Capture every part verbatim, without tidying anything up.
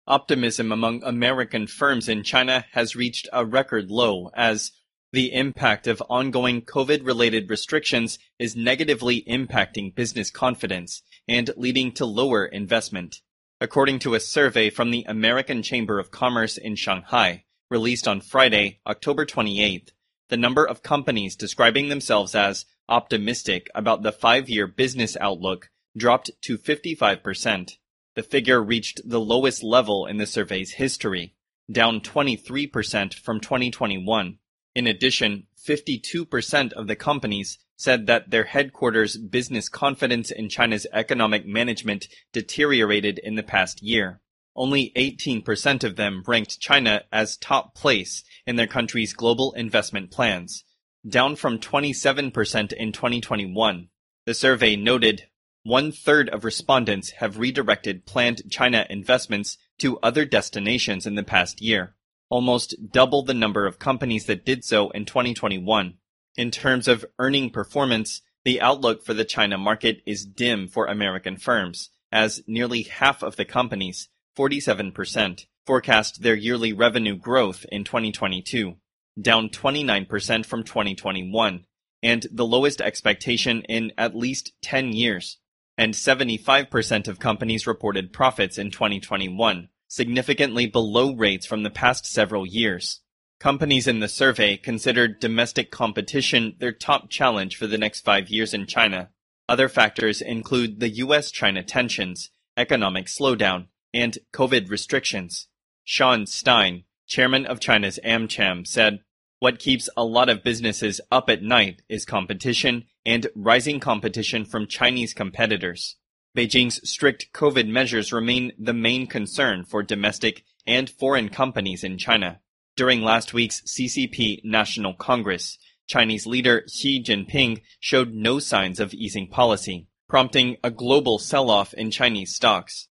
Optimism among American firms in China has reached a record low as the impact of ongoing COVID-related restrictions is negatively impacting business confidence and leading to lower investment. According to a survey from the American Chamber of Commerce in Shanghai, released on Friday, October twenty-eighth, the number of companies describing themselves as optimistic about the five-year business outlook dropped to fifty-five percent. The figure reached the lowest level in the survey's history, down twenty-three percent from twenty twenty-one. In addition, fifty-two percent of the companies said that their headquarters' business confidence in China's economic management deteriorated in the past year. Only eighteen percent of them ranked China as top place in their country's global investment plans, down from twenty-seven percent in twenty twenty-one. The survey noted one-third of respondents have redirected planned China investments to other destinations in the past year, almost double the number of companies that did so in twenty twenty-one. In terms of earning performance, the outlook for the China market is dim for American firms, as nearly half of the companies, forty-seven percent, forecast their yearly revenue growth in twenty twenty-two, down twenty-nine percent from twenty twenty-one, and the lowest expectation in at least ten years. And seventy-five percent of companies reported profits in twenty twenty-one, significantly below rates from the past several years. Companies in the survey considered domestic competition their top challenge for the next five years in China. Other factors include the U S China tensions, economic slowdown, and COVID restrictions. Sean Stein, chairman of China's AmCham, said, "What keeps a lot of businesses up at night is competition and rising competition from Chinese competitors." Beijing's strict COVID measures remain the main concern for domestic and foreign companies in China. During last week's C C P National Congress, Chinese leader Xi Jinping showed no signs of easing policy, prompting a global sell-off in Chinese stocks.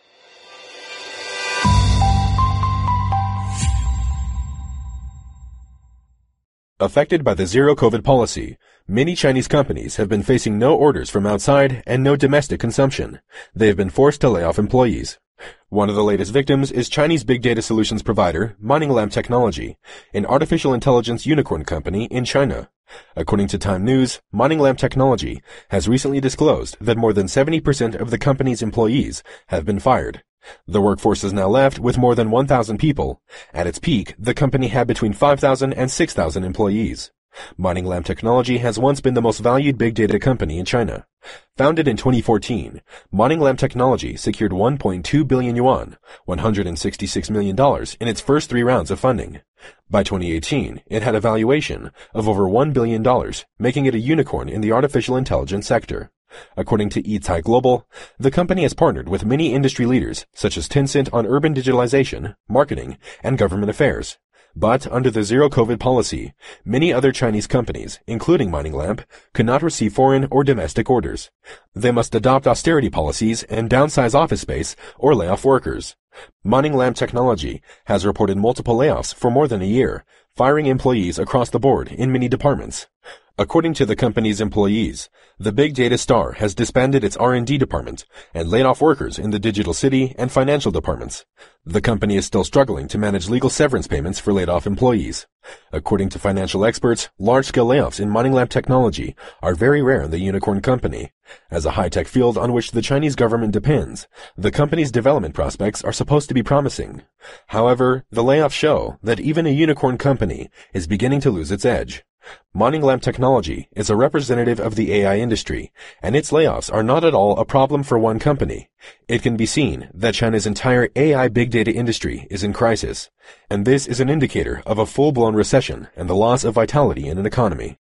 Affected by the zero-COVID policy, many Chinese companies have been facing no orders from outside and no domestic consumption. They have been forced to lay off employees. One of the latest victims is Chinese big data solutions provider MoningLam Technology, an artificial intelligence unicorn company in China. According to Time News, MoningLam Technology has recently disclosed that more than seventy percent of the company's employees have been fired. The workforce is now left with more than one thousand people. At its peak, the company had between five thousand and six thousand employees. MoningLam Technology has once been the most valued big data company in China. Founded in twenty fourteen, MoningLam Technology secured one point two billion yuan, one hundred sixty-six million dollars in its first three rounds of funding. By twenty eighteen, it had a valuation of over one billion dollars, making it a unicorn in the artificial intelligence sector. According to Yicai Global, the company has partnered with many industry leaders, such as Tencent, on urban digitalization, marketing, and government affairs. But under the zero-COVID policy, many other Chinese companies, including MoningLam, could not receive foreign or domestic orders. They must adopt austerity policies and downsize office space or lay off workers. MoningLam Technology has reported multiple layoffs for more than a year, firing employees across the board in many departments. According to the company's employees, the big data star has disbanded its R and D department and laid off workers in the digital city and financial departments. The company is still struggling to manage legal severance payments for laid-off employees. According to financial experts, large-scale layoffs in MoningLam Technology are very rare in the unicorn company. As a high-tech field on which the Chinese government depends, the company's development prospects are supposed to be promising. However, the layoffs show that even a unicorn company is beginning to lose its edge. MoningLam Technology is a representative of the A I industry, and its layoffs are not at all a problem for one company. It can be seen that China's entire A I big data industry is in crisis, and this is an indicator of a full-blown recession and the loss of vitality in an economy.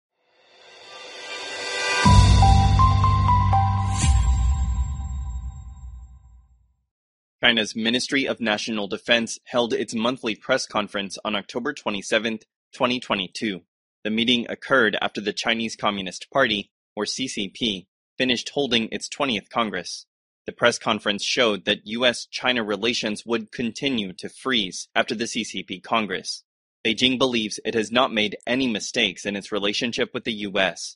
China's Ministry of National Defense held its monthly press conference on October twenty-seventh, twenty twenty-two. The meeting occurred after the Chinese Communist Party, or C C P, finished holding its twentieth Congress. The press conference showed that U S China relations would continue to freeze after the C C P Congress. Beijing believes it has not made any mistakes in its relationship with the U S.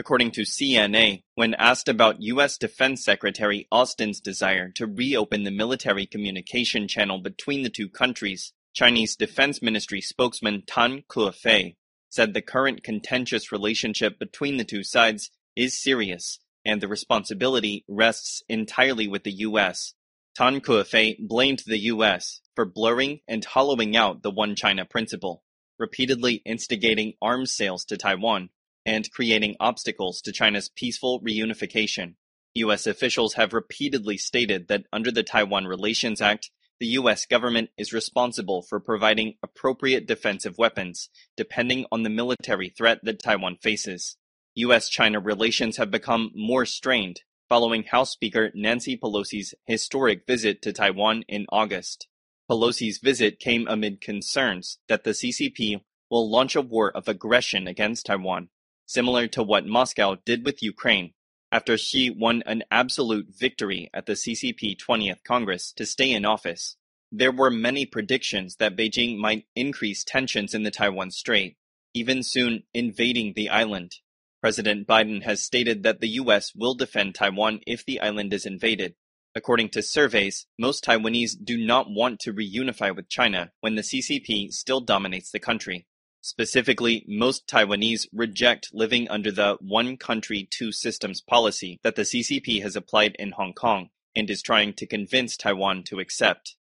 according to C N A, when asked about U S Defense Secretary Austin's desire to reopen the military communication channel between the two countries. Chinese Defense Ministry spokesman Tan Kefei said the current contentious relationship between the two sides is serious, and the responsibility rests entirely with the U S. Tan Kefei blamed the U S for blurring and hollowing out the One China principle, repeatedly instigating arms sales to Taiwan, and creating obstacles to China's peaceful reunification. U S officials have repeatedly stated that under the Taiwan Relations Act, the U S government is responsible for providing appropriate defensive weapons, depending on the military threat that Taiwan faces. U S China relations have become more strained following House Speaker Nancy Pelosi's historic visit to Taiwan in August. Pelosi's visit came amid concerns that the C C P will launch a war of aggression against Taiwan, similar to what Moscow did with Ukraine, after Xi won an absolute victory at the C C P twentieth Congress to stay in office. There were many predictions that Beijing might increase tensions in the Taiwan Strait, even soon invading the island. President Biden has stated that the U S will defend Taiwan if the island is invaded. According to surveys, most Taiwanese do not want to reunify with China when the C C P still dominates the country. Specifically, most Taiwanese reject living under the one country, two systems policy that the C C P has applied in Hong Kong and is trying to convince Taiwan to accept.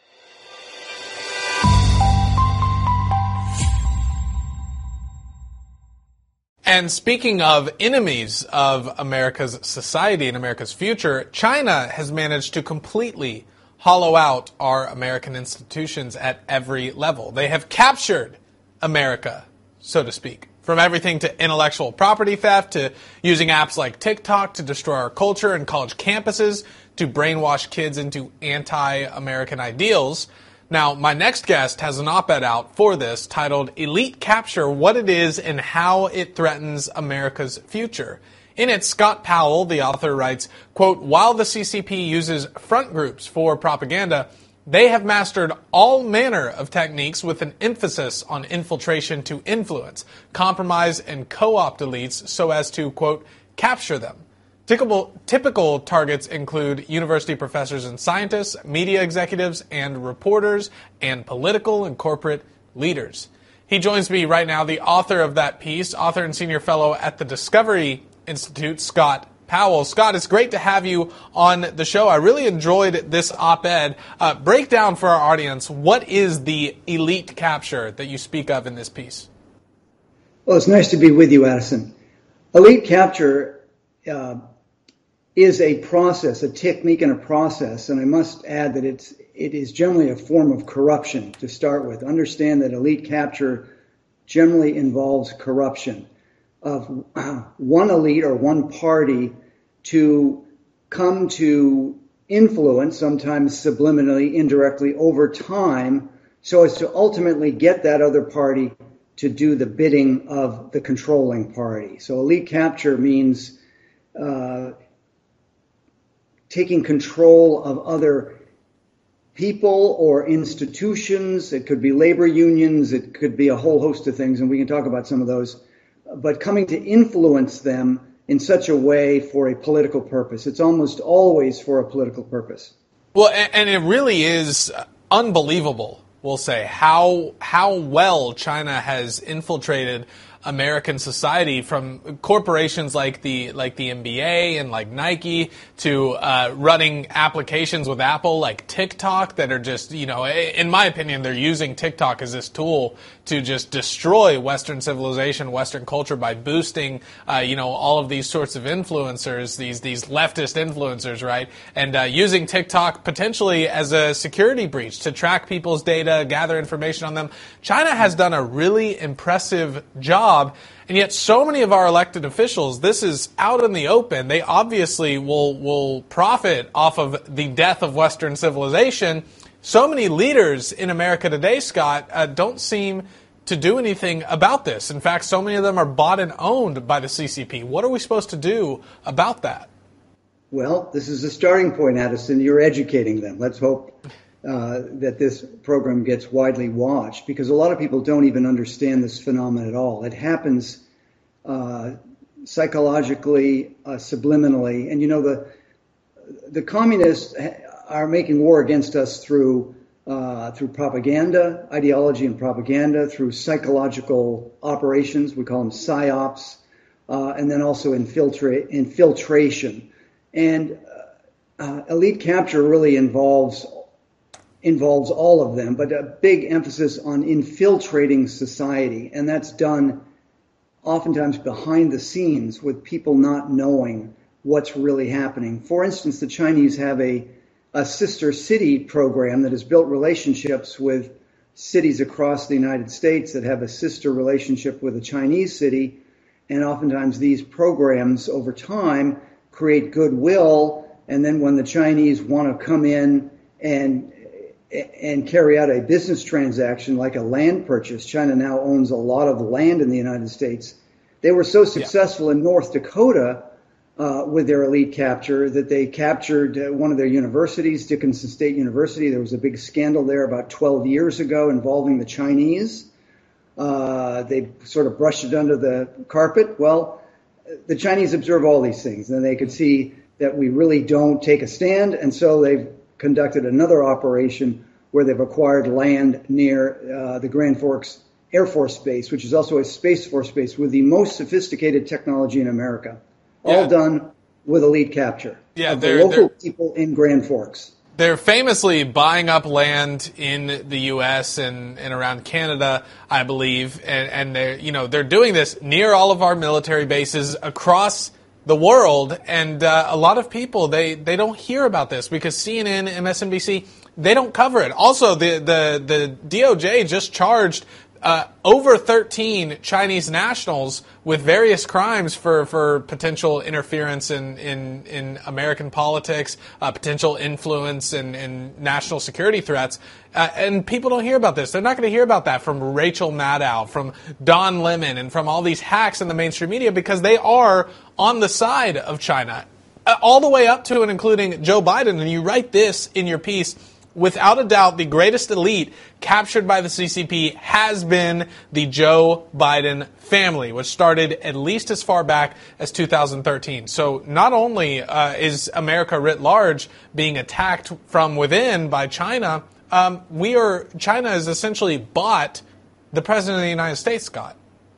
And speaking of enemies of America's society and America's future, China has managed to completely hollow out our American institutions at every level. They have captured America, so to speak, from everything to intellectual property theft, to using apps like TikTok to destroy our culture and college campuses, to brainwash kids into anti-American ideals. Now, my next guest has an op-ed out for this titled Elite Capture, What It Is and How It Threatens America's Future. In it, Scott Powell, the author, writes, quote, while the C C P uses front groups for propaganda, they have mastered all manner of techniques with an emphasis on infiltration to influence, compromise, and co-opt elites so as to, quote, capture them. Typical, typical targets include university professors and scientists, media executives and reporters, and political and corporate leaders. He joins me right now, the author of that piece, author and senior fellow at the Discovery Institute, Scott Powell. Scott, it's great to have you on the show. I really enjoyed this op-ed. Uh, break down for our audience, what is the elite capture that you speak of in this piece? Well, it's nice to be with you, Addison. Elite capture uh, is a process, a technique and a process, and I must add that it's it is generally a form of corruption to start with. Understand that elite capture generally involves corruption of one elite or one party to come to influence, sometimes subliminally, indirectly, over time, so as to ultimately get that other party to do the bidding of the controlling party. So elite capture means uh, taking control of other people or institutions. It could be labor unions. It could be a whole host of things, and we can talk about some of those. But coming to influence them in such a way for a political purpose. It's almost always for a political purpose. Well, and it really is unbelievable, we'll say, how how well China has infiltrated American society, from corporations like the like the N B A and like Nike to uh, running applications with Apple like TikTok that are just, you know, in my opinion, they're using TikTok as this tool to just destroy Western civilization, Western culture by boosting, uh, you know, all of these sorts of influencers, these these leftist influencers, right? And uh, using TikTok potentially as a security breach to track people's data, gather information on them. China has done a really impressive job. And yet so many of our elected officials, this is out in the open. They obviously will will profit off of the death of Western civilization. So many leaders in America today, Scott, uh, don't seem to do anything about this. In fact, so many of them are bought and owned by the C C P. What are we supposed to do about that? Well, this is a starting point, Addison. You're educating them. Let's hope uh, that this program gets widely watched, because a lot of people don't even understand this phenomenon at all. It happens uh, psychologically, uh, subliminally. And, you know, the the communists are making war against us through uh, through propaganda, ideology and propaganda, through psychological operations. We call them psyops, uh, and then also infiltrate, infiltration. And uh, elite capture really involves involves all of them, but a big emphasis on infiltrating society. And that's done oftentimes behind the scenes with people not knowing what's really happening. For instance, the Chinese have a, a sister city program that has built relationships with cities across the United States that have a sister relationship with a Chinese city. And oftentimes these programs over time create goodwill. And then when the Chinese want to come in and and carry out a business transaction like a land purchase, China now owns a lot of land in the United States. They were so successful yeah. in North Dakota uh, with their elite capture that they captured uh, one of their universities, Dickinson State University. There was a big scandal there about twelve years ago involving the Chinese. Uh, they sort of brushed it under the carpet. Well, the Chinese observe all these things, and they could see that we really don't take a stand, and so they've conducted another operation where they've acquired land near uh, the Grand Forks Air Force Base, which is also a Space Force base with the most sophisticated technology in America, all yeah. done with elite capture yeah, of the local people in Grand Forks. They're famously buying up land in the U S and, and around Canada, I believe, and, and they're you know they're doing this near all of our military bases across the world, and uh, a lot of people, they, they don't hear about this because C N N, M S N B C, they don't cover it. Also, the, the, the D O J just charged uh, over thirteen Chinese nationals with various crimes for, for potential interference in, in, in American politics, uh, potential influence and in, in national security threats. Uh, and people don't hear about this. They're not going to hear about that from Rachel Maddow, from Don Lemon, and from all these hacks in the mainstream media because they are on the side of China, uh, all the way up to and including Joe Biden. And you write this in your piece: without a doubt, the greatest elite captured by the C C P has been the Joe Biden family, which started at least as far back as two thousand thirteen. So not only uh, is America writ large being attacked from within by China, um, we are China has essentially bought the president of the United States, Scott.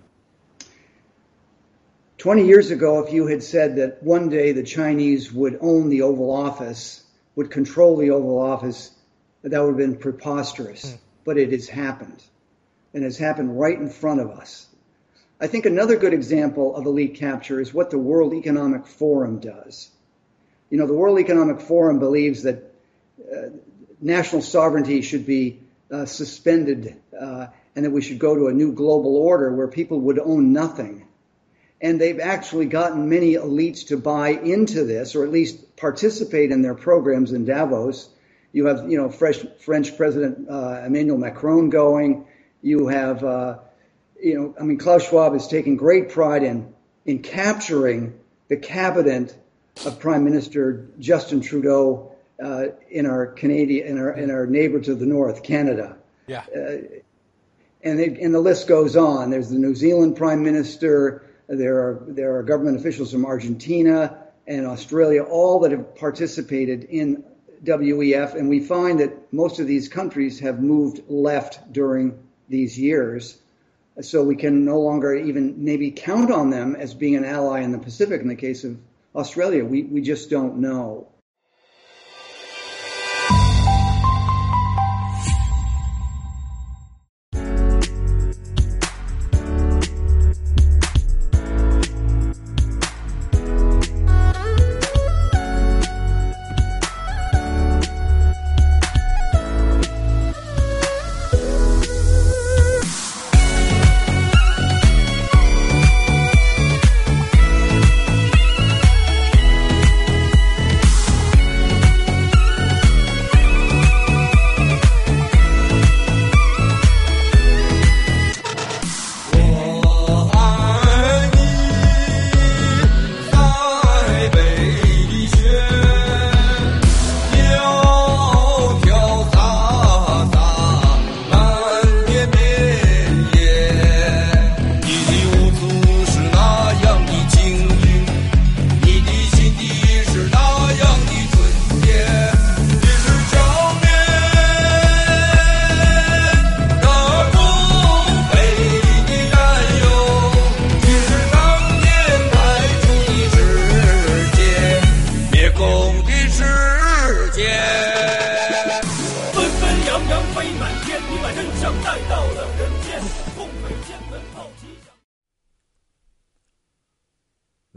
twenty years ago, if you had said that one day the Chinese would own the Oval Office, would control the Oval Office, that would have been preposterous. Mm. But it has happened. And it's happened right in front of us. I think another good example of elite capture is what the World Economic Forum does. You know, the World Economic Forum believes that uh, national sovereignty should be uh, suspended uh, and that we should go to a new global order where people would own nothing. And they've actually gotten many elites to buy into this, or at least participate in their programs in Davos. You have, you know, French, French President uh, Emmanuel Macron going. You have, uh, you know, I mean, Klaus Schwab is taking great pride in in capturing the cabinet of Prime Minister Justin Trudeau uh, in our Canadian, in our in our neighbor to the north, Canada. Yeah. Uh, and they, and the list goes on. There's the New Zealand Prime Minister. There are there are government officials from Argentina and Australia, all that have participated in W E F, and we find that most of these countries have moved left during these years. So we can no longer even maybe count on them as being an ally in the Pacific. In the case of Australia, we, we just don't know.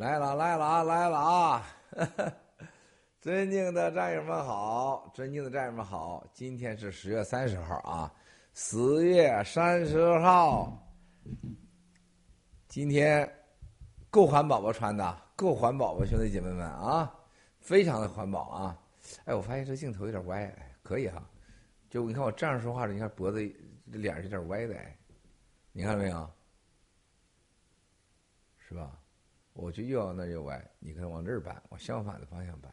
来了来了啊来了啊！尊敬的战友们好，尊敬的战友们好，今天是十月三十号啊，十月三十号，今天够环保吧穿的，够环保吧兄弟姐妹们啊，非常的环保啊！哎，我发现这镜头有点歪，可以哈，就你看我这样说话的，你看脖子这脸是有点歪的，哎，你看到没有？是吧？我就又往那又歪，你看往这儿搬，往相反的方向搬。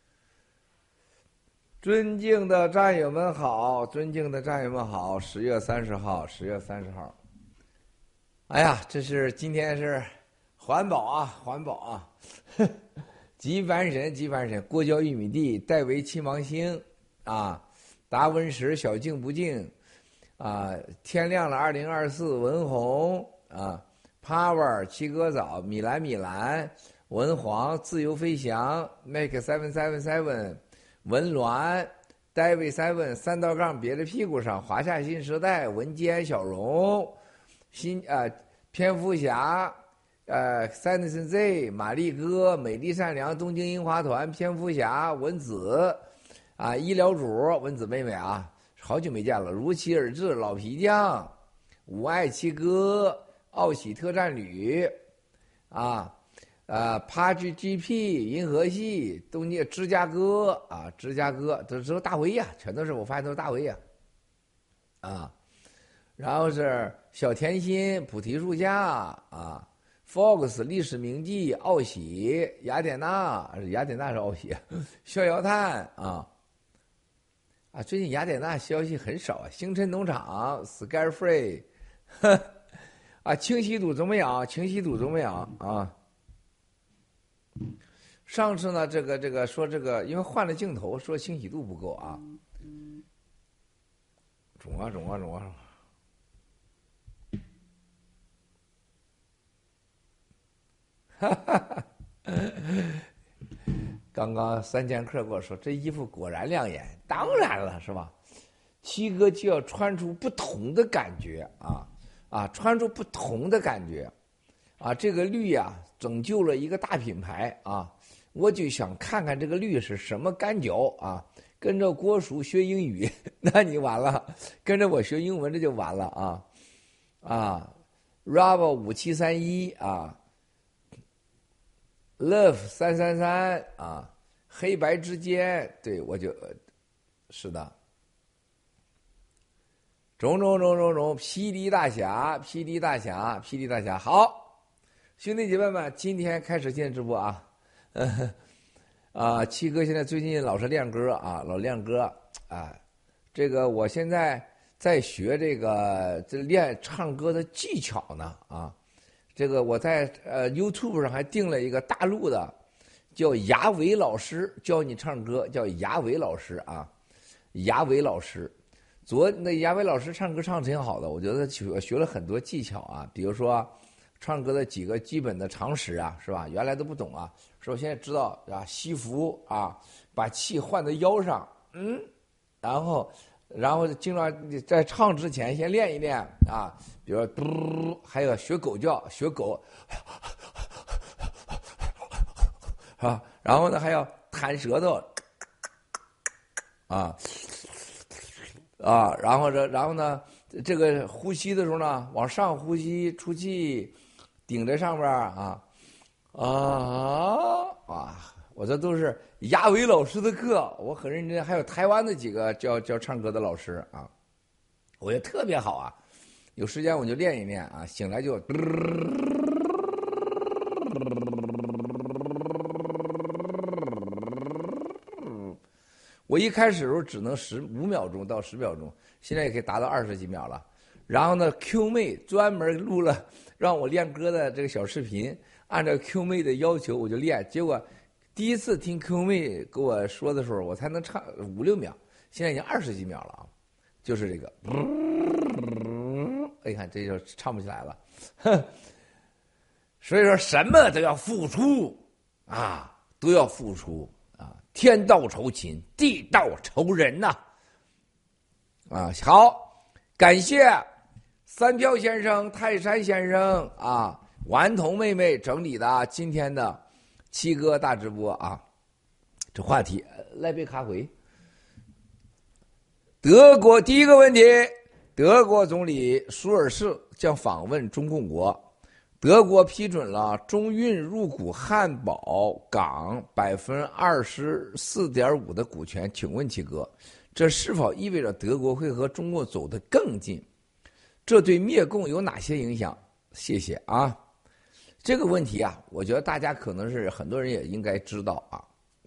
尊敬的战友们好，尊敬的战友们好，十月三十号，十月三十号。哎呀，这是今天是环保啊，环保啊！极凡神，极凡神，过焦玉米地，戴维七芒星啊，达文石小静不静啊，天亮了二零二四文红啊 ，Power 七哥早，米兰米兰，文皇自由飞翔 ，Make seven seven seven。文鸾 David Seven 三道杠别在屁股上，华夏新时代文坚小荣，新呃蝙蝠侠呃 Sanderson Z 玛丽哥美丽善良东京樱花团蝙蝠侠文子啊医疗主文子妹妹啊，好久没见了，如期而至老皮匠五爱七哥奥喜特战旅啊。呃 ，Page G P 银河系东京芝加哥啊，芝加哥这都是大维呀，全都是我发现都是大维呀，啊，然后是小甜心菩提树下啊 ，Fox 历史铭记奥喜雅典娜雅典娜是奥喜，逍遥叹啊啊，最近雅典娜消息很少啊，星辰农场 Scarefree 啊，清溪堵怎么样？清溪堵怎么样啊？上次呢，这个这个说这个，因为换了镜头，说清晰度不够啊，肿啊肿啊肿啊！哈哈哈！刚刚三剑客跟我说，这衣服果然亮眼，当然了，是吧？七哥就要穿出不同的感觉啊啊，穿出不同的感觉啊！这个绿呀、啊，拯救了一个大品牌啊！我就想看看这个绿是什么感觉啊！跟着郭叔学英语，那你完了；跟着我学英文，这就完了啊！啊 ，Rava 五七三一啊 ，Love 三三三啊，黑白之间，对我就，是的，种种种种种，霹雳大侠，霹雳大侠，霹雳大侠，好，兄弟姐妹们，今天开始进直播啊！嗯，啊，七哥现在最近老是练歌啊，老练歌啊。这个我现在在学这个这练唱歌的技巧呢啊。这个我在呃 YouTube 上还订了一个大陆的，叫牙伟老师教你唱歌，叫牙伟老师啊，牙伟老师。昨那牙伟老师唱歌唱得挺好的，我觉得学学了很多技巧啊，比如说唱歌的几个基本的常识啊，是吧？原来都不懂啊。首先知道啊，吸腹啊，把气换到腰上，嗯，然后，然后经常在唱之前先练一练啊，比如说嘟，还有学狗叫，学狗，啊，然后呢还要弹舌头，啊，啊，然后这，然后呢，这个呼吸的时候呢，往上呼吸，出气，顶在上边啊。啊啊！我这都是牙伟老师的课，我很认真。还有台湾的几个教教唱歌的老师啊，我觉得特别好啊。有时间我就练一练啊，醒来就。我一开始的时候只能十五秒钟到十秒钟，现在也可以达到二十几秒了。然后呢 ，Q 妹专门录了让我练歌的这个小视频。按照 Q 妹的要求，我就练。结果第一次听 Q 妹跟我说的时候，我才能唱五六秒，现在已经二十几秒了啊！就是这个，哎，看这就唱不起来了。哼，所以说什么都要付出啊，都要付出啊！天道酬勤，地道酬人呐！啊，好，感谢三票先生、泰山先生啊。顽童妹妹整理的今天的七哥大直播啊，这话题来杯咖啡。德国第一个问题，德国总理舒尔茨将访问中共国。德国批准了中运入股汉堡港百分之二十四点五的股权，请问七哥，这是否意味着德国会和中国走得更近？这对灭共有哪些影响？谢谢啊。这个问题啊，我觉得大家可能是很多人也应该知道啊。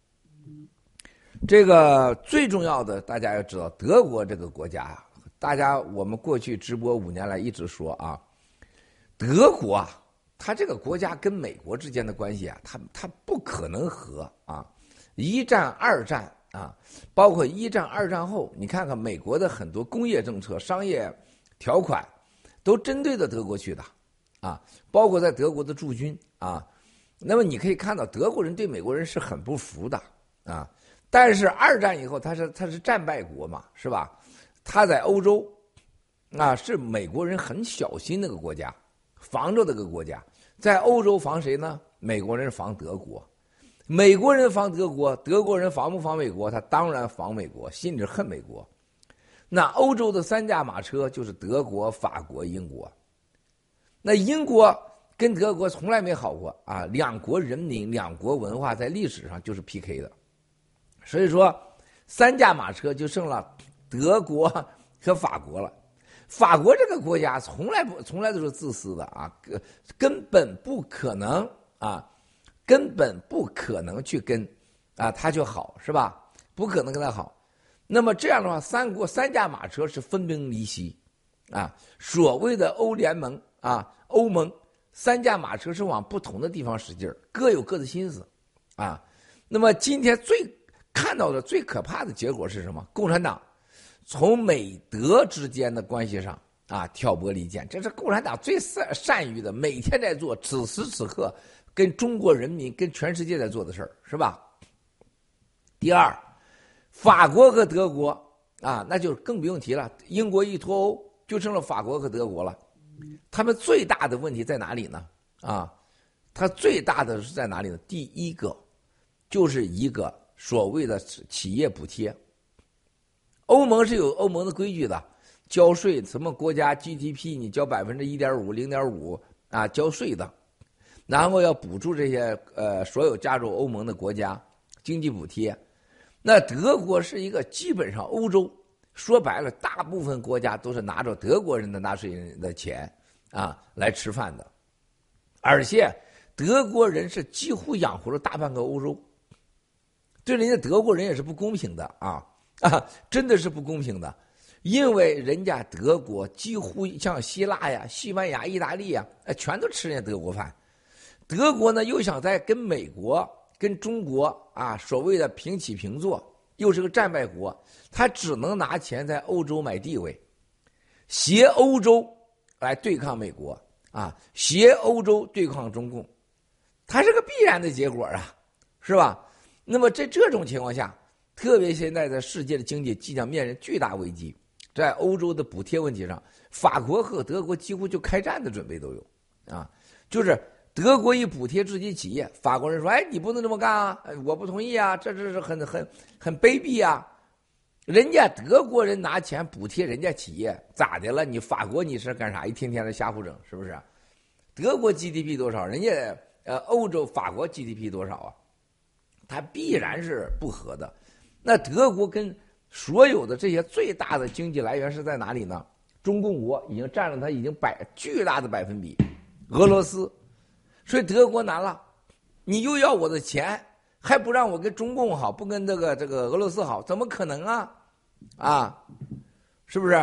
这个最重要的，大家要知道，德国这个国家啊，大家我们过去直播五年来一直说啊，德国啊。他这个国家跟美国之间的关系啊，他他不可能和啊，一战、二战啊，包括一战、二战后，你看看美国的很多工业政策、商业条款，都针对着德国去的啊，包括在德国的驻军啊。那么你可以看到，德国人对美国人是很不服的啊。但是二战以后，他是他是战败国嘛，是吧？他在欧洲啊，是美国人很小心那个国家，防着这个国家。在欧洲防谁呢？美国人防德国，美国人防德国，德国人防不防美国？他当然防美国，心里恨美国。那欧洲的三驾马车就是德国、法国、英国。那英国跟德国从来没好过啊，两国人民、两国文化在历史上就是 P K 的。所以说，三驾马车就剩了德国和法国了。法国这个国家从来不从来都是自私的啊，根本不可能啊，根本不可能去跟啊他就好，是吧？不可能跟他好。那么这样的话，三国三驾马车是分崩离析啊。所谓的欧联盟啊，欧盟三驾马车是往不同的地方使劲儿，各有各的心思啊。那么今天最看到的最可怕的结果是什么？共产党从美德之间的关系上啊挑拨离间，这是共产党最善善于的，每天在做，此时此刻跟中国人民、跟全世界在做的事儿，是吧？第二，法国和德国啊，那就更不用提了，英国一脱欧，就剩了法国和德国了。他们最大的问题在哪里呢？啊，他最大的是在哪里呢？第一个就是一个所谓的企业补贴。欧盟是有欧盟的规矩的，交税什么国家 G D P 你交百分之一点五、零点五啊交税的，然后要补助这些呃所有加入欧盟的国家经济补贴。那德国是一个基本上欧洲说白了，大部分国家都是拿着德国人的纳税人的钱啊来吃饭的，而且德国人是几乎养活了大半个欧洲，对人家德国人也是不公平的啊。啊，真的是不公平的，因为人家德国几乎像希腊呀、西班牙、意大利呀，全都吃人家德国饭。德国呢又想在跟美国、跟中国啊所谓的平起平坐，又是个战败国，他只能拿钱在欧洲买地位，携欧洲来对抗美国啊，携欧洲对抗中共，它是个必然的结果啊，是吧？那么在这种情况下，特别现在在世界的经济即将面临巨大危机，在欧洲的补贴问题上，法国和德国几乎就开战的准备都有啊。就是德国一补贴自己企业，法国人说：“哎，你不能这么干啊，我不同意啊，这这是很很很卑鄙啊。”人家德国人拿钱补贴人家企业，咋的了？你法国你是干啥？一天天的瞎胡整，是不是？德国 G D P 多少？人家呃欧洲法国 G D P 多少啊？它必然是不合的。那德国跟所有的这些最大的经济来源是在哪里呢？中共国已经占了它已经百巨大的百分比，俄罗斯，所以德国难了，你又要我的钱，还不让我跟中共好，不跟这个这个俄罗斯好，怎么可能啊？啊，是不是？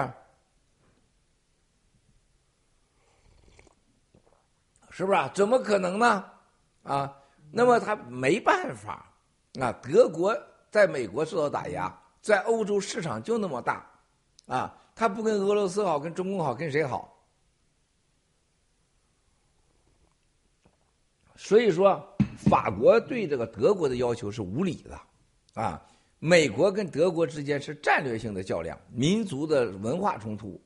是不是啊？怎么可能呢？啊，那么他没办法啊，德国在美国受到打压，在欧洲市场就那么大，啊，他不跟俄罗斯好，跟中共好，跟谁好？所以说，法国对这个德国的要求是无理的，啊，美国跟德国之间是战略性的较量，民族的文化冲突，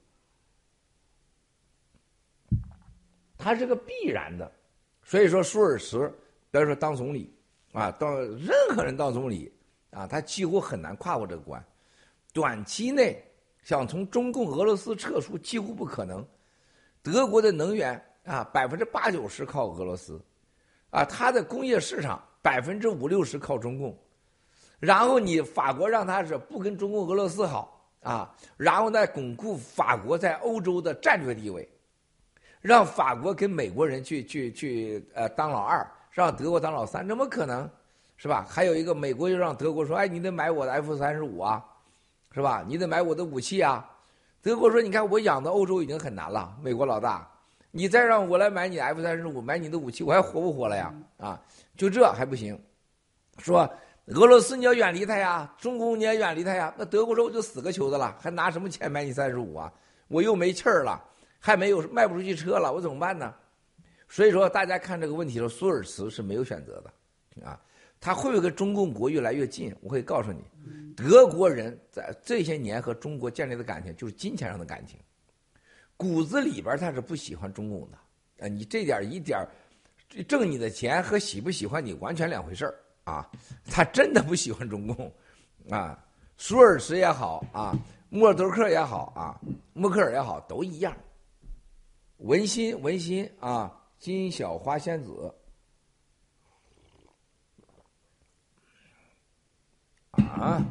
它是个必然的。所以说，舒尔茨，比如说当总理啊，到任何人当总理啊，他几乎很难跨过这个关。短期内想从中共、俄罗斯撤出几乎不可能。德国的能源啊，百分之八九十靠俄罗斯，啊，它的工业市场百分之五六十靠中共。然后你法国让他是不跟中共、俄罗斯好啊，然后再巩固法国在欧洲的战略地位，让法国跟美国人去去去呃当老二，让德国当老三，怎么可能？是吧？还有一个美国又让德国说，哎，你得买我的 F 三十五啊，是吧？你得买我的武器啊。德国说，你看我养的欧洲已经很难了，美国老大，你再让我来买你 F 三十五，买你的武器，我还活不活了呀？啊，就这还不行，说。俄罗斯你要远离他呀，中共你也远离他呀，那德国说我就死个球子了，还拿什么钱买你三十五啊？我又没气儿了，还没有卖不出去车了，我怎么办呢？所以说大家看这个问题的时候，苏尔茨是没有选择的啊，他会不会跟中共国越来越近？我会告诉你，德国人在这些年和中国建立的感情就是金钱上的感情，骨子里边他是不喜欢中共的啊，你这点一点挣你的钱和喜不喜欢你完全两回事儿。啊，他真的不喜欢中共，啊，舒尔茨也好啊，默多克也好啊，默克尔也好，都一样。文心文心啊，金小花仙子啊，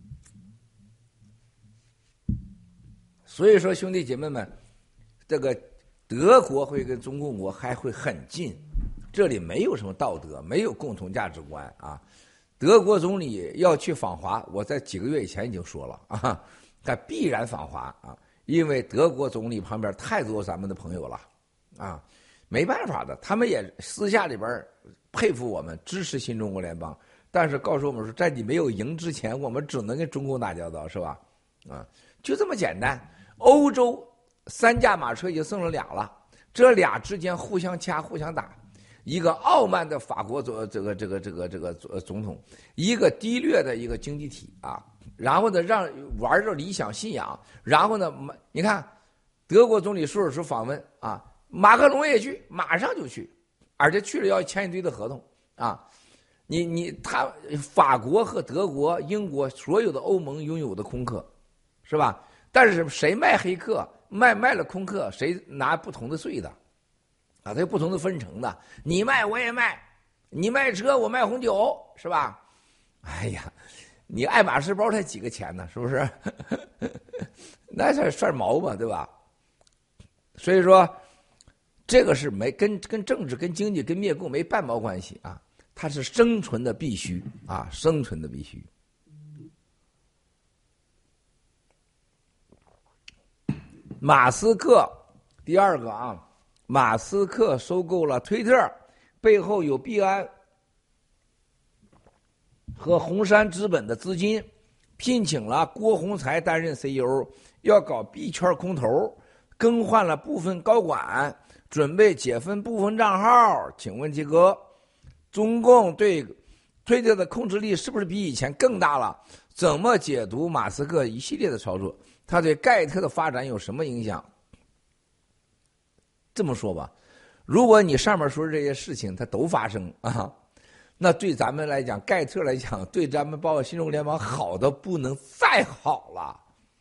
所以说兄弟姐妹们，这个德国会跟中共国还会很近。这里没有什么道德，没有共同价值观啊！德国总理要去访华，我在几个月以前已经说了啊，他必然访华啊，因为德国总理旁边太多咱们的朋友了啊，没办法的，他们也私下里边佩服我们，支持新中国联邦，但是告诉我们说，在你没有赢之前，我们只能跟中共打交道，是吧？啊，就这么简单。欧洲三驾马车已经剩了俩了，这俩之间互相掐，互相打。一个傲慢的法国总这个这个这个这个总统，一个低劣的一个经济体啊，然后呢让玩着理想信仰，然后呢你看德国总理舒尔茨访问啊，马克龙也去，马上就去，而且去了要签一堆的合同啊，你你他法国和德国、英国所有的欧盟拥有的空客，是吧？但是谁卖黑客，卖卖了空客，谁拿不同的税的。啊，它有不同的分成的，你卖我也卖，你卖车我卖红酒，是吧？哎呀，你爱马仕包才几个钱呢，是不是？那算算毛嘛，对吧？所以说，这个是没跟跟政治、跟经济、跟灭共没半毛关系啊，它是生存的必须啊，生存的必须。马斯克，第二个啊。马斯克收购了推特，背后有币安和红杉资本的资金，聘请了郭宏才担任 C E O， 要搞币圈空头，更换了部分高管，准备解封部分账号。请问杰哥，中共对推特的控制力是不是比以前更大了？怎么解读马斯克一系列的操作？他对盖特的发展有什么影响？这么说吧，如果你上面说这些事情它都发生啊，那对咱们来讲，盖特来讲，对咱们包括新中国联邦好的不能再好了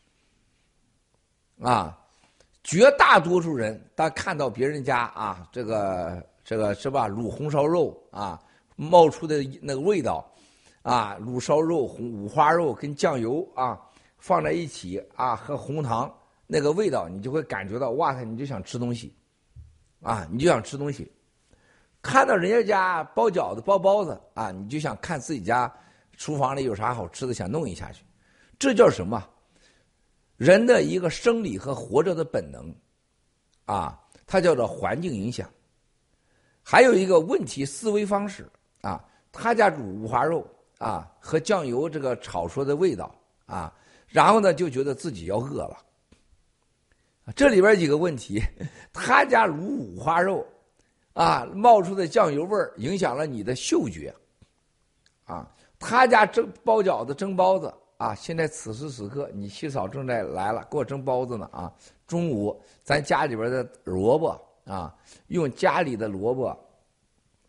啊！绝大多数人当看到别人家啊，这个这个是吧，卤红烧肉啊，冒出的那个味道啊，卤烧肉、红五花肉跟酱油啊放在一起啊，和红糖那个味道，你就会感觉到哇塞，你就想吃东西。啊，你就想吃东西，看到人家家包饺子、包包子啊，你就想看自己家厨房里有啥好吃的，想弄一下去。这叫什么？人的一个生理和活着的本能啊，它叫做环境影响。还有一个问题思维方式啊，他家煮五花肉啊和酱油这个炒出的味道啊，然后呢就觉得自己要饿了。这里边几个问题，他家卤五花肉，啊，冒出的酱油味儿影响了你的嗅觉，啊，他家蒸包饺子、蒸包子，啊，现在此时此刻你七嫂正在来了，给我蒸包子呢，啊，中午咱家里边的萝卜啊，用家里的萝卜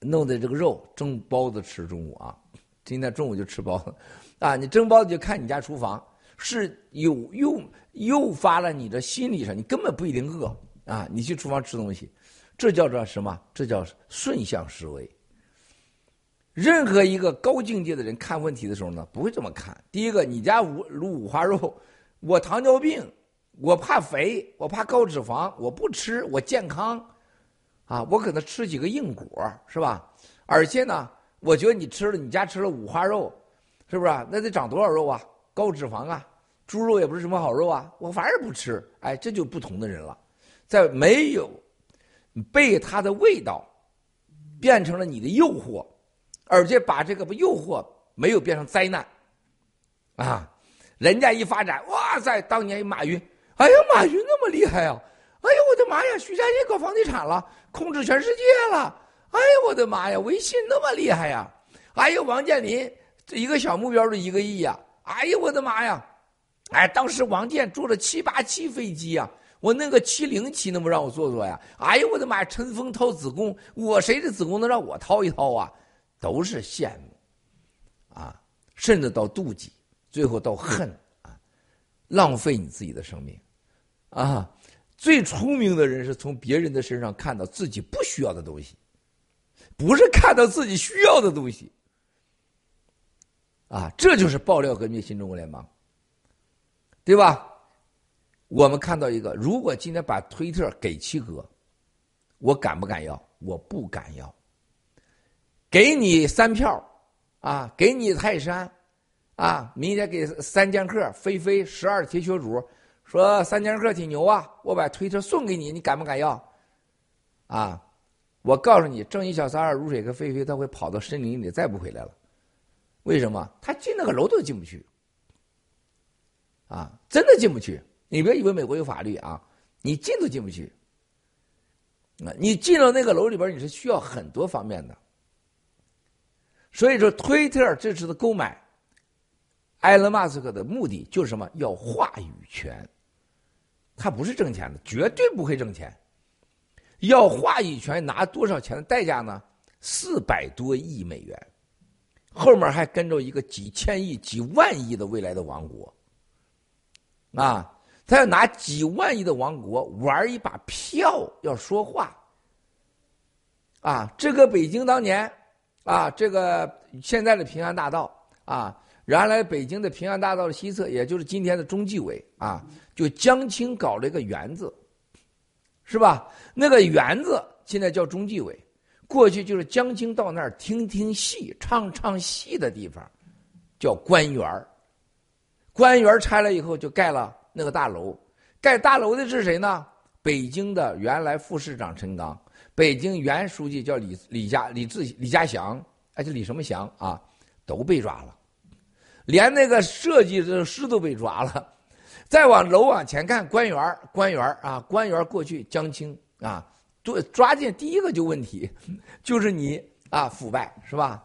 弄的这个肉蒸包子吃中午啊，今天中午就吃包子啊。你蒸包子就看你家厨房是有诱诱发了你的心理上，你根本不一定饿啊，你去厨房吃东西，这叫做什么？这叫顺向思维。任何一个高境界的人看问题的时候呢，不会这么看。第一个，你家五卤五花肉，我糖尿病，我怕肥，我怕高脂肪，我不吃，我健康，啊，我可能吃几个硬果，是吧？而且呢，我觉得你吃了，你家吃了五花肉，是不是啊？那得长多少肉啊？高脂肪啊，猪肉也不是什么好肉啊，我反而不吃。哎，这就不同的人了，在没有被它的味道变成了你的诱惑。而且把这个诱惑没有变成灾难，啊，人家一发展，哇塞，当年马云，哎呀，马云那么厉害呀、啊，哎呀，我的妈呀，许家印搞房地产了，控制全世界了，哎呀，我的妈呀，微信那么厉害呀、啊，哎呀，王健林这一个小目标就一个亿呀、啊，哎呀，我的妈呀，哎，当时王健坐了七八七飞机呀、啊。我那个七零七能不让我坐坐呀？哎呀，我的妈呀！陈峰掏子宫，我谁的子宫能让我掏一掏啊？都是羡慕，啊，甚至到妒忌，最后到恨啊，浪费你自己的生命，啊！最聪明的人是从别人的身上看到自己不需要的东西，不是看到自己需要的东西，啊！这就是爆料革命新中国联邦，对吧？我们看到一个，如果今天把推特给七哥，我敢不敢要？我不敢要。给你三票，啊，给你泰山，啊，明天给三剑客飞飞十二铁血主，说三剑客挺牛啊，我把推特送给你，你敢不敢要？啊，我告诉你，正义小三儿如水和飞飞他会跑到森林里再不回来了，为什么？他进那个楼都进不去，啊，真的进不去。你别以为美国有法律啊，你进都进不去。啊，你进了那个楼里边，你是需要很多方面的。所以说，推特这次的购买，埃隆·马斯克的目的就是什么？要话语权。他不是挣钱的，绝对不会挣钱。要话语权，拿多少钱的代价呢？四百多亿美元，后面还跟着一个几千亿、几万亿的未来的王国。啊，他要拿几万亿的王国玩一把票，要说话。啊，这个北京当年。啊，这个现在的平安大道啊，原来北京的平安大道的西侧，也就是今天的中纪委啊，就江青搞了一个园子，是吧？那个园子现在叫中纪委，过去就是江青到那儿听听戏、唱唱戏的地方，叫官园。官园拆了以后，就盖了那个大楼。盖大楼的是谁呢？北京的原来副市长陈刚。北京原书记叫李李家李志李家祥，哎，这李什么祥啊，都被抓了，连那个设计的师都被抓了。再往楼往前看，官员官员啊，官员过去江青啊，抓抓进第一个就问题，就是你啊腐败是吧？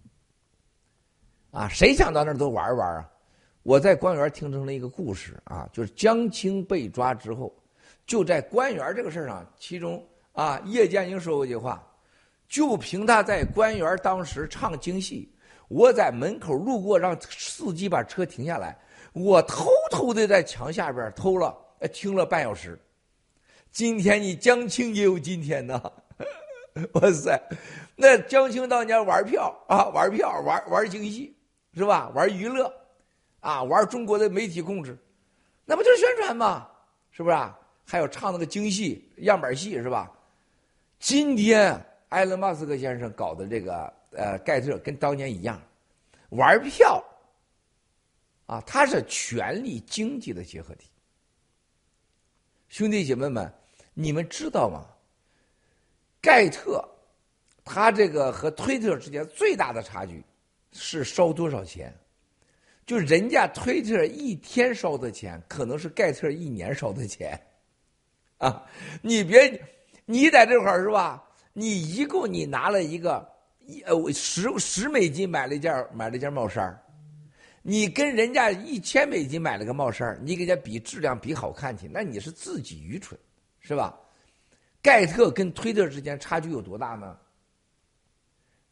啊，谁想到那儿都玩玩啊？我在官员听成了一个故事啊，就是江青被抓之后，就在官员这个事上，其中。啊，叶剑英说过一句话，就凭他在官园当时唱京戏，我在门口路过，让司机把车停下来，我偷偷的在墙下边偷了，听了半小时。今天你江青也有今天呢，哇塞，那江青当年玩票啊，玩票，玩玩京戏，是吧？玩娱乐，啊，玩中国的媒体控制，那不就是宣传吗？是不是啊？还有唱那个京戏样板戏，是吧？今天埃隆·马斯克先生搞的这个呃盖特跟当年一样，玩票啊，它是权力经济的结合体。兄弟姐妹们，你们知道吗？盖特他这个和推特之间最大的差距是烧多少钱？就人家推特一天烧的钱，可能是盖特一年烧的钱啊！你别。你在这块儿是吧？你一共你拿了一个一呃十十美金买了一件买了一件帽衫，你跟人家一千美金买了个帽衫，你给人家比质量比好看去，那你是自己愚蠢，是吧？盖特跟推特之间差距有多大呢？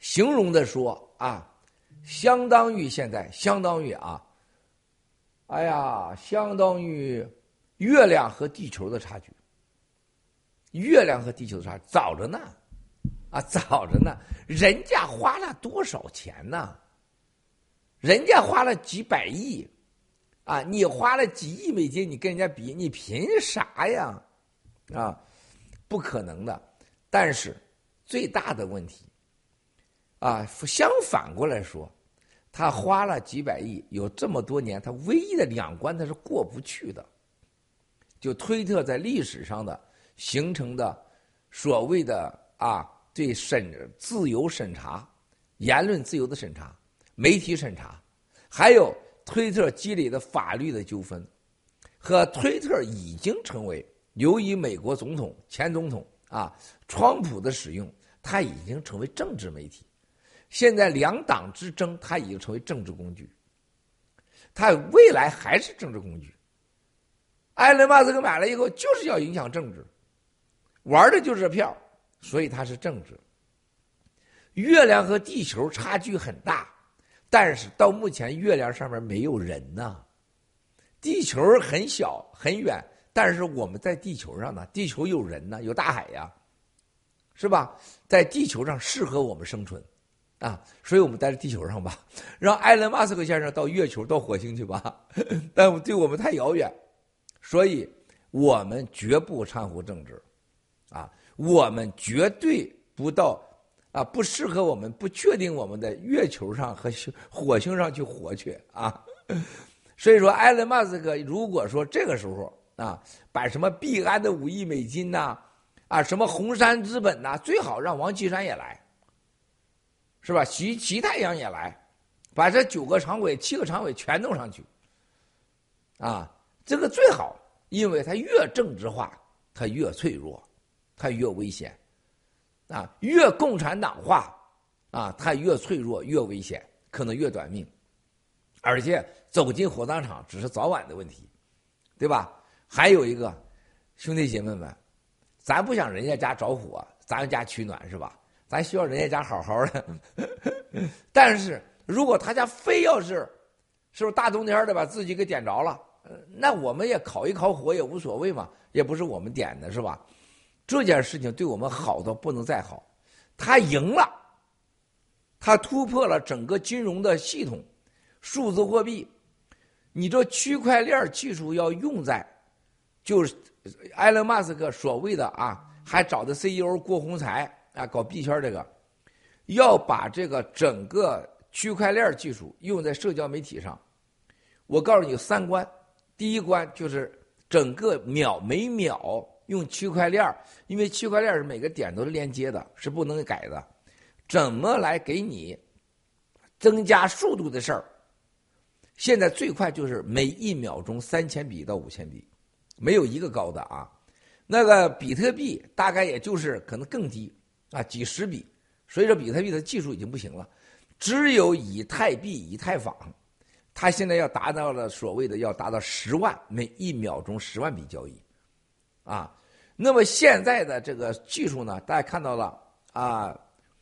形容的说啊，相当于现在相当于啊，哎呀，相当于月亮和地球的差距。月亮和地球的差距早着呢，啊，早着呢，人家花了多少钱呢？人家花了几百亿，啊，你花了几亿美金，你跟人家比，你凭啥呀？啊，不可能的。但是最大的问题，啊，相反过来说，他花了几百亿，有这么多年，他唯一的两关他是过不去的，就推特在历史上的形成的所谓的啊，对审自由审查、言论自由的审查、媒体审查，还有推特积累的法律的纠纷，和推特已经成为由于美国总统前总统啊川普的使用，它已经成为政治媒体。现在两党之争，它已经成为政治工具，它未来还是政治工具。埃隆·马斯克买了以后，就是要影响政治，玩的就是这票，所以它是政治。月亮和地球差距很大，但是到目前月亮上面没有人呐，地球很小很远，但是我们在地球上呢，地球有人呢，有大海呀，是吧？在地球上适合我们生存啊，所以我们待在地球上吧，让埃隆·马斯克先生到月球到火星去吧，但对我们太遥远，所以我们绝不掺和政治啊，我们绝对不到啊，不适合我们，不确定我们在月球上和火星上去活去啊。所以说，埃隆·马斯克如果说这个时候啊，把什么币安的五亿美金呐、啊，啊，什么红杉资本呐、啊，最好让王岐山也来，是吧？徐齐太阳也来，把这九个常委、七个常委全弄上去，啊，这个最好，因为它越政治化，它越脆弱，它越危险。啊，越共产党化，啊，它越脆弱，越危险，可能越短命，而且走进火葬场只是早晚的问题，对吧？还有一个，兄弟姐妹们，咱不想人家家着火，咱家取暖是吧？咱希望人家家好好的。但是如果他家非要是，是不是大冬天的把自己给点着了，那我们也烤一烤火也无所谓嘛，也不是我们点的是吧？这件事情对我们好到不能再好，他赢了，他突破了整个金融的系统，数字货币，你这区块链技术要用在，就是埃隆·马斯克所谓的啊，还找的 C E O 郭宏才啊，搞币圈这个，要把这个整个区块链技术用在社交媒体上。我告诉你有三关，第一关就是整个秒每秒。用区块链，因为区块链是每个点都是连接的，是不能改的。怎么来给你增加速度的事儿？现在最快就是每一秒钟三千笔到五千笔，没有一个高的啊。那个比特币大概也就是可能更低啊，几十笔。所以说比特币的技术已经不行了，只有以太币、以太坊，它现在要达到了所谓的要达到十万每一秒钟十万笔交易。啊，那么现在的这个技术呢，大家看到了啊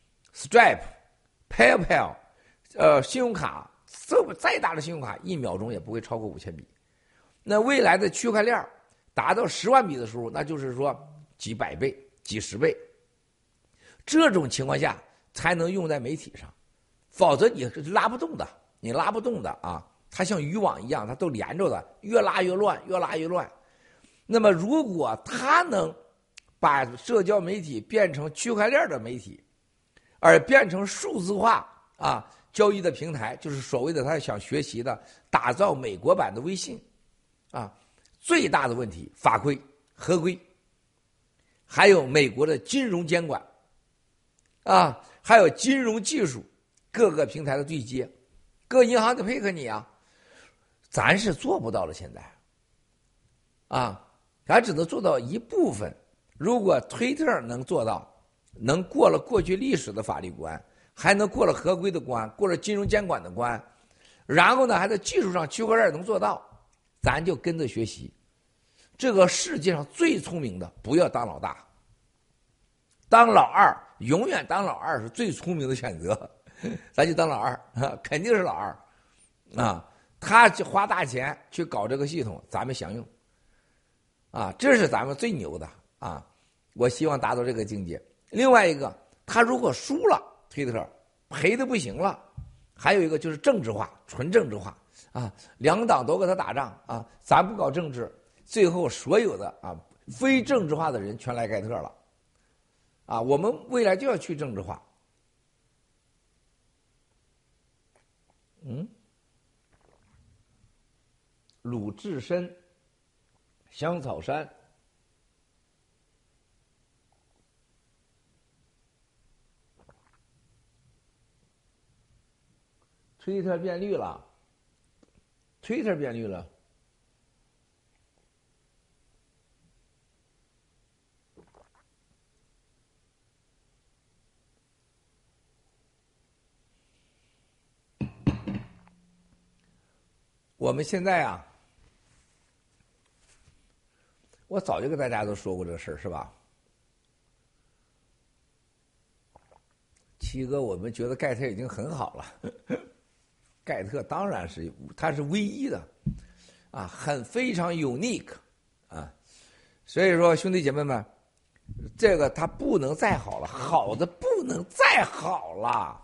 ，Stripe、PayPal， 呃，信用卡，这再大的信用卡一秒钟也不会超过五千笔。那未来的区块链达到十万笔的时候，那就是说几百倍、几十倍。这种情况下才能用在媒体上，否则你拉不动的，你拉不动的啊！它像渔网一样，它都连着的，越拉越乱，越拉越乱。那么，如果他能把社交媒体变成区块链的媒体，而变成数字化啊交易的平台，就是所谓的他想学习的打造美国版的微信啊，最大的问题法规合规，还有美国的金融监管啊，还有金融技术各个平台的对接，各银行得配合你啊，咱是做不到了现在啊。咱只能做到一部分，如果推特能做到，能过了过去历史的法律关，还能过了合规的关，过了金融监管的关，然后呢还在技术上区块链能做到，咱就跟着学习。这个世界上最聪明的不要当老大，当老二永远当老二是最聪明的选择，咱就当老二，肯定是老二啊。他花大钱去搞这个系统，咱们享用啊，这是咱们最牛的啊！我希望达到这个境界。另外一个，他如果输了，推特赔的不行了，还有一个就是政治化，纯政治化啊，两党都跟他打仗啊，咱不搞政治，最后所有的啊非政治化的人全来盖特了啊！我们未来就要去政治化。嗯。鲁智深、香草山，推特变绿了，推特变绿了。我们现在啊。我早就跟大家都说过这个事儿，是吧？七哥，我们觉得盖特已经很好了，盖特当然是它是唯一的，啊，很非常 unique 啊，所以说兄弟姐妹们，这个它不能再好了，好的不能再好了。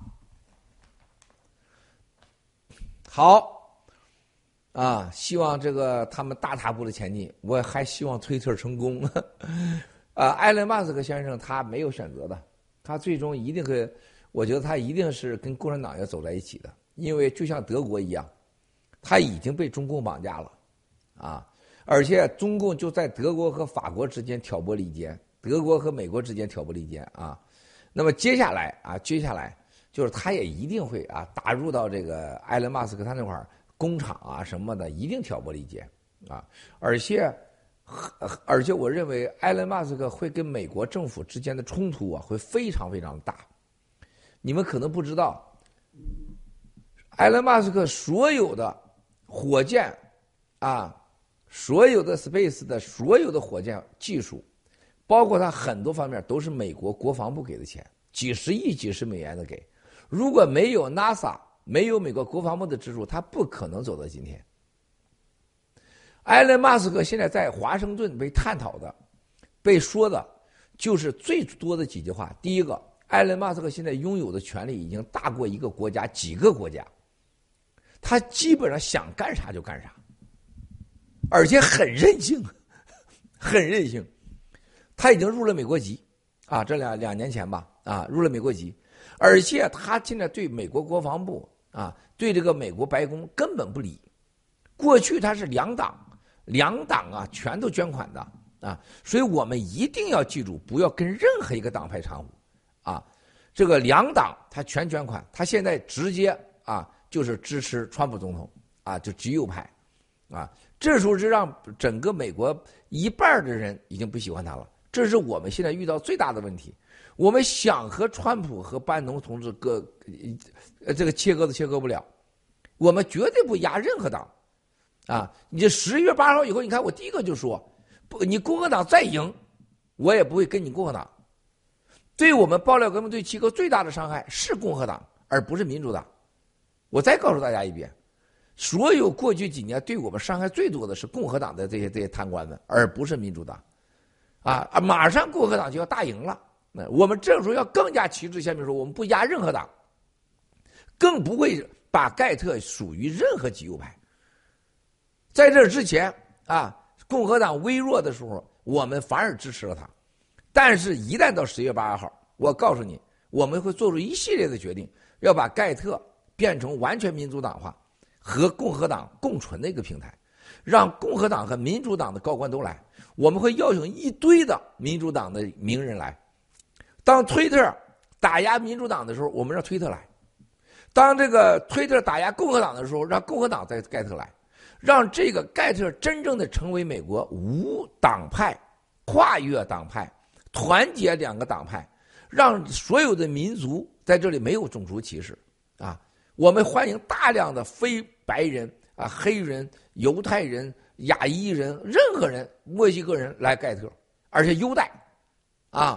好。啊，希望这个他们大踏步的前进，我还希望推特成功。啊，埃隆·马斯克先生他没有选择的，他最终一定会，我觉得他一定是跟共产党要走在一起的，因为就像德国一样，他已经被中共绑架了，啊，而且中共就在德国和法国之间挑拨离间，德国和美国之间挑拨离间啊。那么接下来啊，接下来就是他也一定会啊打入到这个埃隆·马斯克他那块儿。工厂啊什么的，一定挑拨离间啊！而且，而且我认为埃隆·马斯克会跟美国政府之间的冲突啊，会非常非常大。你们可能不知道，埃隆·马斯克所有的火箭啊，所有的 Space 的所有的火箭技术，包括他很多方面都是美国国防部给的钱，几十亿、几十美元的给。如果没有 NASA。没有美国国防部的支柱，他不可能走到今天。埃隆·马斯克现在在华盛顿被探讨的、被说的，就是最多的几句话。第一个，埃隆·马斯克现在拥有的权利已经大过一个国家、几个国家，他基本上想干啥就干啥，而且很任性，很任性。他已经入了美国籍啊，这两两年前吧，啊，入了美国籍，而且他现在对美国国防部。啊，对这个美国白宫根本不理。过去他是两党，两党啊全都捐款的啊，所以我们一定要记住，不要跟任何一个党派掺和啊。这个两党他全捐款，他现在直接啊就是支持川普总统啊，就极右派啊。这时候就让整个美国一半的人已经不喜欢他了，这是我们现在遇到最大的问题。我们想和川普和班农同志割，呃，这个切割都切割不了，我们绝对不压任何党，啊！你这十一月八号以后，你看我第一个就说，不，你共和党再赢，我也不会跟你共和党。对我们爆料革命对七哥最大的伤害是共和党，而不是民主党。我再告诉大家一遍，所有过去几年对我们伤害最多的是共和党的这些这些贪官们，而不是民主党，啊！马上共和党就要大赢了。我们这时候要更加旗帜鲜明说，我们不压任何党，更不会把盖特属于任何极右派。在这之前啊，共和党微弱的时候，我们反而支持了他。但是，一旦到十月八号，我告诉你，我们会做出一系列的决定，要把盖特变成完全民主党化和共和党共存的一个平台，让共和党和民主党的高官都来。我们会邀请一堆的民主党的名人来。当推特打压民主党的时候，我们让推特来；当这个推特打压共和党的时候，让共和党在盖特来，让这个盖特真正的成为美国无党派、跨越党派、团结两个党派，让所有的民族在这里没有种族歧视啊！我们欢迎大量的非白人啊、黑人、犹太人、亚裔人、任何人、墨西哥人来盖特，而且优待啊！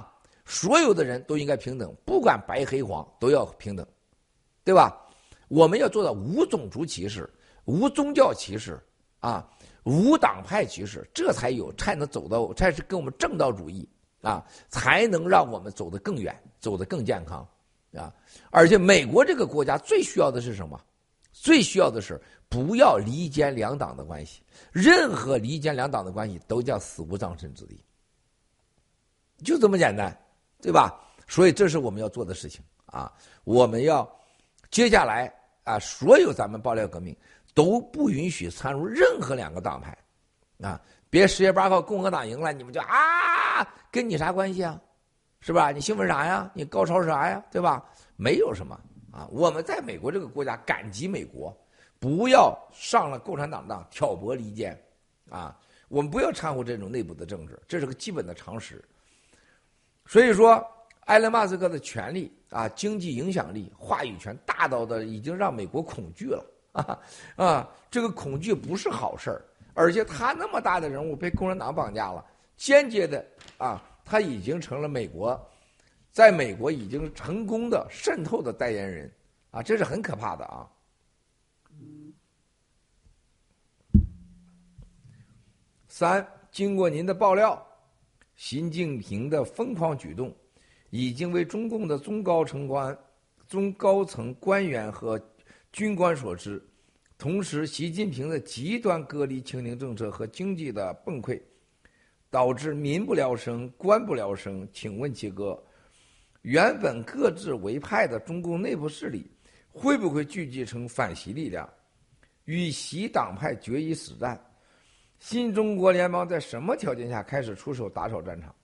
所有的人都应该平等，不管白黑黄都要平等，对吧？我们要做到无种族歧视、无宗教歧视啊、无党派歧视，这才有才能走到，才是跟我们正道主义啊，才能让我们走得更远，走得更健康啊！而且美国这个国家最需要的是什么？最需要的是不要离间两党的关系，任何离间两党的关系都叫死无葬身之地，就这么简单，对吧？所以这是我们要做的事情啊！我们要接下来啊，所有咱们爆料革命都不允许掺入任何两个党派啊！别十月八号共和党赢了，你们就啊，跟你啥关系啊？是吧？你兴奋啥呀？你高潮啥呀？对吧？没有什么啊！我们在美国这个国家感激美国，不要上了共产党当挑拨离间啊！我们不要掺和这种内部的政治，这是个基本的常识。所以说，埃隆·马斯克的权力啊、经济影响力、话语权大到的已经让美国恐惧了啊啊！这个恐惧不是好事儿，而且他那么大的人物被共产党绑架了，间接的啊。他已经成了美国，在美国已经成功的渗透的代言人啊，这是很可怕的啊。三，经过您的爆料，习近平的疯狂举动已经为中共的中高层官、中高层官员和军官所知。同时，习近平的极端隔离清零政策和经济的崩溃，导致民不聊生，官不聊生。请问七哥，原本各自为派的中共内部势力会不会聚集成反习力量，与习党派决一死战？新中国联邦在什么条件下开始出手打扫战场？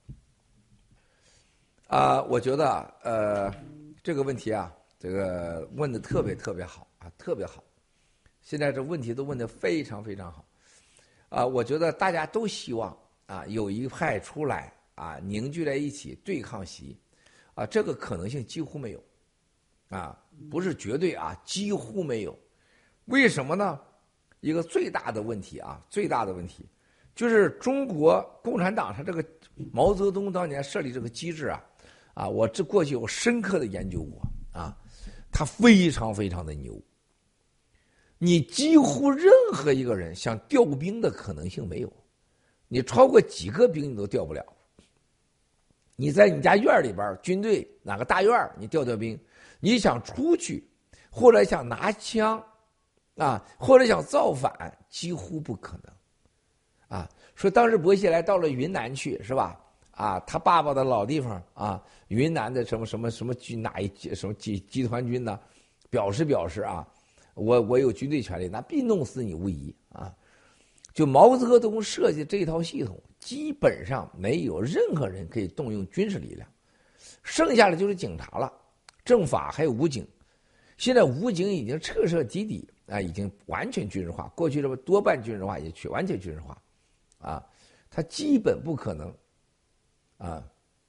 啊、呃，我觉得呃这个问题啊，这个问的特别特别好啊，特别好。现在这问题都问得非常非常好啊、呃，我觉得大家都希望啊，有一派出来啊，凝聚在一起对抗习，啊，这个可能性几乎没有，啊，不是绝对啊，几乎没有。为什么呢？一个最大的问题啊，最大的问题就是中国共产党它这个毛泽东当年设立这个机制啊，啊，我这过去有深刻的研究过啊，它非常非常的牛。你几乎任何一个人想调兵的可能性没有。你超过几个兵你都调不了。你在你家院里边，军队哪个大院你调调兵，你想出去，或者想拿枪，啊，或者想造反，几乎不可能。啊，说当时薄熙来到了云南去，是吧？啊，他爸爸的老地方啊，云南的什么什么什么军哪一什么集集团军呢？表示表示啊，我我有军队权利，那必弄死你无疑啊。就毛泽东设计这套系统，基本上没有任何人可以动用军事力量，剩下的就是警察了，政法还有武警。现在武警已经彻彻底底啊，已经完全军事化。过去这么多半军事化，也去完全军事化，啊，它基本不可能，啊，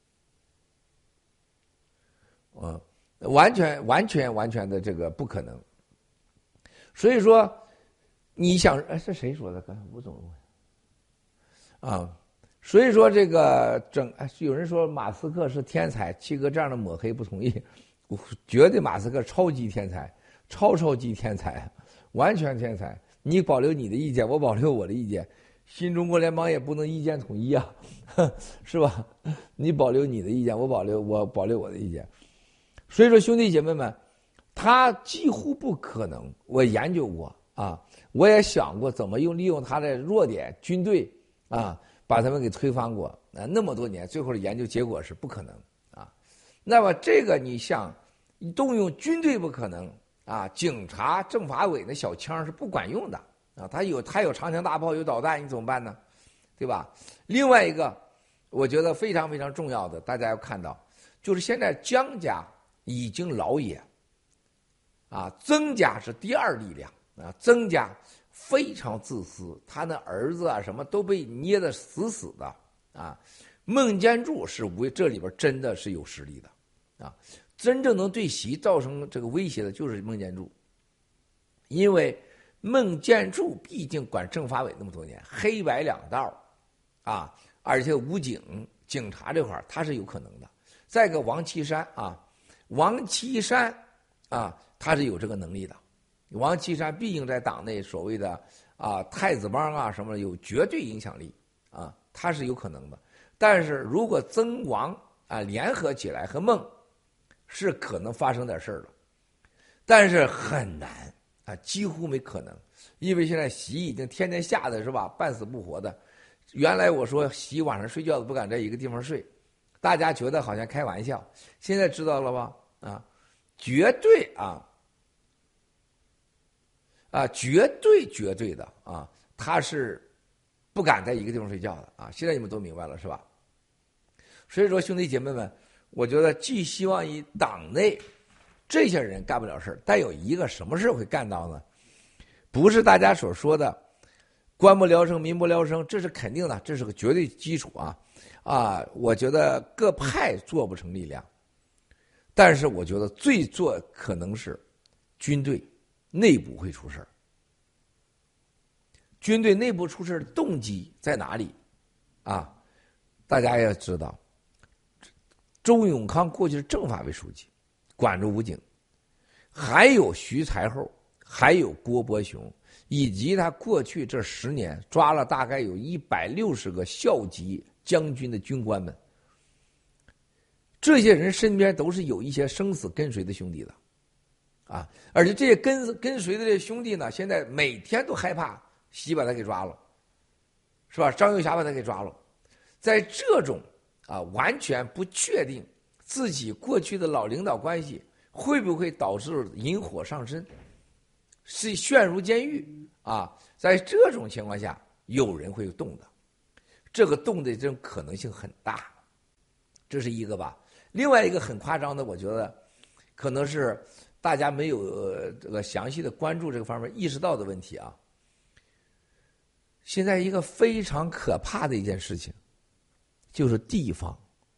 嗯，完全完全完全的这个不可能。所以说。你想，哎，是谁说的？刚才吴总问啊，所以说这个整，哎，有人说马斯克是天才，七哥这样的抹黑不同意，我觉得马斯克超级天才，超超级天才，完全天才。你保留你的意见，我保留我的意见，新中国联邦也不能意见统一啊，是吧？你保留你的意见，我保留我保留我的意见。所以说，兄弟姐妹们，他几乎不可能。我研究过啊。我也想过怎么用利用他的弱点，军队啊，把他们给推翻过啊，那么多年，最后的研究结果是不可能啊。那么这个你像动用军队不可能啊，警察、政法委的小枪是不管用的啊，他有他有长枪大炮，有导弹，你怎么办呢？对吧？另外一个，我觉得非常非常重要的，大家要看到，就是现在江家已经老也啊，曾家是第二力量。啊，曾家非常自私，他那儿子啊什么都被捏得死死的啊。孟建柱是为这里边真的是有实力的啊，真正能对习造成这个威胁的就是孟建柱，因为孟建柱毕竟管政法委那么多年，黑白两道啊，而且武警警察这块他是有可能的， 再一个王岐山啊，王岐山啊，他是有这个能力的。王岐山毕竟在党内所谓的啊太子帮啊什么的有绝对影响力啊，他是有可能的。但是如果曾王啊联合起来和孟，是可能发生点事儿的，但是很难啊，几乎没可能，因为现在习已经天天吓得是吧，半死不活的。原来我说习晚上睡觉都不敢在一个地方睡，大家觉得好像开玩笑，现在知道了吧？啊，绝对啊。啊，绝对绝对的啊，他是不敢在一个地方睡觉的啊！现在你们都明白了是吧？所以说，兄弟姐妹们，我觉得寄希望于党内这些人干不了事，但有一个什么事会干到呢？不是大家所说的官不聊生，民不聊生，这是肯定的，这是个绝对基础啊！啊，我觉得各派做不成力量，但是我觉得最做可能是军队。内部会出事儿，军队内部出事儿的动机在哪里？啊，大家要知道，周永康过去是政法委书记，管着武警，还有徐才厚，还有郭伯雄，以及他过去这十年抓了大概有一百六十个校级将军的军官们，这些人身边都是有一些生死跟随的兄弟的。啊！而且这些跟跟随的这些兄弟呢，现在每天都害怕习把他给抓了，是吧？张幼霞把他给抓了，在这种啊完全不确定自己过去的老领导关系会不会导致引火上身，是陷入监狱啊？在这种情况下，有人会动的，这个动的这种可能性很大，这是一个吧。另外一个很夸张的，我觉得可能是。大家没有、呃、这个详细的关注这个方面意识到的问题啊。现在一个非常可怕的一件事情，就是地方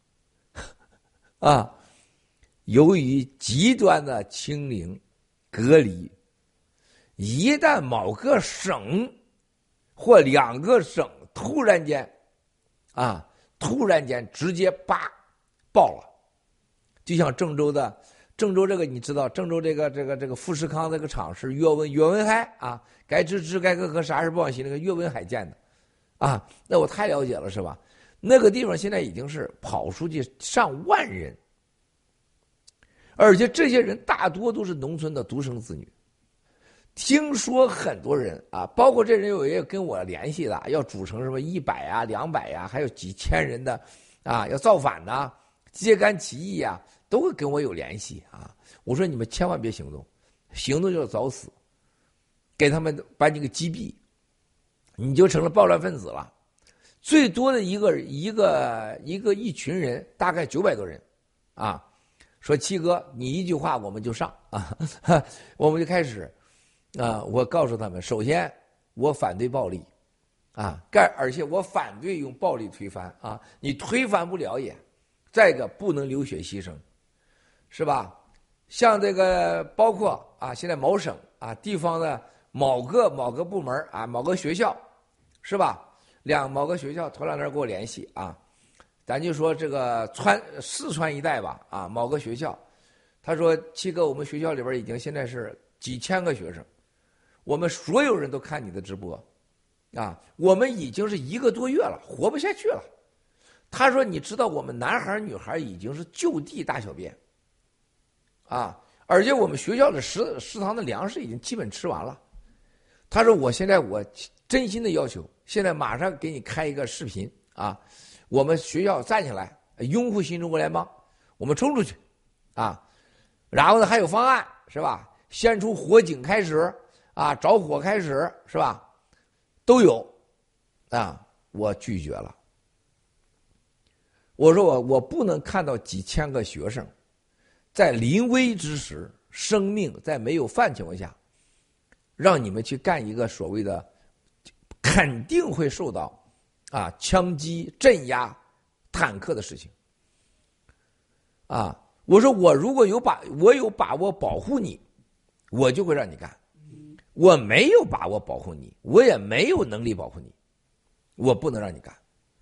啊，由于极端的清零隔离，一旦某个省或两个省突然间啊，突然间直接叭爆了，就像郑州的。郑州这个你知道，郑州这个这个这个富士康这个厂是岳文岳文海啊，该支持该科和啥事不往西那个岳文海建的，啊，那我太了解了是吧？那个地方现在已经是跑出去上万人，而且这些人大多都是农村的独生子女。听说很多人啊，包括这人有也有跟我联系的，要组成什么一百啊、两百呀，还有几千人的啊，要造反呐、啊、揭竿起义呀、啊。都会跟我有联系啊！我说你们千万别行动，行动就是找死，给他们把你给击毙，你就成了暴乱分子了。最多的一个一个一个一群人，大概九百多人，啊，说七哥，你一句话我们就上啊，我们就开始啊！我告诉他们，首先我反对暴力啊，干而且我反对用暴力推翻啊，你推翻不了也。再一个，不能流血牺牲。是吧？像这个包括啊，现在某省啊、地方的某个某个部门啊、某个学校，是吧？两某个学校头两天给我联系啊，咱就说这个川四川一带吧啊，某个学校，他说七哥，我们学校里边已经现在是几千个学生，我们所有人都看你的直播，啊，我们已经是一个多月了，活不下去了。他说你知道我们男孩女孩已经是就地大小便。啊！而且我们学校的食食堂的粮食已经基本吃完了。他说：“我现在我真心的要求，现在马上给你开一个视频啊！我们学校站起来，拥护新中国联邦，我们冲出去啊！然后呢，还有方案是吧？先出火警开始啊，着火开始是吧？都有啊！我拒绝了。我说我我不能看到几千个学生。”在临危之时，生命在没有饭情况下，让你们去干一个所谓的肯定会受到啊枪击镇压坦克的事情啊！我说我如果有把我有把握保护你，我就会让你干；我没有把握保护你，我也没有能力保护你，我不能让你干。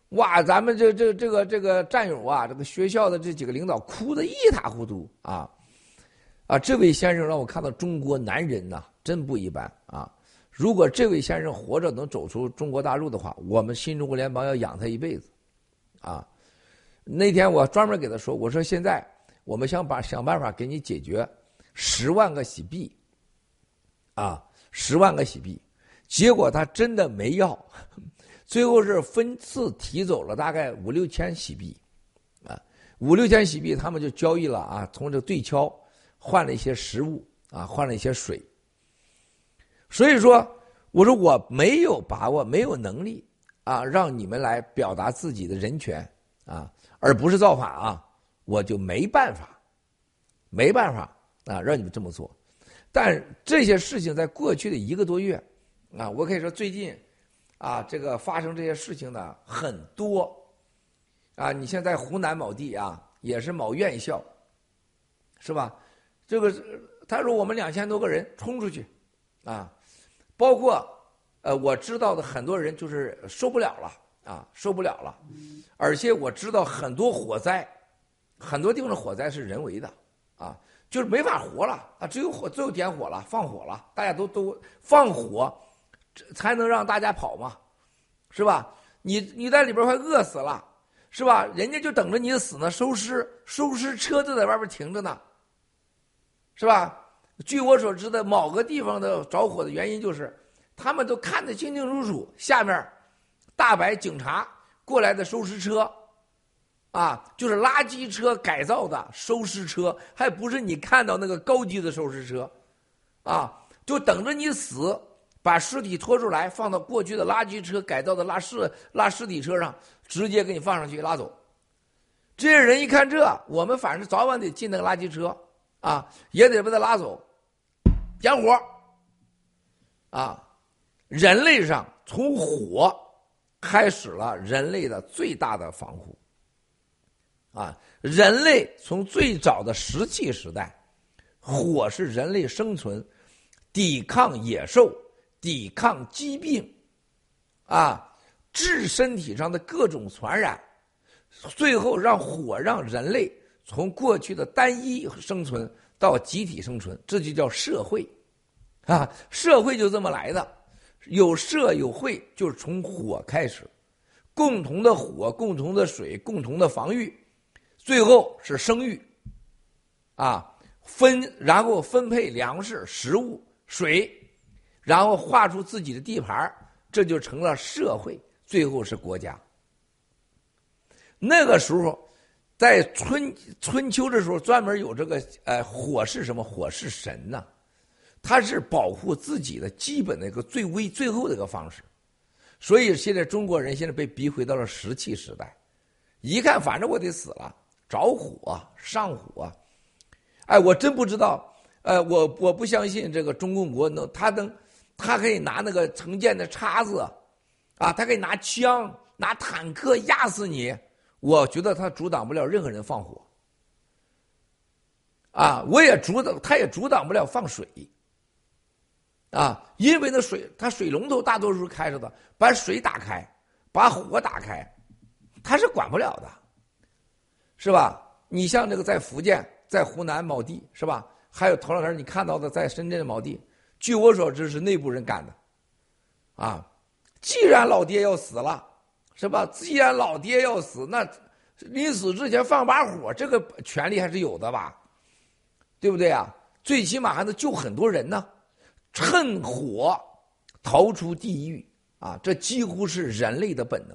哇，咱们这这这个这个战友啊，这个学校的这几个领导哭得一塌糊涂啊啊！这位先生让我看到中国男人呐、啊，真不一般啊！如果这位先生活着能走出中国大陆的话，我们新中国联邦要养他一辈子啊！那天我专门给他说，我说现在我们想把想办法给你解决十万个洗币啊，十万个洗币，结果他真的没要。最后是分次提走了大概五六千洗币，啊，五六千洗币他们就交易了啊，从这对敲换了一些食物啊，换了一些水。所以说，我说我没有把握，没有能力啊，让你们来表达自己的人权啊，而不是造反啊，我就没办法，没办法啊，让你们这么做。但这些事情在过去的一个多月啊，我可以说最近。啊，这个发生这些事情呢很多，啊，你现在湖南某地啊，也是某院校，是吧？这个他说我们两千多个人冲出去，啊，包括呃我知道的很多人就是受不了了啊，受不了了，而且我知道很多火灾，很多地方的火灾是人为的啊，就是没法活了啊，只有火，只有点火了，放火了，大家都都放火。才能让大家跑嘛，是吧？你你在里边快饿死了，是吧？人家就等着你死呢，收尸收尸车就在外边停着呢，是吧？据我所知的，某个地方的着火的原因就是，他们都看得清清楚楚，下面大白警察过来的收尸车，啊，就是垃圾车改造的收尸车，还不是你看到那个高级的收尸车，啊，就等着你死。把尸体拖出来，放到过去的垃圾车改造的拉尸拉尸体车上，直接给你放上去拉走。这些人一看这，我们反正早晚得进那个垃圾车啊，也得把他拉走，点火啊！人类上从火开始了人类的最大的防护啊！人类从最早的石器时代，火是人类生存、抵抗野兽。抵抗疾病，啊，治身体上的各种传染，最后让火让人类从过去的单一生存到集体生存，这就叫社会，啊，社会就这么来的，有社有会就是从火开始，共同的火，共同的水，共同的防御，最后是生育，啊，分然后分配粮食、食物、水。然后画出自己的地盘，这就成了社会，最后是国家。那个时候，在春春秋的时候，专门有这个呃火是什么？火是神呐、啊，它是保护自己的基本的一个最微最后的一个方式。所以现在中国人现在被逼回到了石器时代，一看反正我得死了，着火上火，哎，我真不知道，呃，我我不相信这个中共国能他能。他可以拿那个成建的叉子，啊，他可以拿枪、拿坦克压死你。我觉得他阻挡不了任何人放火，啊，我也阻挡，他也阻挡不了放水，啊，因为那水，他水龙头大多数是开着的，把水打开，把火打开，他是管不了的，是吧？你像这个在福建、在湖南某地，是吧？还有头两天你看到的在深圳的某地。据我所知是内部人干的，啊，既然老爹要死了，是吧？既然老爹要死，那临死之前放把火，这个权利还是有的吧？对不对啊？最起码还能救很多人呢，趁火逃出地狱啊！这几乎是人类的本能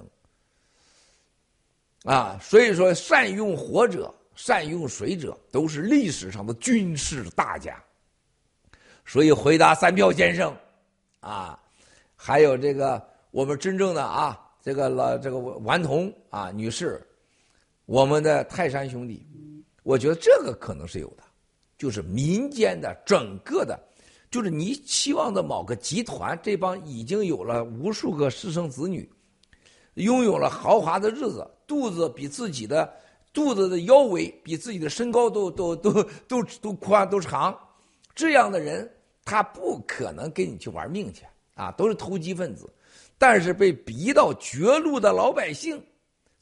啊！所以说，善用火者、善用水者，都是历史上的军事大家。所以回答三票先生，啊，还有这个我们真正的啊，这个了这个顽童啊女士，我们的泰山兄弟，我觉得这个可能是有的，就是民间的整个的，就是你期望的某个集团，这帮已经有了无数个私生子女，拥有了豪华的日子，肚子比自己的肚子的腰围比自己的身高都都都都都宽都长，这样的人。他不可能跟你去玩命去啊，都是投机分子。但是被逼到绝路的老百姓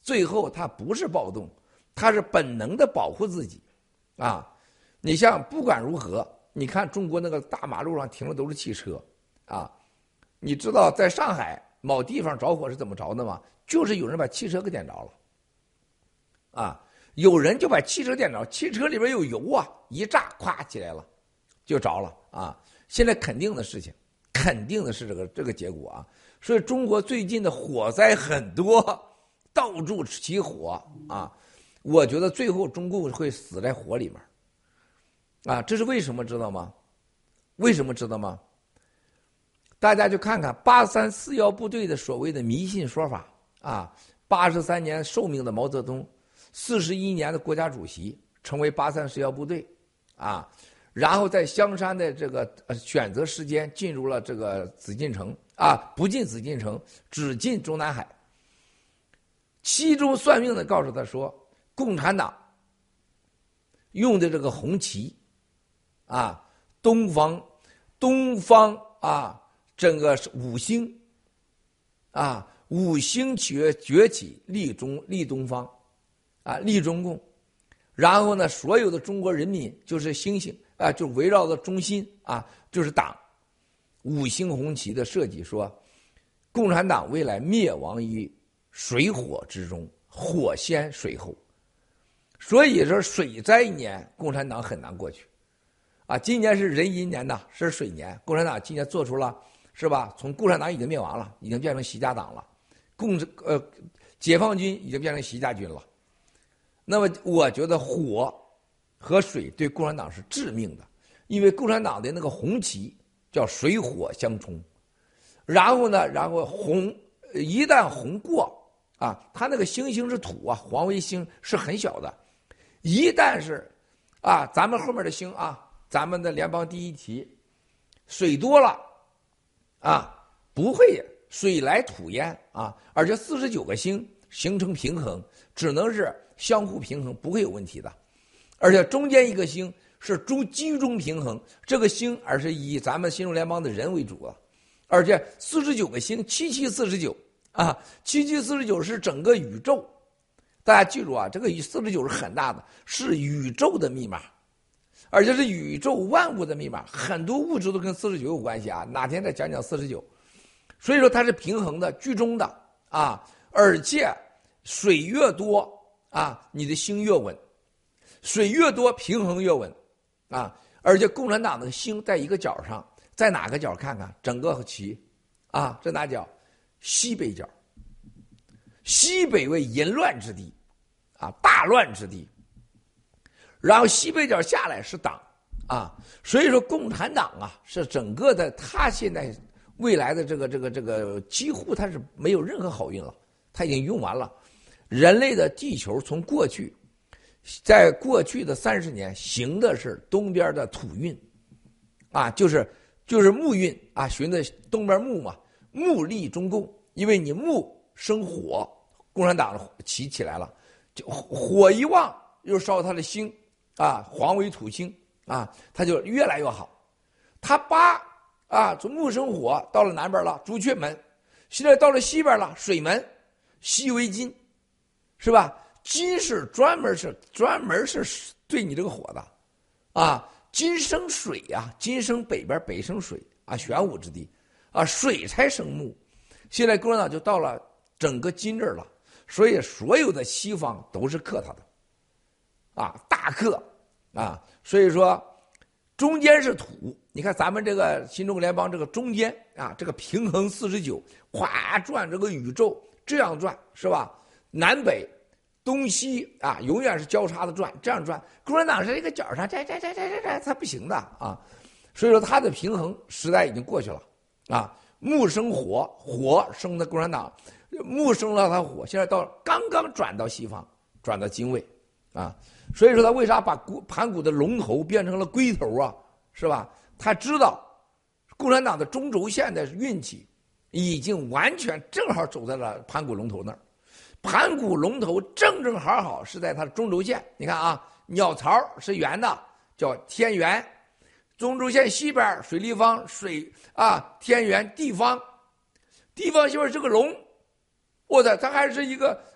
最后他不是暴动，他是本能的保护自己，啊，你像不管如何，你看中国那个大马路上停的都是汽车，啊，你知道在上海某地方着火是怎么着的吗？就是有人把汽车给点着了，啊，有人就把汽车点着，汽车里边有油啊，一炸，咵起来了，就着了啊。现在肯定的事情，肯定的是这个这个结果啊。所以中国最近的火灾很多，到处起火啊。我觉得最后中共会死在火里面，啊，这是为什么知道吗？为什么知道吗？大家就看看八三四幺部队的所谓的迷信说法啊，八十三年寿命的毛泽东，四十一年的国家主席，成为八三四幺部队啊，然后在香山的这个选择时间进入了这个紫禁城啊，不进紫禁城，只进中南海。其中算命的告诉他说，共产党用的这个红旗啊，东方东方啊，整个五星啊，五星崛崛起，立中立东方啊，立中共。然后呢，所有的中国人民就是星星啊，就围绕着中心啊，就是党。五星红旗的设计说，共产党未来灭亡于水火之中，火先水后。所以说水灾年共产党很难过去啊，今年是壬寅年呐，是水年，共产党今年做出了是吧？从共产党已经灭亡了，已经变成习家党了，共呃解放军已经变成习家军了。那么我觉得火和水对共产党是致命的，因为共产党的那个红旗叫水火相冲，然后呢，然后红一旦红过啊，它那个星星是土啊，黄卫星是很小的，一旦是啊，咱们后面的星啊，咱们的联邦第一题，水多了啊，不会水来土淹啊，而且四十九个星形成平衡，只能是相互平衡，不会有问题的。而且中间一个星是中居中平衡，这个星而是以咱们新中联邦的人为主了。而且四十九个星，七七四十九啊，七七四十九是整个宇宙。大家记住啊，这个四十九是很大的，是宇宙的密码，而且是宇宙万物的密码，很多物质都跟四十九有关系啊。哪天再讲讲四十九。所以说它是平衡的、居中的啊，而且水越多啊，你的星越稳，水越多平衡越稳啊。而且共产党的星在一个角上，在哪个角看看整个旗啊，这哪角？西北角。西北为淫乱之地啊，大乱之地。然后西北角下来是党啊，所以说共产党啊是整个的，他现在未来的这个这个这个几乎他是没有任何好运了，他已经用完了。人类的地球从过去，在过去的三十年行的是东边的土运啊，就是就是木运啊，循的东边木嘛，木立中共，因为你木生火，共产党起起来了，就火一旺又烧他的星啊，黄为土星啊，他就越来越好。他八啊，从木生火到了南边了，朱雀门，现在到了西边了，水门，西为金，是吧？金是专门是专门是对你这个火的啊，金生水呀、啊，金生北边，北生水啊，玄武之地啊，水才生木。现在共产党就到了整个金这儿了，所以所有的西方都是克他的啊，大克啊，所以说中间是土。你看咱们这个新中国联邦这个中间啊，这个平衡四十九，哗转这个宇宙这样转是吧？南北东西啊，永远是交叉的转，这样转。共产党是一个角上，这这这这这这，它不行的啊。所以说它的平衡时代已经过去了啊。木生火，火生的共产党，木生了它火，现在到刚刚转到西方，转到金位啊。所以说他为啥把盘古的龙头变成了龟头啊？是吧？他知道共产党的中轴线的运气已经完全正好走在了盘古龙头那儿。盘古龙头正正好好是在它的中轴线。你看啊，鸟巢是圆的，叫天圆；中轴线西边水立方，水啊天圆地方，地方西边是个龙。我的，它还是一个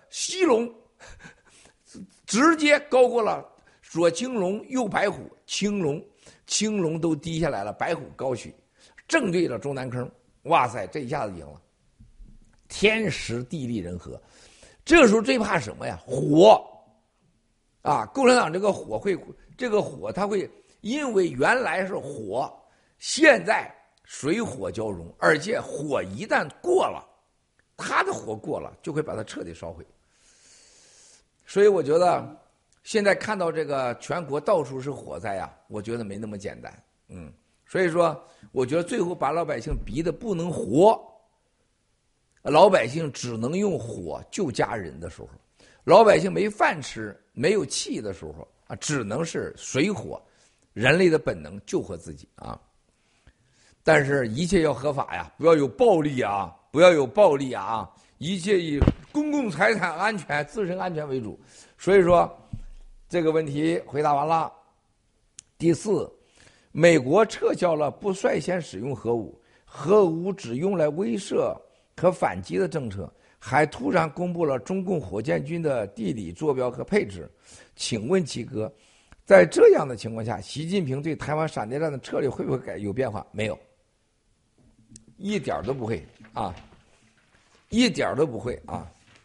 西龙直接高过了左青龙右白虎，青龙青龙都低下来了，白虎高起，正对着中南坑，哇塞，这一下子赢了，天时地利人和。这个时候最怕什么呀？火啊！共产党这个火会，这个火它会因为原来是火，现在水火交融，而且火一旦过了，它的火过了就会把它彻底烧毁。所以我觉得现在看到这个全国到处是火灾啊，我觉得没那么简单。嗯，所以说我觉得最后把老百姓逼得不能活，老百姓只能用火救家人的时候，老百姓没饭吃没有气的时候啊，只能是水火，人类的本能救活自己啊。但是一切要合法呀，不要有暴力啊，不要有暴力啊，一切以公共财产安全、自身安全为主。所以说这个问题回答完了。第四，美国撤销了不率先使用核武，核武只用来威慑和反击的政策，还突然公布了中共火箭军的地理坐标和配置。请问七哥，在这样的情况下，习近平对台湾闪电战的策略会不会改有变化？没有，一点都不会啊，一点都不会啊。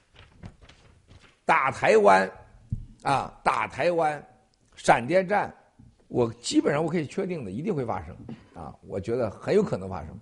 打台湾啊，打台湾闪电战，我基本上我可以确定的，一定会发生啊，我觉得很有可能发生。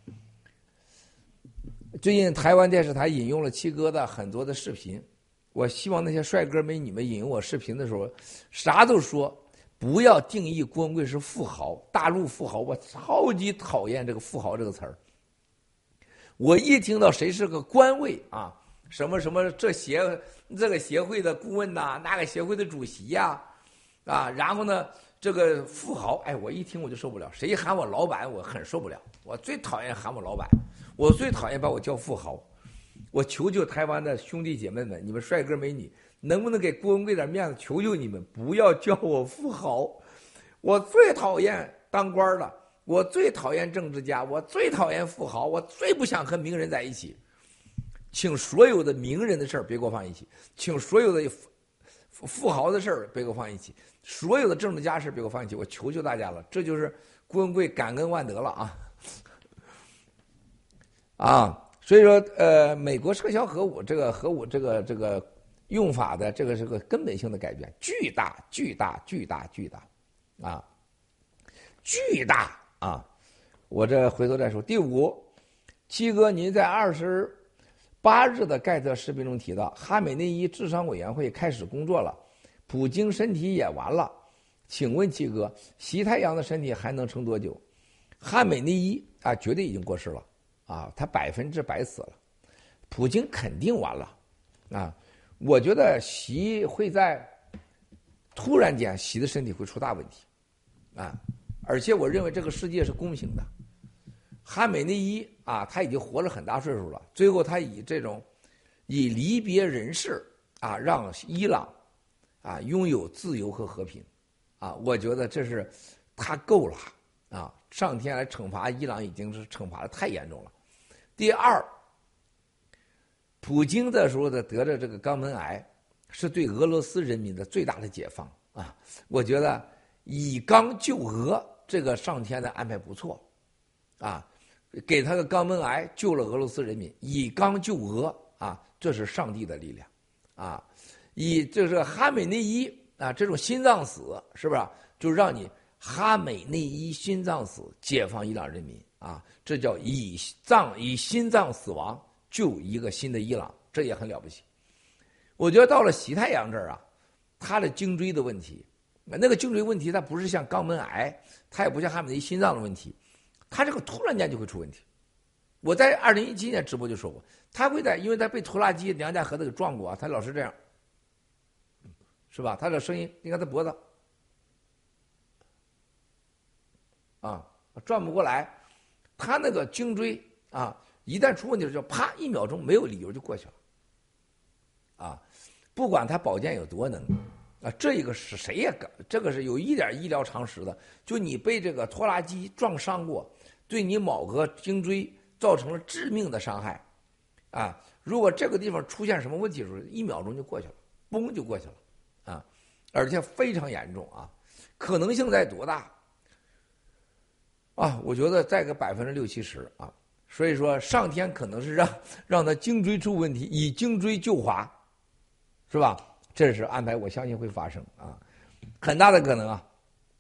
最近台湾电视台引用了七哥的很多的视频，我希望那些帅哥美女们引用我视频的时候，啥都说，不要定义郭文贵是富豪，大陆富豪，我超级讨厌这个富豪这个词儿。我一听到谁是个官位啊，什么什么这协这个协会的顾问呐、啊，那个协会的主席呀、啊，啊，然后呢这个富豪，哎，我一听我就受不了，谁喊我老板我很受不了，我最讨厌喊我老板，我最讨厌把我叫富豪。我求求台湾的兄弟姐妹们，你们帅哥美女，能不能给郭文贵点面子？求求你们不要叫我富豪，我最讨厌当官的。我最讨厌政治家，我最讨厌富豪，我最不想和名人在一起。请所有的名人的事儿别给我放一起，请所有的富豪的事儿别给我放一起，所有的政治家事别给我放一起。我求求大家了，这就是郭文贵感恩万德了啊！啊，所以说，呃，美国撤销核武，这个核武这个这个用法的这个是个根本性的改变，巨大巨大巨大巨大，啊，巨大。啊，我这回头再说。第五，七哥，您在二十八日的盖特视频中提到，哈美内伊治伤委员会开始工作了，普京身体也完了。请问七哥，习太阳的身体还能撑多久？哈美内伊啊，绝对已经过世了啊，他百分之百死了。普京肯定完了啊，我觉得习会在突然间，习的身体会出大问题啊。而且我认为这个世界是公平的，哈美内伊啊，他已经活了很大岁数了，最后他以这种以离别人世啊，让伊朗啊拥有自由和和平啊，我觉得这是他够了啊，上天来惩罚伊朗已经是惩罚的太严重了。第二，普京的时候的得着这个肛门癌，是对俄罗斯人民的最大的解放啊，我觉得以肛救俄。这个上天的安排不错，啊，给他个肛门癌救了俄罗斯人民，以肛救俄啊，这是上帝的力量，啊，以就是哈美内伊啊这种心脏死是不是？就让你哈美内伊心脏死解放伊朗人民啊，这叫以脏以心脏死亡救一个新的伊朗，这也很了不起。我觉得到了习太阳这儿啊，他的颈椎的问题。那个颈椎问题，它不是像肛门癌，它也不像哈美内伊心脏的问题，它这个突然间就会出问题。我在二零一七年直播就说过，他会在，因为他被拖拉机梁家河子给撞过啊，他老是这样，是吧？他的声音，你看他脖子，啊，转不过来，他那个颈椎啊，一旦出问题就啪一秒钟没有理由就过去了，啊，不管他保健有多能。啊，这一个是谁也干，这个是有一点医疗常识的。就你被这个拖拉机撞伤过，对你某个颈椎造成了致命的伤害， 啊，如果这个地方出现什么问题的时候，一秒钟就过去了，嘣就过去了，啊，而且非常严重啊，可能性在多大？啊，我觉得在个百分之六七十啊，所以说上天可能是让让他颈椎出问题，以颈椎救华，是吧？这是安排，我相信会发生啊，很大的可能啊。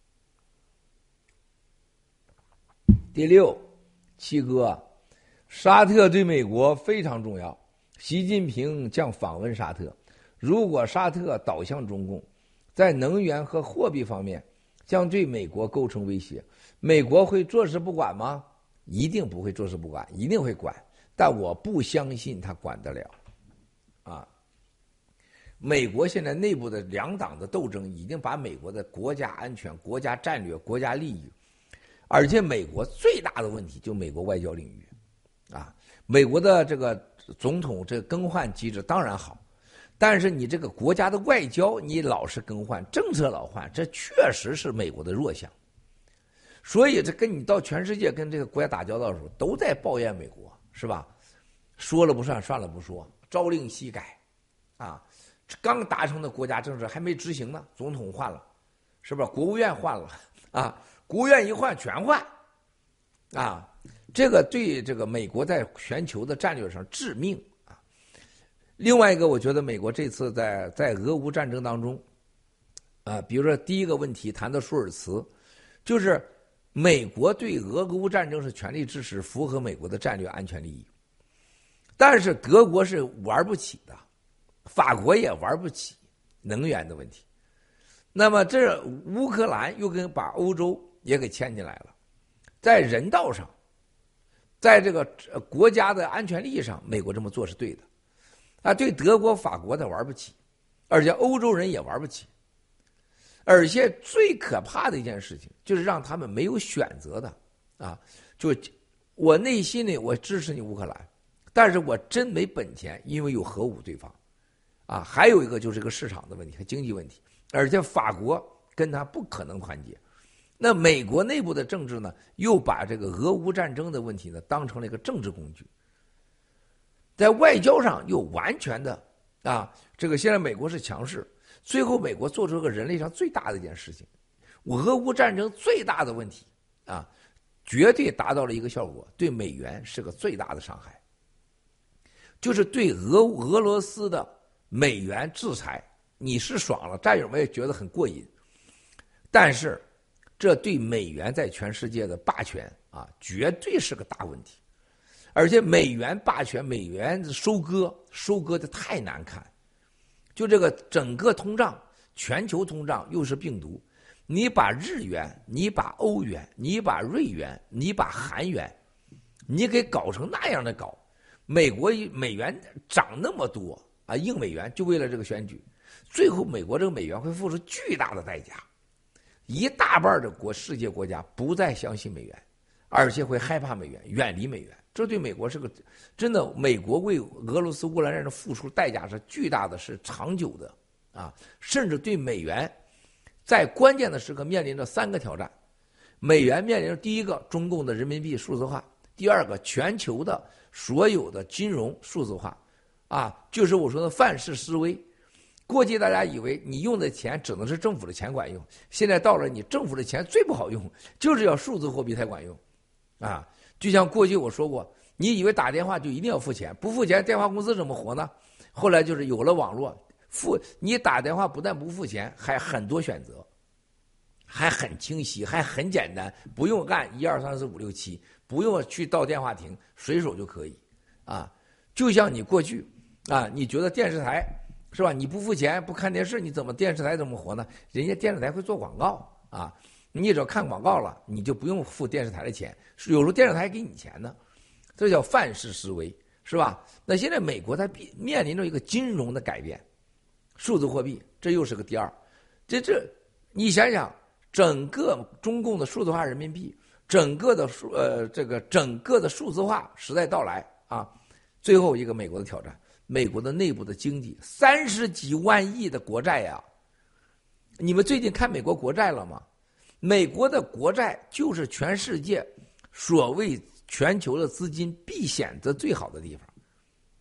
第六，七哥，沙特对美国非常重要，习近平将访问沙特。如果沙特倒向中共，在能源和货币方面将对美国构成威胁，美国会坐视不管吗？一定不会坐视不管，一定会管，但我不相信他管得了。啊，美国现在内部的两党的斗争已经把美国的国家安全、国家战略、国家利益，而且美国最大的问题就美国外交领域，啊，美国的这个总统这个更换机制当然好，但是你这个国家的外交你老是更换，政策老换，这确实是美国的弱项。所以这跟你到全世界跟这个国家打交道的时候，都在抱怨美国，是吧？说了不算，算了不说，朝令夕改，啊，刚达成的国家政策还没执行呢，总统换了，是吧？国务院换了，啊，国务院一换全换，啊，这个对这个美国在全球的战略上致命啊。另外一个，我觉得美国这次在在俄乌战争当中，啊，比如说第一个问题谈到舒尔茨，就是美国对俄乌战争是全力支持，符合美国的战略安全利益，但是德国是玩不起的，法国也玩不起能源的问题。那么这乌克兰又跟把欧洲也给牵进来了，在人道上，在这个国家的安全利益上，美国这么做是对的，啊，对德国、法国的玩不起，而且欧洲人也玩不起，而且最可怕的一件事情就是让他们没有选择的，啊，就我内心里我支持你乌克兰，但是我真没本钱，因为有核武对方，啊，还有一个就是个市场的问题和经济问题，而且法国跟他不可能团结。那美国内部的政治呢，又把这个俄乌战争的问题呢当成了一个政治工具，在外交上又完全的啊，这个现在美国是强势，最后美国做出个人类上最大的一件事情，俄乌战争最大的问题啊，绝对达到了一个效果，对美元是个最大的伤害，就是对俄俄罗斯的美元制裁，你是爽了，战友们也觉得很过瘾，但是这对美元在全世界的霸权啊，绝对是个大问题。而且美元霸权，美元收割，收割的太难看。就这个整个通胀，全球通胀又是病毒，你把日元，你把欧元，你把瑞元，你把韩元，你给搞成那样的搞，美国美元涨那么多啊，硬美元就为了这个选举，最后美国这个美元会付出巨大的代价。一大半的国世界国家不再相信美元，而且会害怕美元，远离美元。这对美国是个真的，美国为俄罗斯乌克兰战争付出代价是巨大的，是长久的啊！甚至对美元在关键的时刻面临着三个挑战：美元面临着第一个中共的人民币数字化，第二个全球的所有的金融数字化，啊，就是我说的范式思维。过去大家以为你用的钱只能是政府的钱管用，现在到了你政府的钱最不好用，就是要数字货币才管用，啊，就像过去我说过，你以为打电话就一定要付钱，不付钱电话公司怎么活呢？后来就是有了网络，付你打电话不但不付钱，还很多选择，还很清晰，还很简单，不用按一二三四五六七，不用去到电话亭，随手就可以，啊，就像你过去啊，你觉得电视台。是吧？你不付钱不看电视，你怎么电视台怎么活呢？人家电视台会做广告啊，你只要看广告了，你就不用付电视台的钱，有时候电视台给你钱呢，这叫范式思维，是吧？那现在美国它面临着一个金融的改变，数字货币，这又是个第二。这这，你想想，整个中共的数字化人民币，整个的数呃这个整个的数字化时代到来啊，最后一个美国的挑战。美国的内部的经济三十几万亿的国债呀，你们最近看美国国债了吗？美国的国债就是全世界所谓全球的资金避险的最好的地方，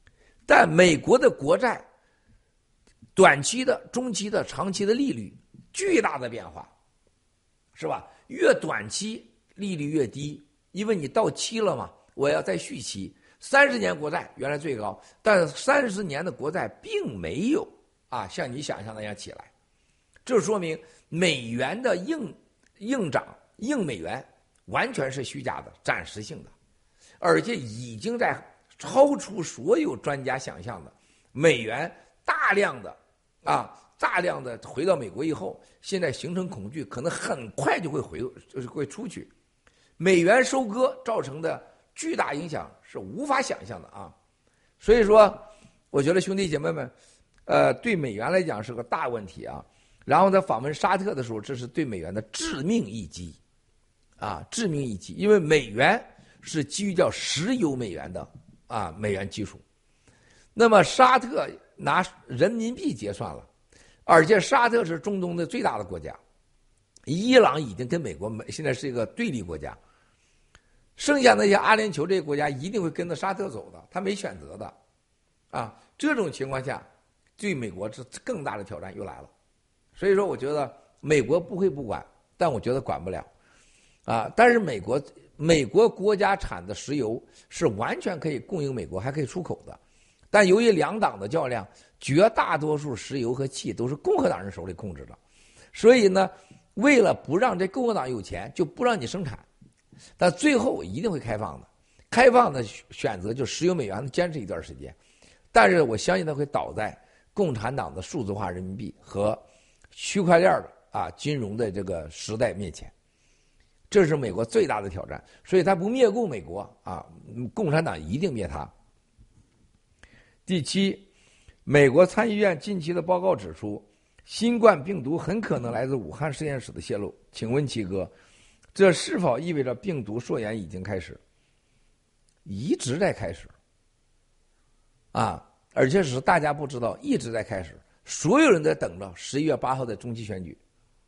但美国的国债短期的、中期的、长期的利率巨大的变化，是吧？越短期利率越低，因为你到期了嘛，我要再续期。三十年国债原来最高，但三十年的国债并没有啊像你想象那样起来，这说明美元的硬硬涨、硬美元完全是虚假的、暂时性的，而且已经在超出所有专家想象的，美元大量的啊大量的回到美国以后，现在形成恐惧，可能很快就会回就是会出去。美元收割造成的巨大影响是无法想象的啊！所以说，我觉得兄弟姐妹们，呃，对美元来讲是个大问题啊。然后在访问沙特的时候，这是对美元的致命一击，啊，致命一击，因为美元是基于叫石油美元的啊美元基础。那么沙特拿人民币结算了，而且沙特是中东的最大的国家，伊朗已经跟美国现在是一个对立国家。剩下那些阿联酋这些国家一定会跟着沙特走的，他没选择的，啊，这种情况下，对美国这更大的挑战又来了。所以说，我觉得美国不会不管，但我觉得管不了，啊，但是美国美国国家产的石油是完全可以供应美国，还可以出口的，但由于两党的较量，绝大多数石油和气都是共和党人手里控制的，所以呢，为了不让这共和党有钱，就不让你生产。但最后一定会开放的，开放的选择就石油美元坚持一段时间，但是我相信它会倒在共产党的数字化人民币和区块链的啊金融的这个时代面前，这是美国最大的挑战。所以他不灭共美国啊，共产党一定灭他。第七，美国参议院近期的报告指出，新冠病毒很可能来自武汉实验室的泄露。请问七哥，这是否意味着病毒溯源已经开始？一直在开始啊，而且是大家不知道，一直在开始，所有人在等着十一月八号的中期选举。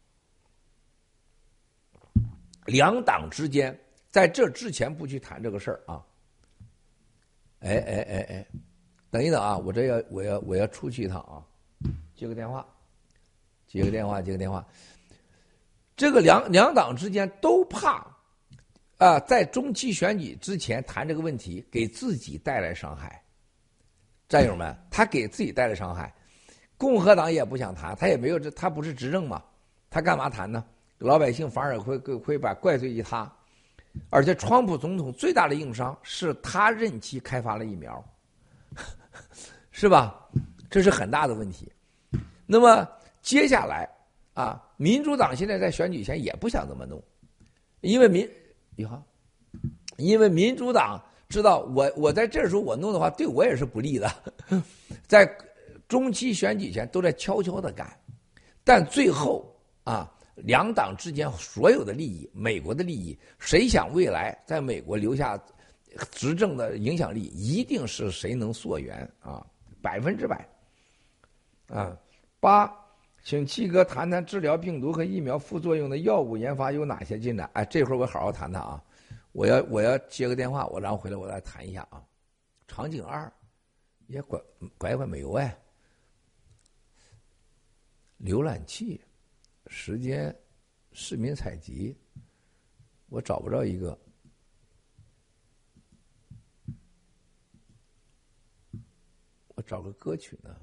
两党之间在这之前不去谈这个事儿啊。哎哎哎哎，等一等啊，我这要我要我要出去一趟啊，接个电话，接个电话，接个电话。这个两两党之间都怕啊，在中期选举之前谈这个问题，给自己带来伤害。战友们，他给自己带来伤害。共和党也不想谈，他也没有这，他不是执政嘛，他干嘛谈呢？老百姓反而会会把怪罪于他。而且，川普总统最大的硬伤是他任期开发了疫苗，是吧？这是很大的问题。那么接下来。啊，民主党现在在选举前也不想这么弄，因为民，你好，因为民主党知道我我在这时候我弄的话对我也是不利的，在中期选举前都在悄悄的干，但最后啊，两党之间所有的利益，美国的利益，谁想未来在美国留下执政的影响力，一定是谁能溯源啊，百分之百，啊，八。请七哥谈谈治疗病毒和疫苗副作用的药物研发有哪些进展？哎，这会儿我好好谈谈啊！我要我要接个电话，我然后回来我来谈一下啊。场景二，也拐拐拐没有哎。浏览器，时间，市民采集，我找不着一个。我找个歌曲呢。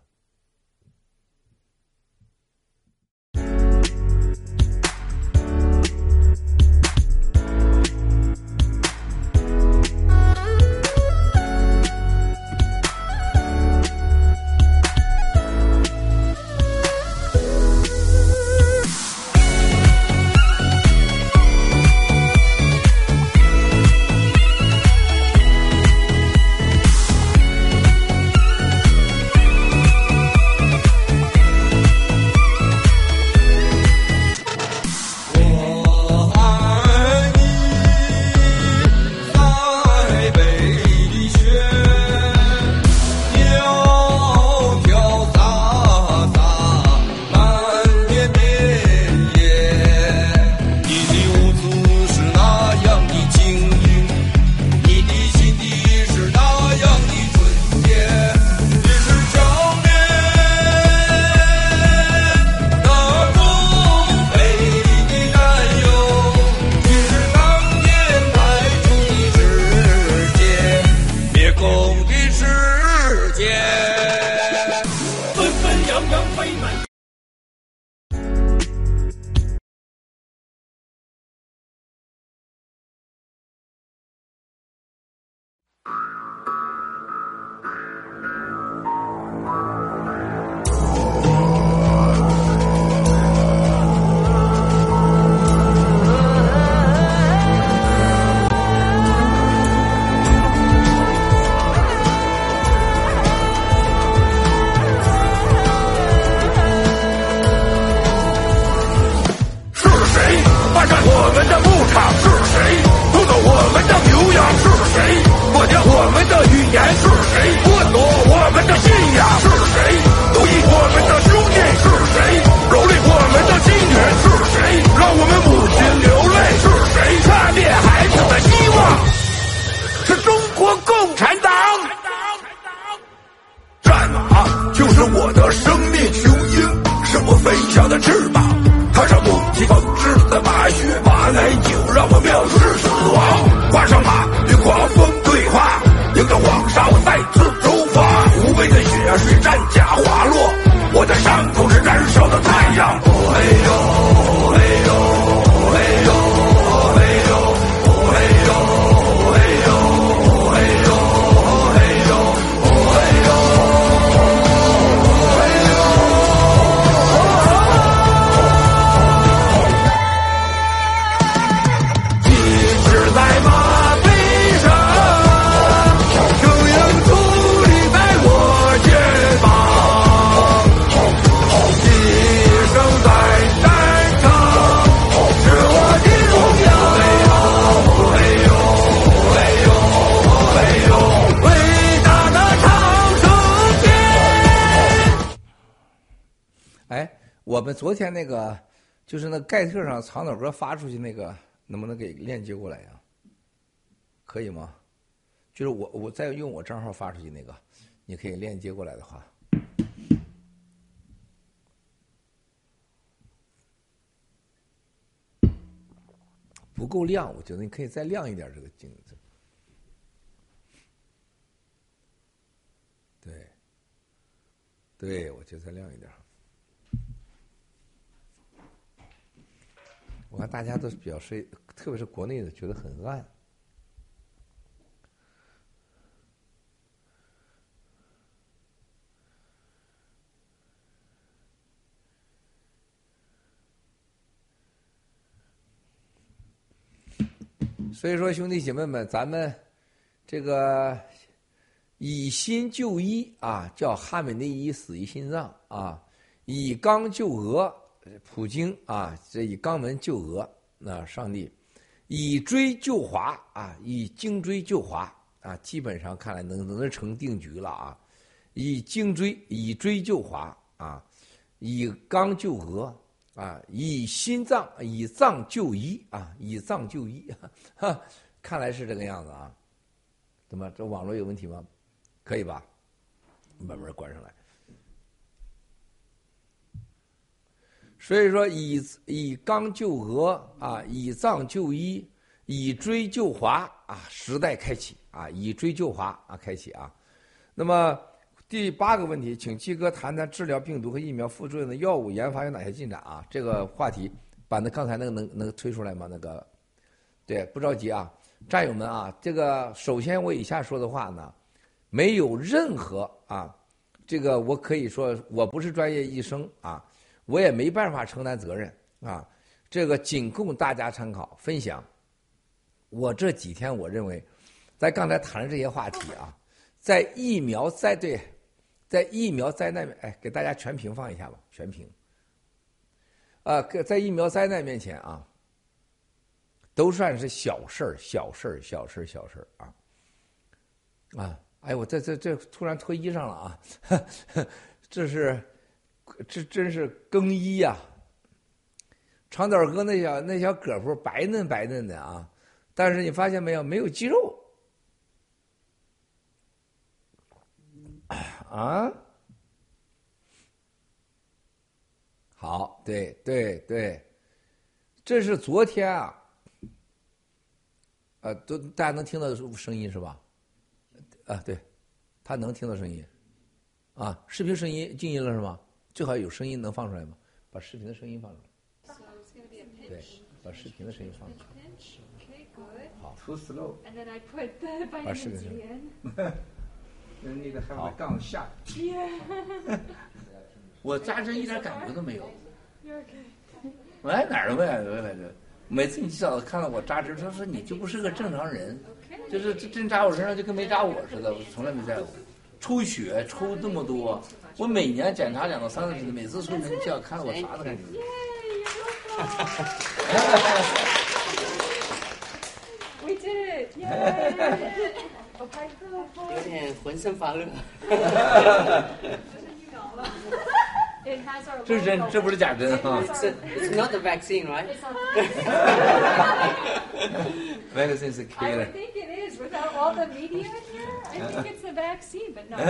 我们昨天那个就是那盖特上藏导哥发出去那个，能不能给链接过来呀？可以吗？就是我我再用我账号发出去那个，你可以链接过来的话。不够亮，我觉得你可以再亮一点这个镜子。对，对，我觉得再亮一点。我看大家都表示，特别是国内的，觉得很暗。所以说，兄弟姐妹们，咱们这个以心救医啊，叫哈美内伊死于心脏啊；以肛救俄，普京啊，这以肛门救俄，那、啊、上帝；以锥救华啊，以颈锥救华啊，基本上看来能能成定局了啊。以颈锥以锥救华啊，以肛救俄。啊，以心脏以脏就医啊，以脏就医，哈，看来是这个样子啊。怎么，这网络有问题吗？可以吧？慢慢关上来。所以说以，以以肛救俄啊，以脏就医，以锥救华啊，时代开启啊，以锥救华啊，开启啊。那么。第八个问题，请七哥谈谈治疗病毒和疫苗副作用的药物研发有哪些进展啊？这个话题把那刚才那个能能推出来吗？那个，对，不着急啊，战友们啊，这个首先我以下说的话呢，没有任何啊，这个我可以说我不是专业医生啊，我也没办法承担责任啊，这个仅供大家参考分享。我这几天我认为，在刚才谈的这些话题啊，在疫苗在对。在疫苗灾难，哎，给大家全屏放一下吧，全屏。啊，在疫苗灾难面前啊，都算是小事儿，小事儿，小事儿，小事儿啊。啊，哎，我这这这突然脱衣裳了啊，这是，这真是更衣呀、啊。长岛哥那小那小胳膊白嫩白嫩的啊，但是你发现没有，没有肌肉。啊，好，对对对，这是昨天啊，呃，都大家能听到声音是吧？啊，对，他能听到声音，啊，视频声音静音了是吗？最好有声音能放出来吗？把视频的声音放出来。对，把视频的声音放出来。好 ，too slow。 把视频声音。 那个还会杠下，我扎针一点感觉都没有。我来哪儿了来着来着？每次你至少看到我扎针，他说你就不是个正常人，就是这针扎我身上就跟没扎我似的，我从来没在过。抽血抽那么多，我每年检查两到三次，每次抽血你就要看到我啥都感觉。 We did it! Yay! 有点浑身发热。 这是真，这不是假针啊。 It's not the vaccine, right? Vaccine is a killer. I think it is. Without all the media here, I think it's the vaccine, but no.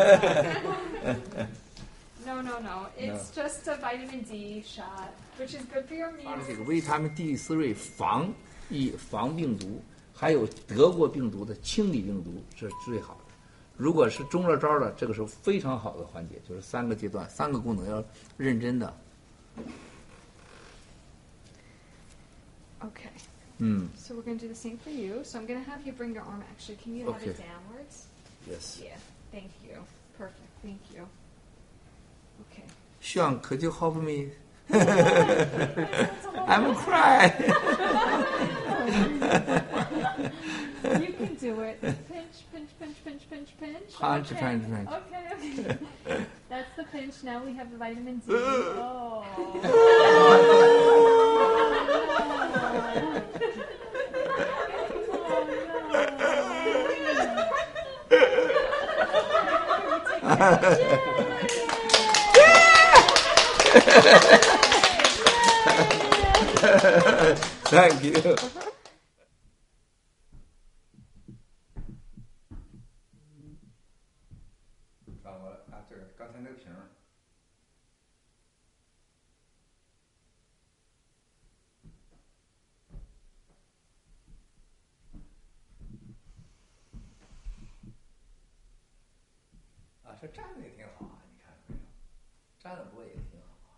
No, no, no. It's just a vitamin D shot, which is good for your immune system. 这个维他命 D 四类防疫防病毒。还有得过病毒的清理病毒是最好的。如果是中了招的，这个是非常好的环节，就是三个阶段、三个功能要认真的。 Okay. 嗯。 So we're going to do the same for you. So I'm going to have you bring your arm. Actually, can you have okay. it downwards? Yes. Yeah. Thank you. Perfect. Thank you. Okay. Sean, could you help me? I'm crying. You can do it. Pinch, pinch, pinch, pinch, pinch, pinch. Punch, okay. punch, punch. Okay, okay. That's the pinch. Now we have the vitamin D. Oh. Oh, no. Thank you。啊，我啊，这个刚才那个瓶儿。啊，这站的也挺好啊，你看没有？站的不过也挺好啊。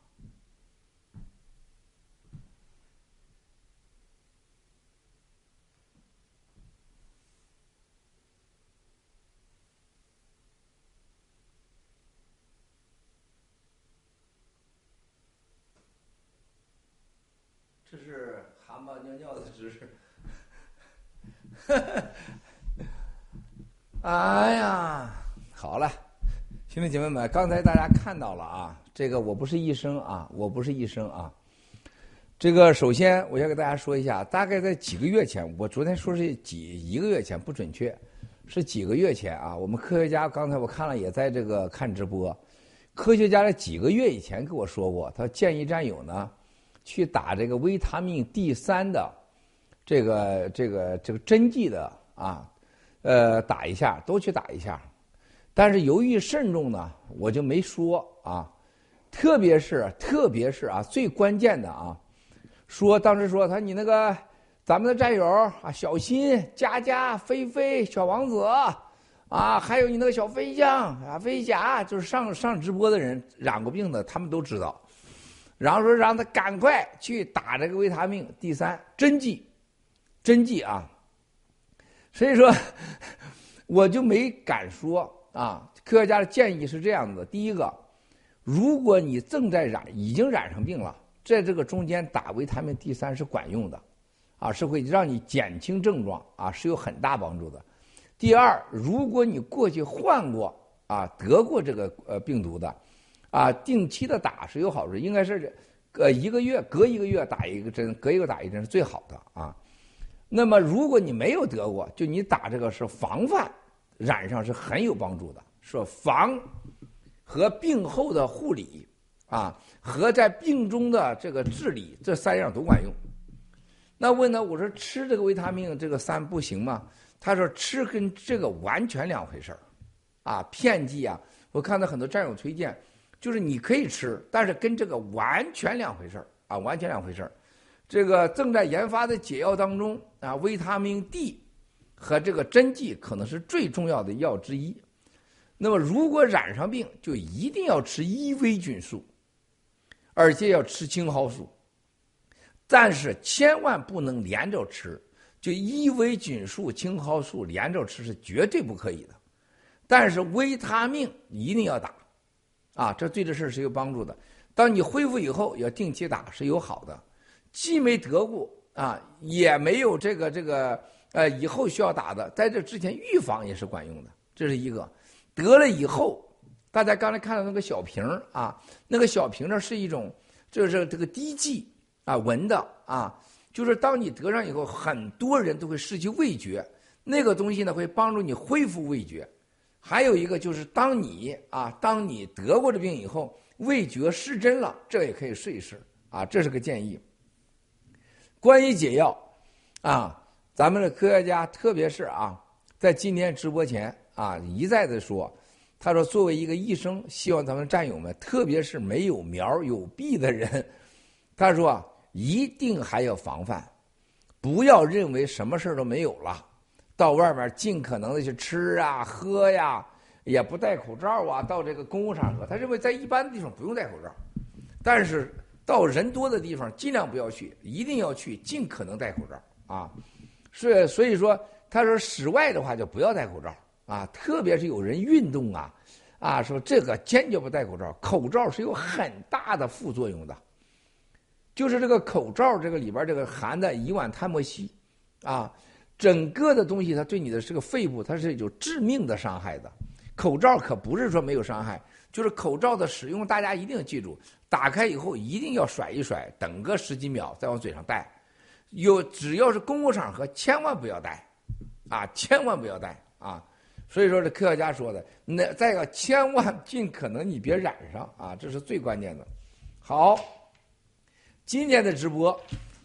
这是蛤蟆尿尿的姿势。哎呀，好了，兄弟姐妹们，刚才大家看到了啊，这个我不是医生啊，我不是医生啊。这个首先我要给大家说一下，大概在几个月前，我昨天说是几一个月前不准确，是几个月前啊。我们科学家刚才我看了也在这个看直播，科学家在几个月以前跟我说过，他建议战友呢去打这个维他命 D 三的这个这个这个针剂的啊。呃，打一下，都去打一下，但是由于慎重呢，我就没说啊。特别是特别是啊，最关键的啊，说当时说他你那个咱们的战友啊，小新、佳佳、菲菲、小王子啊，还有你那个小飞象啊、飞侠，就是上上直播的人染过病的，他们都知道。然后说让他赶快去打这个维他命 D 三针剂，针剂啊。所以说，我就没敢说啊。科学家的建议是这样的：第一个，如果你正在染，已经染上病了，在这个中间打维他命 D 三是管用的，啊，是会让你减轻症状啊，是有很大帮助的。第二，如果你过去患过啊，得过这个呃病毒的，啊，定期的打是有好处，应该是呃一个月隔一个月打一个针，隔一个打一针是最好的啊。那么，如果你没有得过，就你打这个是防范染上是很有帮助的，说防和病后的护理啊，和在病中的这个治理，这三样都管用。那问他，我说吃这个维他命这个三不行吗？他说吃跟这个完全两回事儿，啊，片剂啊，我看到很多战友推荐，就是你可以吃，但是跟这个完全两回事儿啊，完全两回事儿。这个正在研发的解药当中啊，维他命 D 和这个针剂可能是最重要的药之一。那么如果染上病，就一定要吃伊维菌素，而且要吃青蒿素，但是千万不能连着吃，就伊维菌素、青蒿素连着吃是绝对不可以的。但是维他命一定要打，啊，这对这事是有帮助的。当你恢复以后，要定期打是有好的。既没得过啊，也没有这个这个呃以后需要打的，在这之前预防也是管用的，这是一个。得了以后，大家刚才看到那个小瓶啊，那个小瓶呢是一种就是这个滴剂啊，闻的啊，就是当你得上以后，很多人都会失去味觉，那个东西呢会帮助你恢复味觉。还有一个就是当你啊，当你得过这病以后，味觉失真了，这也可以试一试啊，这是个建议。关于解药啊，咱们的科学家特别是啊，在今天直播前啊一再的说，他说作为一个医生，希望咱们战友们，特别是没有苗有弊的人，他说啊，一定还要防范，不要认为什么事都没有了，到外面尽可能的去吃啊喝呀，也不戴口罩啊，到这个公共场合，他认为在一般的地方不用戴口罩，但是到人多的地方尽量不要去，一定要去，尽可能戴口罩啊。所以所以说，他说室外的话就不要戴口罩啊，特别是有人运动啊，啊说这个坚决不戴口罩，口罩是有很大的副作用的，就是这个口罩这个里边这个含的乙烷碳莫烯啊，整个的东西它对你的这个肺部它是有致命的伤害的。口罩可不是说没有伤害，就是口罩的使用大家一定要记住，打开以后一定要甩一甩，等个十几秒再往嘴上戴。有只要是公共场合千万不要戴啊，千万不要戴啊。所以说这科学家说的，那再一个千万尽可能你别染上啊，这是最关键的。好，今天的直播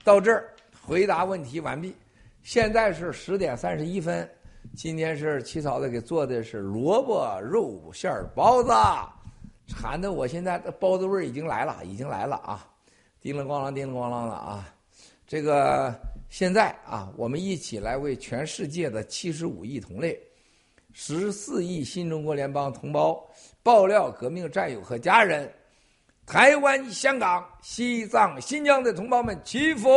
到这儿回答问题完毕。现在是十点三十一分，今天是七嫂子给做的是萝卜肉馅包子，馋的我现在包子味儿已经来了，已经来了啊！叮了咣啷，叮了咣啷的啊！这个现在啊，我们一起来为全世界的七十五亿同类、十四亿新中国联邦同胞、爆料革命战友和家人、台湾、香港、西藏、新疆的同胞们祈福。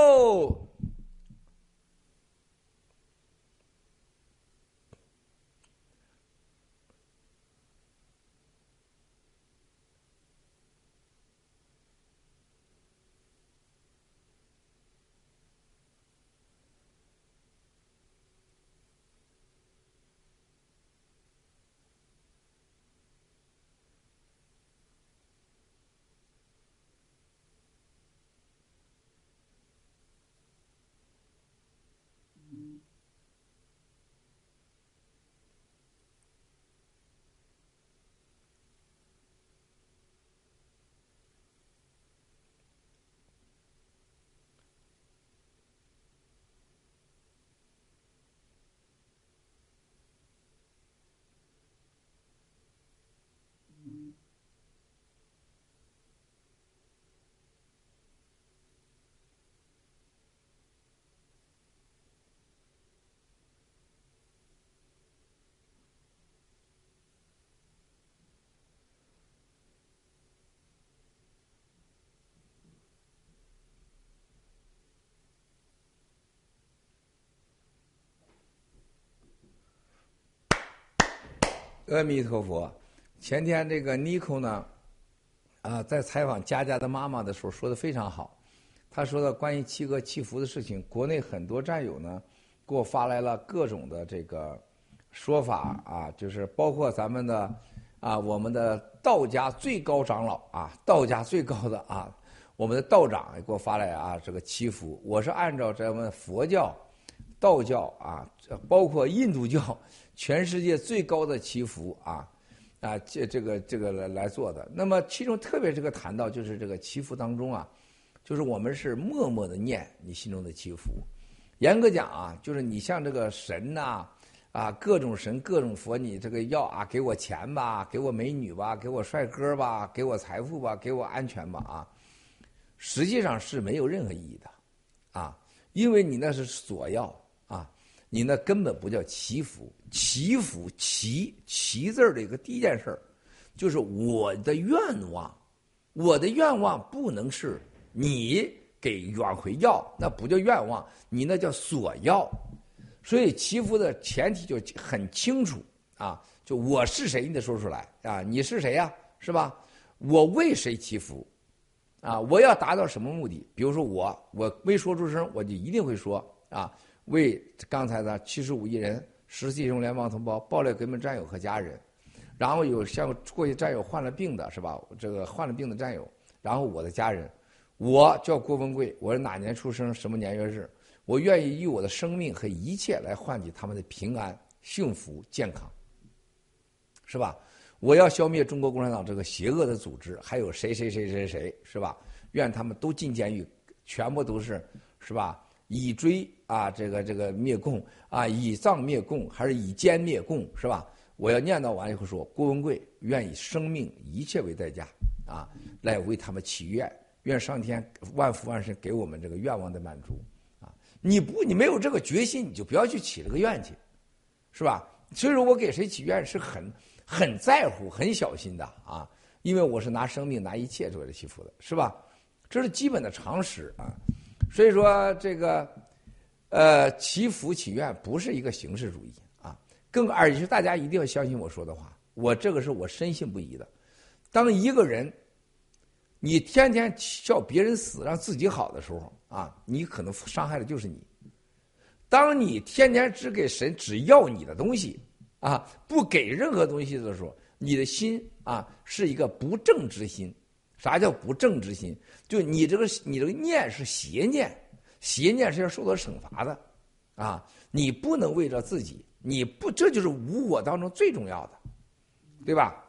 阿弥陀佛。前天这个 Nico 呢，啊，在采访佳佳的妈妈的时候说的非常好。他说的关于七哥祈福的事情，国内很多战友呢给我发来了各种的这个说法啊，就是包括咱们的啊，我们的道家最高长老啊，道家最高的啊，我们的道长也给我发来啊这个祈福。我是按照咱们佛教、道教啊，包括印度教。全世界最高的祈福啊，啊，这这个这个来来做的。那么其中特别这个谈到就是这个祈福当中啊，就是我们是默默的念你心中的祈福。严格讲啊，就是你像这个神呐、啊，啊各种神各种佛，你这个要啊给我钱吧，给我美女吧，给我帅哥吧，给我财富吧，给我安全吧啊，实际上是没有任何意义的啊，因为你那是索要啊。你那根本不叫祈福，祈福祈祈字儿的一个第一件事儿，就是我的愿望，我的愿望不能是你给往回要，那不叫愿望，你那叫索要。所以祈福的前提就很清楚啊，就我是谁你得说出来啊，你是谁呀、啊，是吧？我为谁祈福啊？我要达到什么目的？比如说我我没说出声，我就一定会说啊。为刚才的七十五亿人、十四亿中联邦同胞、爆料革命战友和家人，然后有像过去战友患了病的是吧？这个患了病的战友，然后我的家人，我叫郭文贵，我是哪年出生，什么年月日，我愿意以我的生命和一切来换取他们的平安、幸福、健康，是吧？我要消灭中国共产党这个邪恶的组织，还有谁谁谁谁谁，是吧？愿他们都进监狱，全部都是，是吧？以追啊，这个这个灭共啊，以藏灭共还是以奸灭共，是吧？我要念叨完以后说，郭文贵愿以生命一切为代价啊，来为他们祈愿，愿上天万福万神给我们这个愿望的满足啊！你不，你没有这个决心，你就不要去祈这个愿去，是吧？所以说我给谁祈愿是很很在乎、很小心的啊，因为我是拿生命、拿一切作为祈福的，是吧？这是基本的常识啊。所以说这个，呃，祈福祈愿不是一个形式主义啊，更而且大家一定要相信我说的话，我这个是我深信不疑的。当一个人，你天天叫别人死，让自己好的时候啊，你可能伤害的就是你。当你天天只给神只要你的东西啊，不给任何东西的时候，你的心啊是一个不正之心。啥叫不正之心？就你这个你这个念是邪念，邪念是要受到惩罚的，啊！你不能为了自己，你不这就是无我当中最重要的，对吧？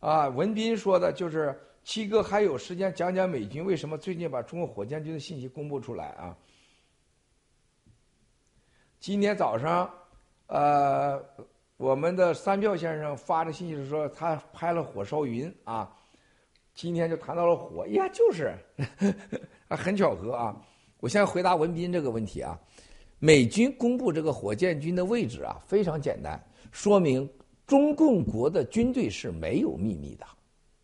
啊，文斌说的就是七哥还有时间讲讲美军为什么最近把中国火箭军的信息公布出来啊？今天早上，呃，我们的三票先生发的信息是说他拍了火烧云啊，今天就谈到了火，呀，就是很巧合啊。我先回答文斌这个问题啊，美军公布这个火箭军的位置啊，非常简单，说明中共国的军队是没有秘密的。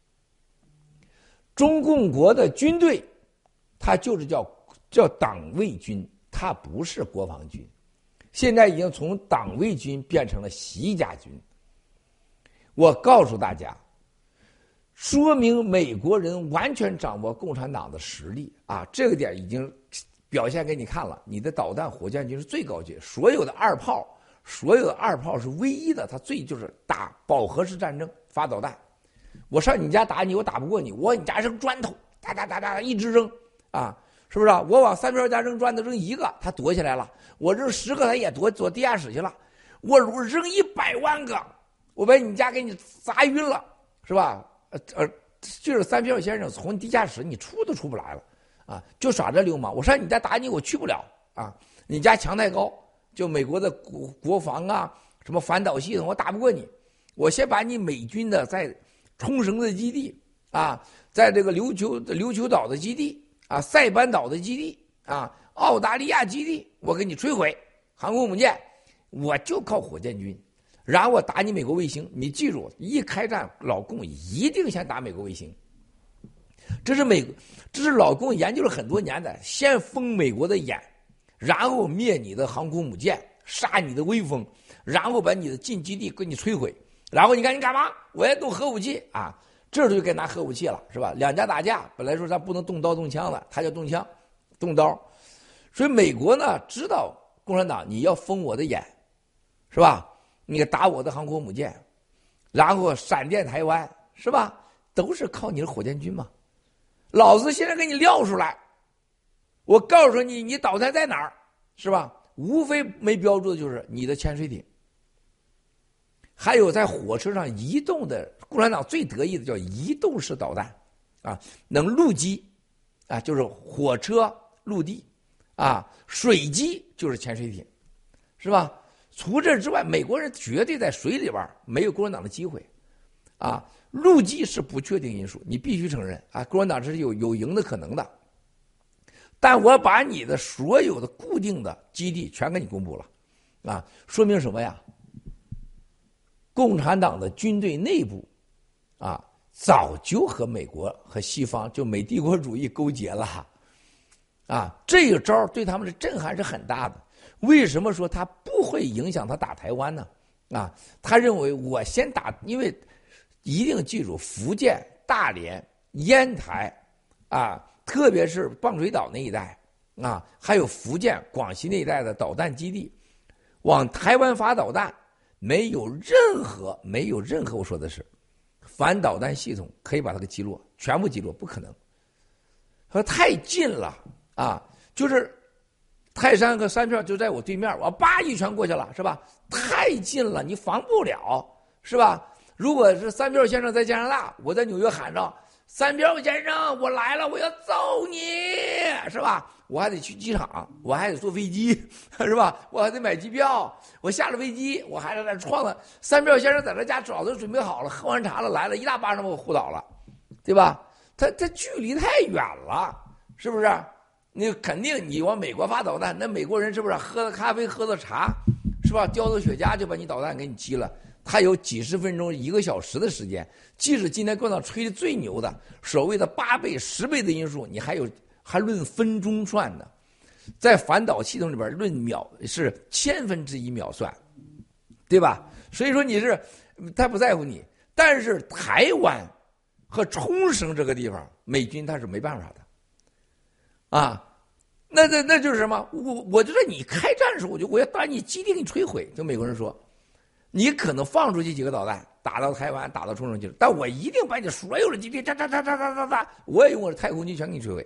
中共国的军队，它就是叫叫党卫军，它不是国防军。现在已经从党卫军变成了习家军。我告诉大家，说明美国人完全掌握共产党的实力啊！这个点已经表现给你看了。你的导弹火箭军是最高级，所有的二炮，所有的二炮是唯一的，它最就是打饱和式战争，发导弹。我上你家打你，我打不过你，我往你家扔砖头，哒哒哒哒一直扔啊！是不是啊？我往三票家扔砖头，扔一个，他躲起来了；我扔十个，他也躲躲地下室去了。我扔一百万个，我把你家给你砸晕了，是吧？呃呃，就是三票先生从地下室你出都出不来了啊！就耍这流氓。我上你家打你，我去不了啊！你家墙太高，就美国的国国防啊，什么反导系统，我打不过你。我先把你美军的在冲绳的基地啊，在这个琉球琉球岛的基地。啊，塞班岛的基地啊，澳大利亚基地，我给你摧毁航空母舰，我就靠火箭军，然后我打你美国卫星。你记住，一开战，老共一定先打美国卫星。这是美，这是老共研究了很多年的，先封美国的眼，然后灭你的航空母舰，杀你的威风，然后把你的近基地给你摧毁，然后你看你干嘛？我要动核武器啊！这就该拿核武器了，是吧？两家打架，本来说他不能动刀动枪的，他就动枪、动刀。所以美国呢，知道共产党你要封我的眼，是吧？你打我的航空母舰，然后闪电台湾，是吧？都是靠你的火箭军嘛。老子现在给你撂出来，我告诉你，你导弹在哪儿，是吧？无非没标注的就是你的潜水艇。还有在火车上移动的，共产党最得意的叫移动式导弹，啊，能陆基，啊，就是火车、陆地，啊，水基就是潜水艇，是吧？除这之外，美国人绝对在水里边没有共产党的机会，啊，陆基是不确定因素，你必须承认啊，共产党是有有赢的可能的。但我把你的所有的固定的基地全给你公布了，啊，说明什么呀？共产党的军队内部，啊，早就和美国和西方就美帝国主义勾结了，啊，这个招对他们的震撼是很大的。为什么说他不会影响他打台湾呢？啊，他认为我先打，因为一定记住福建、大连、烟台，啊，特别是棒水岛那一带，啊，还有福建、广西那一带的导弹基地，往台湾发导弹。没有任何没有任何我说的是反导弹系统可以把它给击落，全部击落不可能。说太近了啊，就是泰山和三票就在我对面，我叭一拳过去了，是吧？太近了，你防不了，是吧？如果是三票先生在加拿大，我在纽约喊着三票先生我来了，我要揍你，是吧？我还得去机场，我还得坐飞机，是吧？我还得买机票，我下了飞机，我还在那撞了。三票先生在那家早就准备好了，喝完茶了，来了一大巴掌把我呼倒了，对吧？他他距离太远了，是不是？你肯定你往美国发导弹，那美国人是不是喝了咖啡喝了茶，是吧？叼着雪茄就把你导弹给你击了。他有几十分钟、一个小时的时间，即使今天共产党吹的最牛的所谓的八倍、十倍的因素，你还有。还论分钟算的，在反导系统里边论秒是千分之一秒算，对吧？所以说你是他不在乎你，但是台湾和冲绳这个地方，美军他是没办法的，啊，那那那就是什么？我我就说你开战的时候，我就我要把你基地给你摧毁。就美国人说，你可能放出去几个导弹，打到台湾，打到冲绳去，但我一定把你所有的基地，哒哒哒哒哒哒哒，我也用我的太空军全给你摧毁。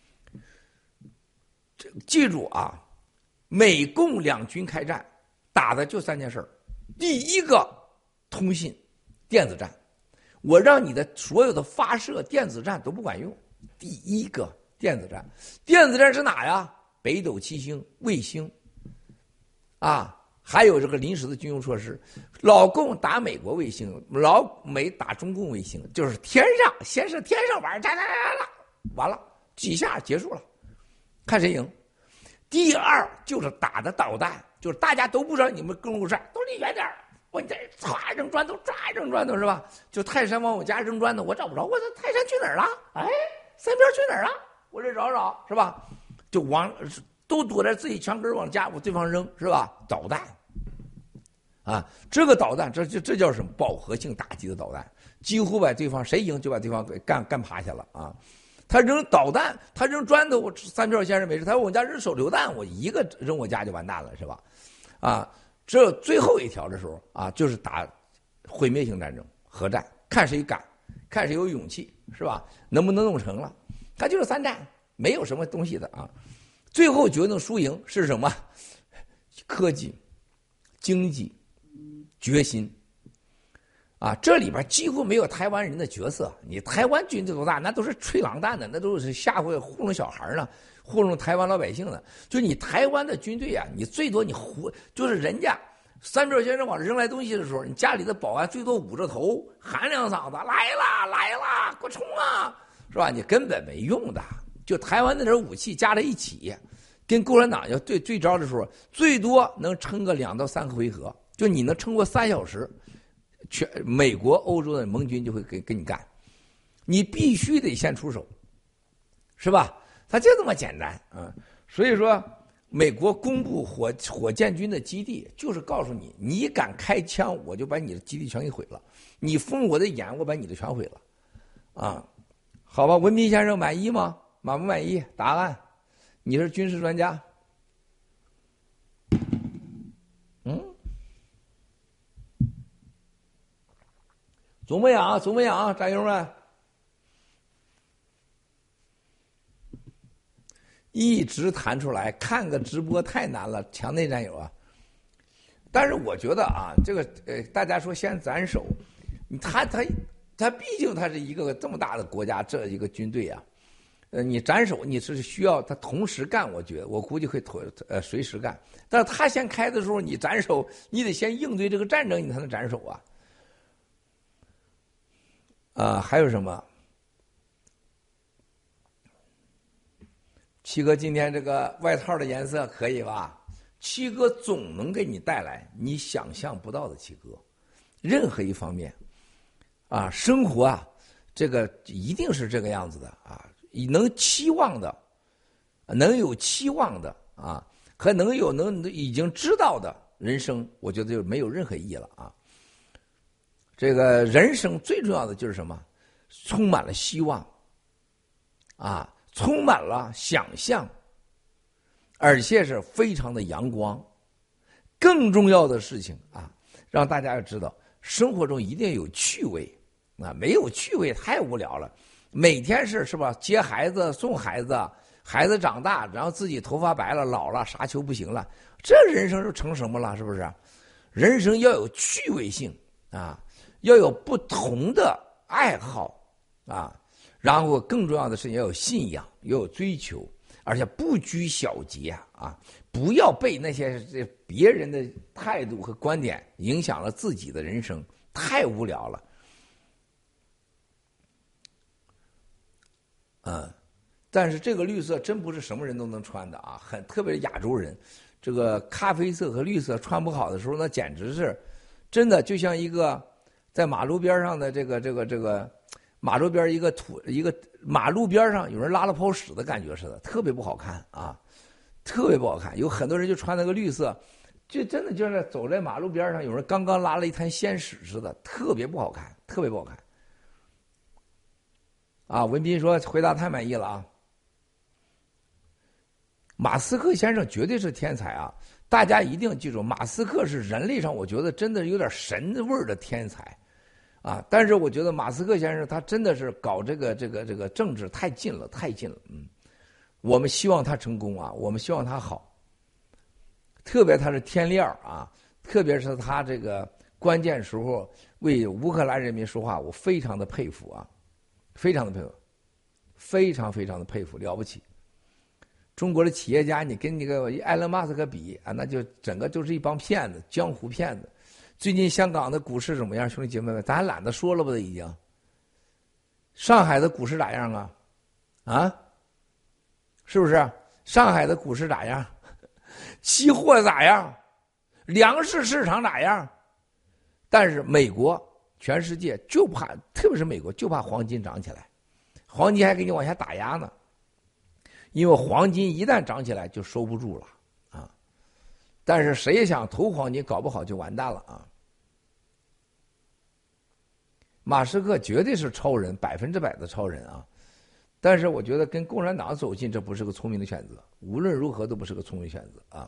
记住啊，美共两军开战打的就三件事儿。第一个，通信电子战， 我让你的所有的发射电子战都不管用。第一个电子战，电子战是哪呀？北斗七星、卫星，啊，还有这个临时的军用设施。老共打美国卫星，老美打中共卫星，就是天上先是天上玩，哒哒哒哒，完了几下结束了，看谁赢。第二就是打的导弹，就是大家都不知道你们跟路战，都离远点儿。我你这唰扔砖头，唰扔砖头是吧？就泰山往我家扔砖头，我找不着，我这泰山去哪儿了？哎，三边去哪儿了？我这找找是吧？就往都躲在自己墙根往家我对方扔是吧？导弹啊，这个导弹这这这叫什么？饱和性打击的导弹，几乎把对方谁赢就把对方给干干趴下了啊！他扔导弹，他扔砖头，我三票先生没事。他说我家扔手榴弹，我一个扔我家就完蛋了是吧？啊！这最后一条的时候啊，就是打毁灭性战争、核战，看谁敢，看谁有勇气，是吧？能不能弄成了？它就是三战，没有什么东西的啊。最后决定输赢是什么？科技、经济、决心啊！这里边几乎没有台湾人的角色。你台湾军队多大？那都是吹狼弹的，那都是吓唬糊弄小孩呢。糊弄台湾老百姓的，就你台湾的军队啊，你最多你糊，就是人家三票先生往扔来东西的时候，你家里的保安最多捂着头喊两嗓子，来啦来啦，给我冲啊，是吧？你根本没用的。就台湾那点武器加在一起，跟共产党要对对招的时候，最多能撑个两到三个回合，就你能撑过三小时，全美国、欧洲的盟军就会跟跟你干，你必须得先出手，是吧？它就这么简单啊！所以说，美国公布火火箭军的基地，就是告诉你，你敢开枪，我就把你的基地全给毁了；你封我的眼，我把你的全毁了。啊，好吧，文斌先生满意吗？满不满意？答案，你是军事专家。嗯，总没养，总没养，战友们。一直弹出来，看个直播太难了，墙内战友啊！但是我觉得啊，这个呃，大家说先斩首，他他他毕竟他是一个这么大的国家，这一个军队啊，呃，你斩首你是需要他同时干，我觉得我估计会同呃随时干。但是他先开的时候，你斩首，你得先应对这个战争，你才能斩首啊。啊、呃，还有什么？七哥今天这个外套的颜色可以吧？七哥总能给你带来你想象不到的七哥，任何一方面，啊，生活啊，这个一定是这个样子的啊，能期望的，能有期望的啊，和能有能已经知道的人生，我觉得就没有任何意义了啊。这个人生最重要的就是什么？充满了希望，啊。充满了想象，而且是非常的阳光。更重要的事情啊，让大家要知道，生活中一定有趣味啊，没有趣味太无聊了。每天是是吧？接孩子、送孩子，孩子长大，然后自己头发白了、老了，啥球不行了，这人生就成什么了？是不是？人生要有趣味性啊，要有不同的爱好啊。然后更重要的是要有信仰，要有追求，而且不拘小节啊！不要被那些这别人的态度和观点影响了自己的人生，太无聊了。嗯，但是这个绿色真不是什么人都能穿的啊，很特别是亚洲人，这个咖啡色和绿色穿不好的时候，那简直是真的就像一个在马路边上的这个这个这个。马路边一个土一个马路边上有人拉了泡屎的感觉似的，特别不好看啊，特别不好看。有很多人就穿那个绿色，就真的就是走在马路边上，有人刚刚拉了一滩鲜屎似的，特别不好看，特别不好看。啊，文斌说回答太满意了啊。马斯克先生绝对是天才啊！大家一定记住，马斯克是人类上我觉得真的有点神味儿的天才。啊！但是我觉得马斯克先生他真的是搞这个这个这个政治太近了，太近了。嗯，我们希望他成功啊，我们希望他好。特别他是天料啊，特别是他这个关键时候为乌克兰人民说话，我非常的佩服啊，非常的佩服，非常非常的佩服，了不起。中国的企业家，你跟那个埃隆·马斯克比啊，那就整个就是一帮骗子，江湖骗子。最近香港的股市怎么样，兄弟姐妹们？咱还懒得说了吧，都已经。上海的股市咋样啊？啊？是不是？上海的股市咋样？期货咋样？粮食市场咋样？但是美国，全世界就怕，特别是美国就怕黄金涨起来，黄金还给你往下打压呢。因为黄金一旦涨起来就收不住了啊！但是谁想投黄金，搞不好就完蛋了啊！马斯克绝对是超人，百分之百的超人啊！但是我觉得跟共产党走近，这不是个聪明的选择，无论如何都不是个聪明选择啊！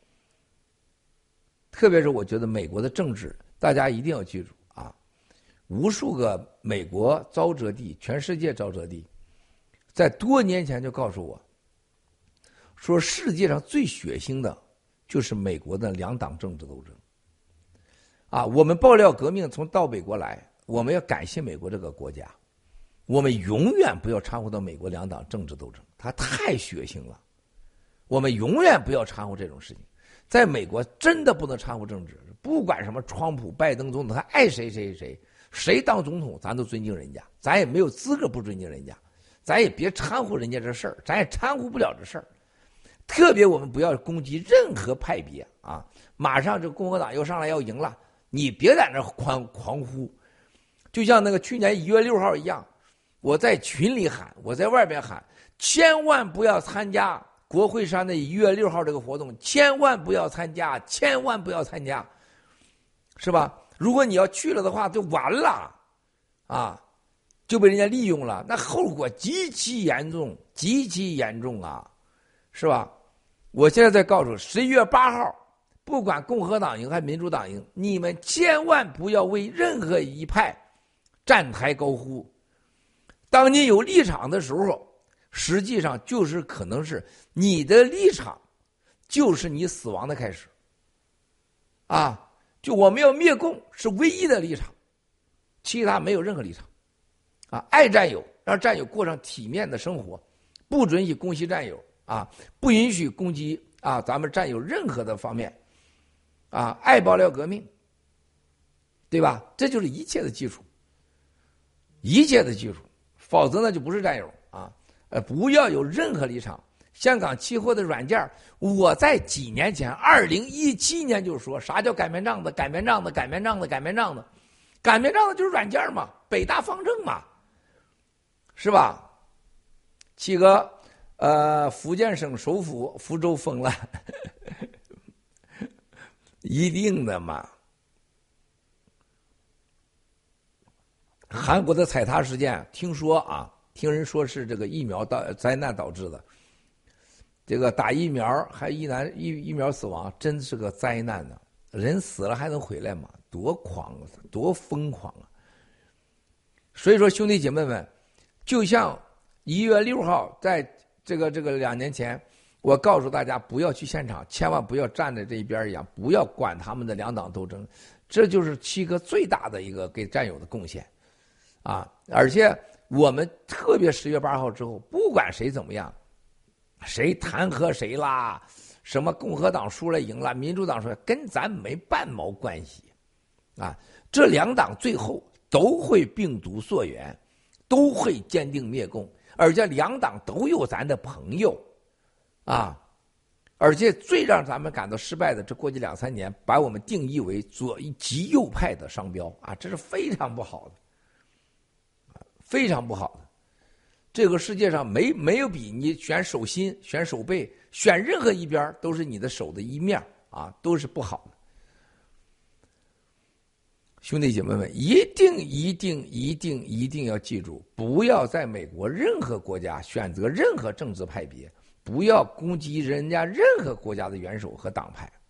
特别是我觉得美国的政治，大家一定要记住啊！无数个美国沼泽地，全世界沼泽地，在多年前就告诉我，说世界上最血腥的就是美国的两党政治斗争。啊，我们爆料革命从到美国来，我们要感谢美国这个国家，我们永远不要掺和到美国两党政治斗争，它太血腥了。我们永远不要掺和这种事情，在美国真的不能掺和政治，不管什么川普、拜登总统，他爱谁谁谁，谁当总统咱都尊敬人家，咱也没有资格不尊敬人家，咱也别掺和人家这事儿，咱也掺和不了这事儿。特别我们不要攻击任何派别啊！马上这共和党又上来要赢了，你别在那狂狂呼，就像那个去年一月六号一样，我在群里喊，我在外边喊，千万不要参加国会山的一月六号这个活动，千万不要参加，千万不要参加，是吧？如果你要去了的话，就完了啊，就被人家利用了，那后果极其严重，极其严重啊，是吧？我现在在告诉十一月八号，不管共和党赢还是民主党赢，你们千万不要为任何一派站台高呼。当你有立场的时候，实际上就是可能是你的立场就是你死亡的开始啊！就我们要灭共是唯一的立场，其他没有任何立场啊！爱战友，让战友过上体面的生活，不准许攻击战友啊，不允许攻击啊咱们战友任何的方面啊！爱爆料革命，对吧？这就是一切的基础，一切的基础，否则呢就不是战友啊！呃，不要有任何立场。香港期货的软件，我在几年前，二零一七年就说啥叫擀面杖子，擀面杖子，擀面杖子，擀面杖子，擀面杖子就是软件嘛，北大方正嘛，是吧？七哥，呃，福建省首府福州封了，一定的嘛。韩国的踩踏事件，听说啊，听人说是这个疫苗导灾难导致的。这个打疫苗还一男疫疫苗死亡，真是个灾难呢！人死了还能回来吗？多狂啊，多疯狂啊！所以说，兄弟姐妹们，就像一月六号，在这个这个两年前，我告诉大家不要去现场，千万不要站在这一边一样，不要管他们的两党斗争，这就是七哥最大的一个给战友的贡献啊！而且我们特别十月八号之后，不管谁怎么样。谁弹劾谁啦？什么共和党输了赢了，民主党输了，跟咱没半毛关系啊！这两党最后都会病毒溯源，都会坚定灭共，而且两党都有咱的朋友啊！而且最让咱们感到失败的，这过去两三年把我们定义为左极右派的商标啊，这是非常不好的，非常不好的。这个世界上没没有比你选手心、选手背、选任何一边都是你的手的一面啊，都是不好的。兄弟姐妹们，一定一定一定一定要记住，不要在美国任何国家选择任何政治派别，不要攻击人家任何国家的元首和党派。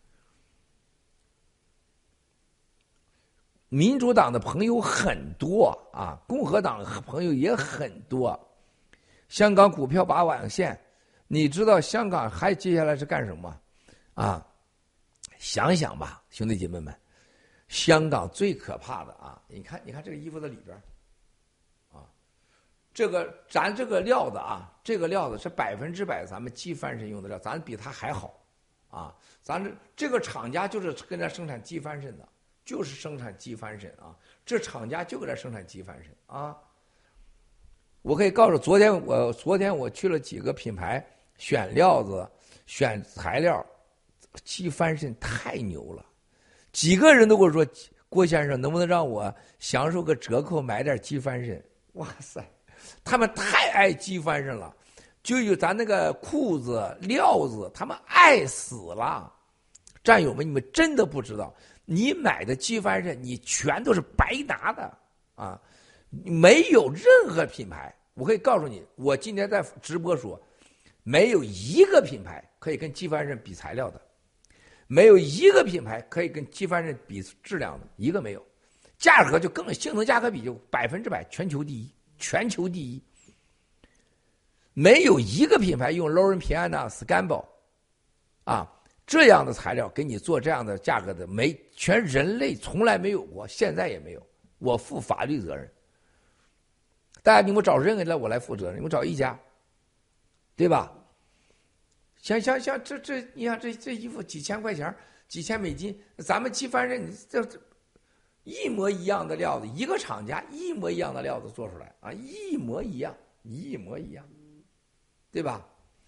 民主党的朋友很多啊，共和党朋友也很多。香港股票拔网线，你知道香港还接下来是干什么啊？想想吧，兄弟姐妹们， 香港最可怕的啊，你看，你看这个衣服的里边，啊，这个咱这个料子啊，这个料子是百分之百咱们鸡翻身用的料，咱比它还好，啊，咱这这个厂家就是跟咱生产鸡翻身的，就是生产鸡翻身啊，这厂家就给咱生产鸡翻身啊。我可以告诉，昨天我昨天我去了几个品牌选料子、选材料，鸡翻身太牛了，几个人都跟我说，郭先生能不能让我享受个折扣买点鸡翻身？哇塞，他们太爱鸡翻身了，就有咱那个裤子、料子，他们爱死了。战友们，你们真的不知道，你买的鸡翻身，你全都是白拿的啊！没有任何品牌，我可以告诉你，我今天在直播说，没有一个品牌可以跟鸡翻身比材料的，没有一个品牌可以跟鸡翻身比质量的，一个没有。价格就更性能价格比就百分之百全球第一，全球第一。没有一个品牌用 Lauren Piana Scamble 啊这样的材料给你做这样的价格的，没全人类从来没有过，现在也没有，我负法律责任。大家你们找任何人我来负责任，你们找一家，对吧？像像像这这，你看这这衣服几千块钱，几千美金，咱们鸡翻身这这一模一样的料子，一个厂家一模一样的料子做出来啊，一模一样，一模一样，对吧？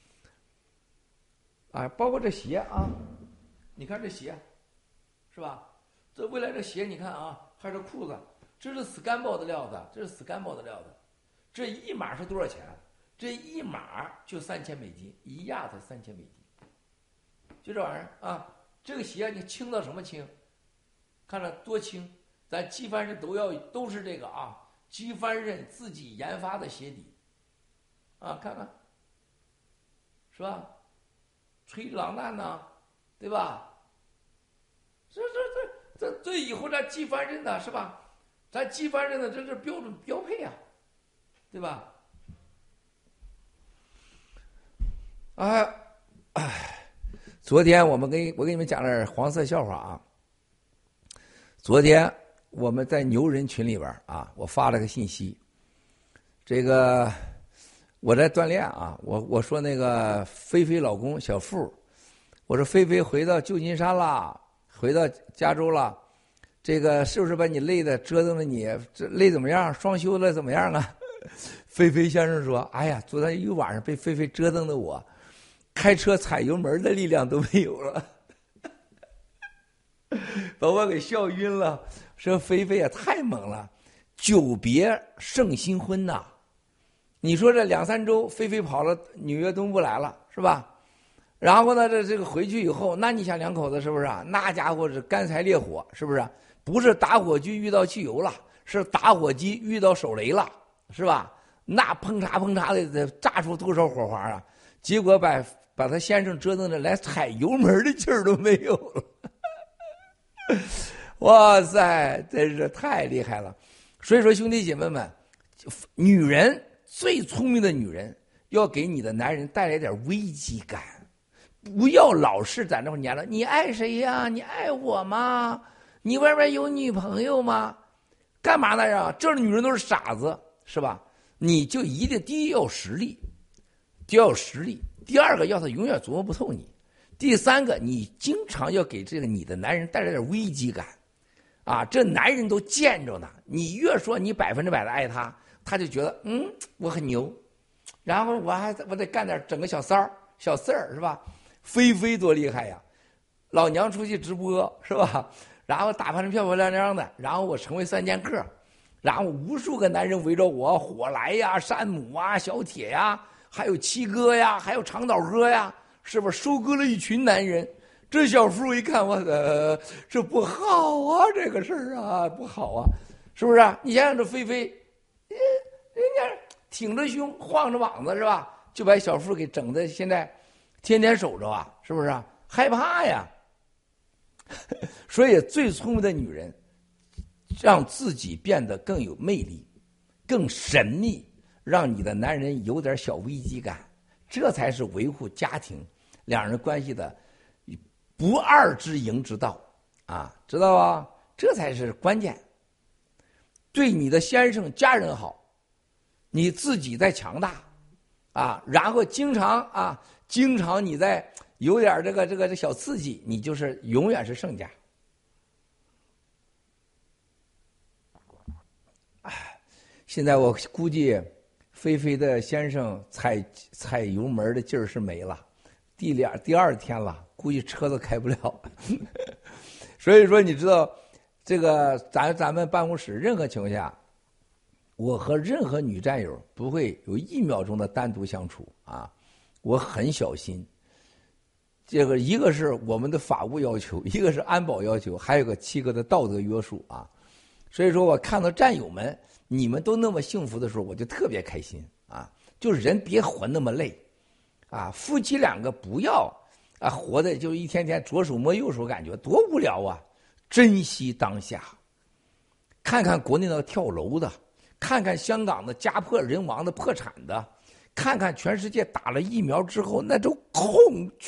啊，包括这鞋啊，你看这鞋，是吧？这未来这鞋你看啊，还有这裤子，这是 Scamble 的料子，这是 Scamble 的料子。这一码是多少钱？这一码就三千美金，一亚才三千美金，就这玩意儿啊！这个鞋你轻到什么轻？看着多轻！咱鸡翻身都要都是这个啊，鸡翻身自己研发的鞋底啊，看看，是吧？吹狼蛋呐，对吧？这这这这这以后咱鸡翻身的是吧？咱鸡翻身的这是标准标配啊。对吧？哎，哎，昨天我们跟我给你们讲点黄色笑话啊。昨天我们在牛人群里边啊，我发了个信息，这个我在锻炼啊，我我说那个菲菲老公小付，我说菲菲回到旧金山啦，回到加州了，这个是不是把你累的折腾的你这累怎么样？双休了怎么样啊？菲菲先生说：“哎呀，昨天一晚上被菲菲折腾的我，开车踩油门的力量都没有了，把我给笑晕了。说菲菲也太猛了，久别胜新婚呐！你说这两三周，菲菲跑了纽约东部来了，是吧？然后呢，这这个回去以后，那你想两口子是不是啊？那家伙是干柴烈火，是不是？不是打火机遇到汽油了，是打火机遇到手雷了。”是吧？那砰嚓砰嚓的炸出多少火花啊！结果把把他先生折腾的连踩油门的劲儿都没有了。哇塞，真是太厉害了！所以说，兄弟姐妹们，女人最聪明的女人要给你的男人带来点危机感，不要老是在那会黏了。你爱谁呀？你爱我吗？你外边有女朋友吗？干嘛呢呀？这女人都是傻子。是吧？你就一定第一要有实力，第二要有实力，第二个要他永远琢磨不透你，第三个你经常要给这个你的男人带来点危机感，啊，这男人都见着呢，你越说你百分之百的爱他，他就觉得嗯我很牛，然后我还我得干点整个小三儿小四儿是吧？菲菲多厉害呀，老娘出去直播是吧？然后打扮成漂漂亮亮的，然后我成为三剑客。然后无数个男人围着我，火来呀、山姆啊、小铁呀，还有七哥呀，还有长岛哥呀，是不是收割了一群男人？这小夫一看，我的这不好啊，这个事儿啊不好啊，是不是啊？你想想这菲菲，人家挺着胸晃着膀子是吧？就把小夫给整的现在天天守着啊，是不是啊？害怕呀。所以最聪明的女人。让自己变得更有魅力，更神秘，让你的男人有点小危机感，这才是维护家庭两人关系的不二之营之道啊，知道吧？ 这才是关键。对你的先生、家人好，你自己在强大，啊，然后经常啊，经常你在有点这个这个这小刺激，你就是永远是胜家。哎，现在我估计菲菲的先生踩踩油门的劲儿是没了，第两第二天了，估计车都开不了。所以说，你知道。这个咱咱们办公室任何情况下，我和任何女战友不会有一秒钟的单独相处啊，我很小心。这个一个是我们的法务要求，一个是安保要求，还有个七个的道德约束啊。所以说我看到战友们你们都那么幸福的时候，我就特别开心啊。就是人别活那么累啊，夫妻两个不要啊活的就一天天左手摸右手，感觉多无聊啊。珍惜当下，看看国内的跳楼的，看看香港的家破人亡的破产的，看看全世界打了疫苗之后那种恐惧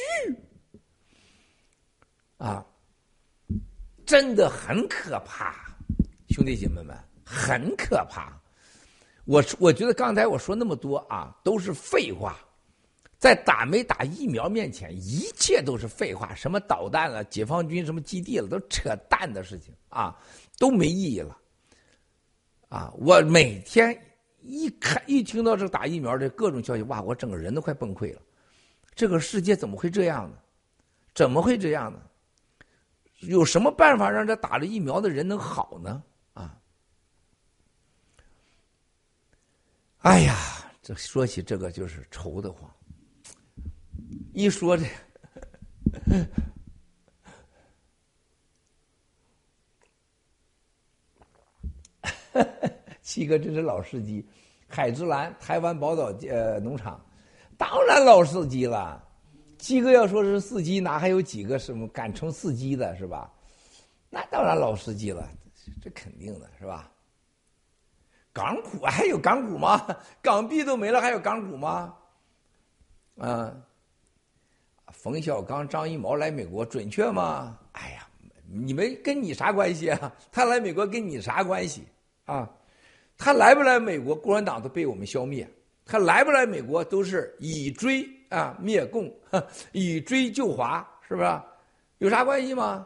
啊，真的很可怕，兄弟姐妹们，很可怕。我我觉得刚才我说那么多啊，都是废话。在打没打疫苗面前，一切都是废话。什么导弹了、解放军什么基地了，都扯淡的事情啊，都没意义了。啊，我每天一看一听到这打疫苗的各种消息，哇，我整个人都快崩溃了。这个世界怎么会这样呢？怎么会这样呢？有什么办法让这打了疫苗的人能好呢？啊，哎呀，这说起这个就是愁得慌。一说这七哥真是老司机。海之蓝台湾宝岛呃农场，当然老司机了。七哥要说是司机，哪还有几个什么敢称司机的是吧？那当然老司机了，这肯定的是吧？港股还有港股吗？港币都没了，还有港股吗？啊。冯小刚、张艺谋来美国准确吗？哎呀，你们跟你啥关系啊？他来美国跟你啥关系啊？他来不来美国，共产党都被我们消灭；他来不来美国，都是以追啊灭共，以追救华，是不是？有啥关系吗？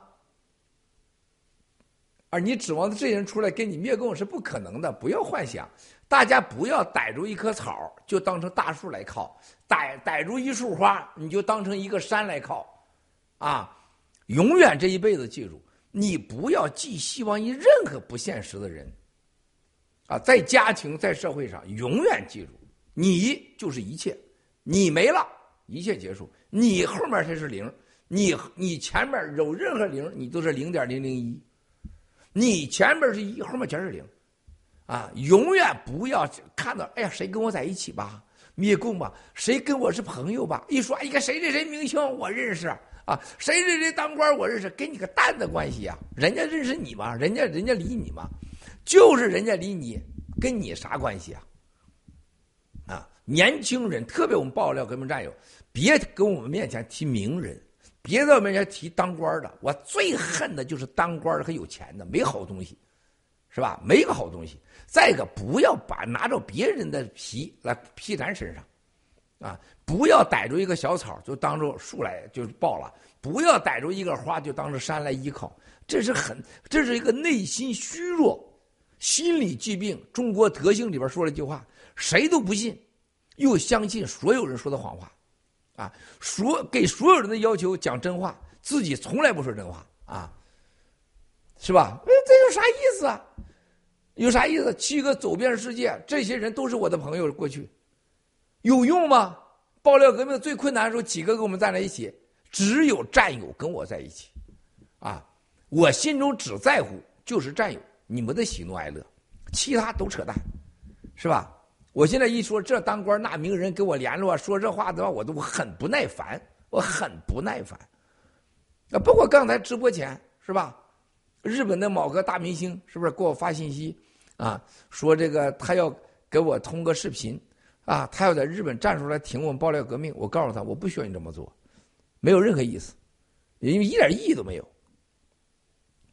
而你指望这些人出来跟你灭共是不可能的，不要幻想。大家不要逮住一棵草就当成大树来靠，逮逮住一束花你就当成一个山来靠，啊！永远这一辈子记住，你不要寄希望于任何不现实的人，啊，在家庭在社会上永远记住，你就是一切，你没了，一切结束，你后面才是零，你你前面有任何零，你都是零点零零一，你前面是一，后面全是零。啊，永远不要看到，哎呀，谁跟我在一起吧，灭共吧，谁跟我是朋友吧？一说，哎呀，谁谁谁明星我认识啊，谁谁谁当官我认识，跟你个蛋的关系啊！人家认识你吗？人家人家理你吗？就是人家理你，跟你啥关系啊？啊，年轻人，特别我们爆料革命战友，别跟我们面前提名人，别在我面前提当官的。我最恨的就是当官的和有钱的，没好东西。是吧？没个好东西。再一个，不要把拿着别人的皮来披咱身上，啊！不要逮住一个小草就当着树来就抱了，不要逮住一个花就当着山来依靠，这是很，这是一个内心虚弱、心理疾病。中国德性里边说了一句话：谁都不信，又相信所有人说的谎话，啊！所给所有人的要求讲真话，自己从来不说真话啊！是吧？这有啥意思啊？有啥意思？七哥走遍世界，这些人都是我的朋友。过去有用吗？爆料革命最困难的时候，几个跟我们站在一起，只有战友跟我在一起，啊，我心中只在乎就是战友，你们的喜怒哀乐，其他都扯淡，是吧？我现在一说这当官那名人跟我联络说这话的话，我都很不耐烦，我很不耐烦。啊，包括刚才直播前是吧？日本的某个大明星是不是给我发信息啊？说这个他要给我通个视频啊，他要在日本站出来挺我们爆料革命。我告诉他，我不需要你这么做，没有任何意思，因为一点意义都没有。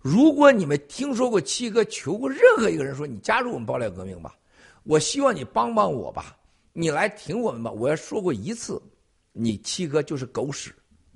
如果你们听说过七哥求过任何一个人说你加入我们爆料革命吧，我希望你帮帮我吧，你来挺我们吧，我要说过一次，你七哥就是狗屎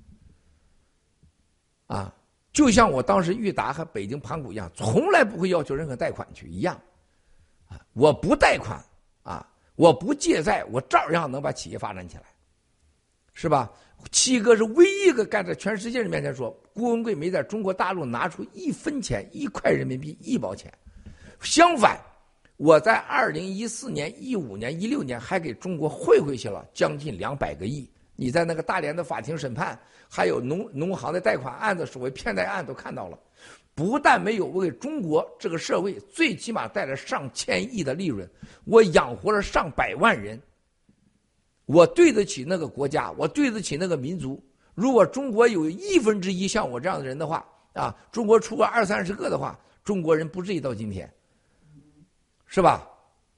啊！就像我当时裕达和北京盘古一样，从来不会要求任何贷款去一样啊！我不贷款啊，我不借债，我照样能把企业发展起来，是吧？七哥是唯一一个干在全世界人面前说郭文贵没在中国大陆拿出一分钱、一块人民币、一毛钱。相反，我在二零一四年、一五年、一六年还给中国汇回去了将近两百个亿。你在那个大连的法庭审判，还有农农行的贷款案子、所谓骗贷案都看到了。不但没有为中国这个社会最起码带来上千亿的利润，我养活了上百万人。我对得起那个国家，我对得起那个民族。如果中国有一分之一像我这样的人的话，啊，中国出个二三十个的话，中国人不至于到今天，是吧？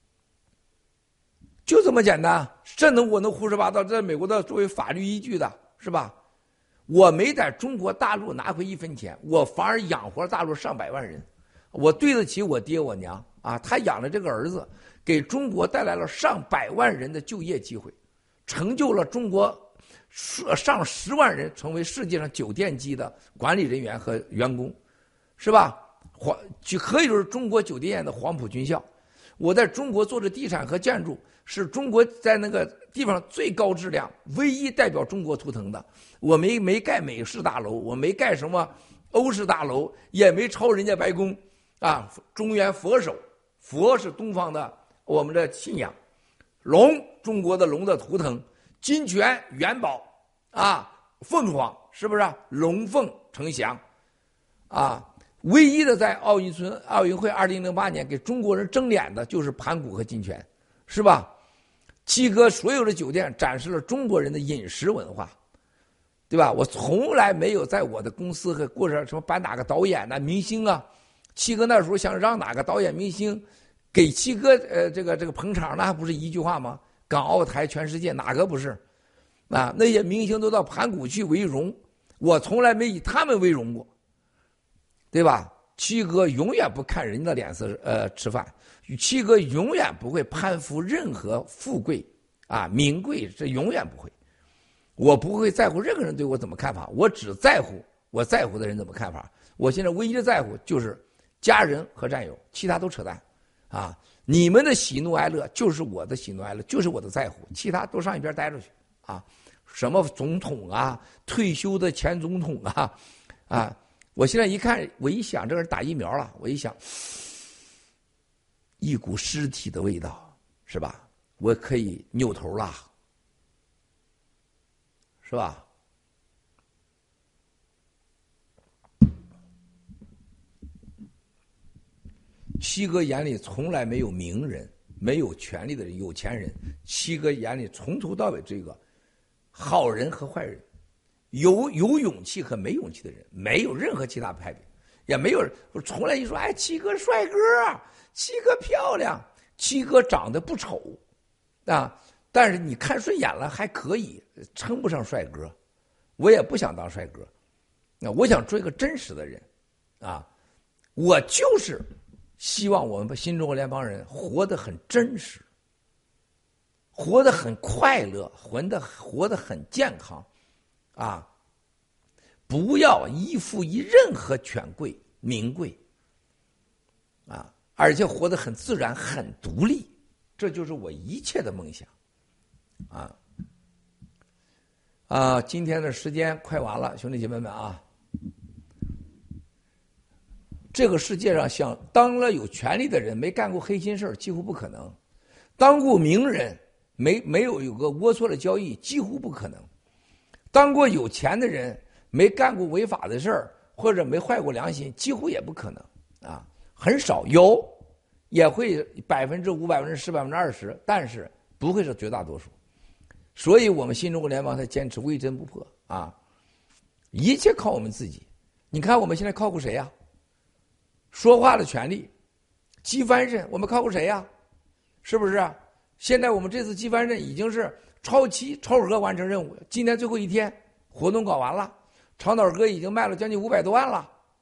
就这么简单，这能我能胡说八道，在美国的作为法律依据的，是吧？我没在中国大陆拿回一分钱，我反而养活了大陆上百万人，我对得起我爹我娘啊！他养了这个儿子，给中国带来了上百万人的就业机会。成就了中国上十万人成为世界上酒店级的管理人员和员工，是吧？黄就可以说是中国酒店业的黄埔军校。我在中国做的地产和建筑，是中国在那个地方最高质量、唯一代表中国图腾的。我没没盖美式大楼，我没盖什么欧式大楼，也没抄人家白宫啊。中原佛手，佛是东方的我们的信仰。龙，中国的龙的图腾，金泉、元宝啊，凤凰，是不是、啊？龙凤呈祥啊！唯一的在奥运村奥运会二零零八年给中国人争脸的就是盘古和金泉，是吧？七哥所有的酒店展示了中国人的饮食文化，对吧？我从来没有在我的公司和过上什么颁哪个导演呐、啊、明星啊。七哥那时候想让哪个导演明星给七哥呃这个这个捧场，那还不是一句话吗？港澳台全世界哪个不是？啊，那些明星都到盘古去为荣，我从来没以他们为荣过，对吧？七哥永远不看人家的脸色呃吃饭，七哥永远不会攀附任何富贵啊名贵，这永远不会。我不会在乎任何人对我怎么看法，我只在乎我在乎的人怎么看法。我现在唯一的在乎就是家人和战友，其他都扯淡。啊，你们的喜怒哀乐就是我的喜怒哀乐，就是我的在乎，其他都上一边待着去啊！什么总统啊，退休的前总统啊，啊！我现在一看，我一想，这个人打疫苗了，我一想，一股尸体的味道，是吧？我可以扭头了，是吧？七哥眼里从来没有名人，没有权力的人、有钱人。七哥眼里从头到尾这个好人和坏人，有有勇气和没勇气的人，没有任何其他派别，也没有从来一说哎，七哥帅哥，七哥漂亮，七哥长得不丑啊，但是你看顺眼了还可以，称不上帅哥。我也不想当帅哥，那我想做一个真实的人啊，我就是希望我们新中国联邦人活得很真实，活得很快乐，活得活得很健康，啊，不要依附于任何权贵名贵，啊，而且活得很自然、很独立，这就是我一切的梦想，啊啊！今天的时间快完了，兄弟姐妹们啊！这个世界上，想当了有权力的人没干过黑心事几乎不可能；当过名人没没有有个龌龊的交易几乎不可能；当过有钱的人没干过违法的事儿或者没坏过良心几乎也不可能啊，很少有，也会百分之五、百分之十、百分之二十，但是不会是绝大多数。所以我们新中国联邦才坚持微针不破啊，一切靠我们自己。你看我们现在靠过谁呀、啊？说话的权利，机翻身，我们靠过谁呀？是不是？现在我们这次机翻身已经是超期超额完成任务，今天最后一天，活动搞完了，长岛哥已经卖了将近五百多万了，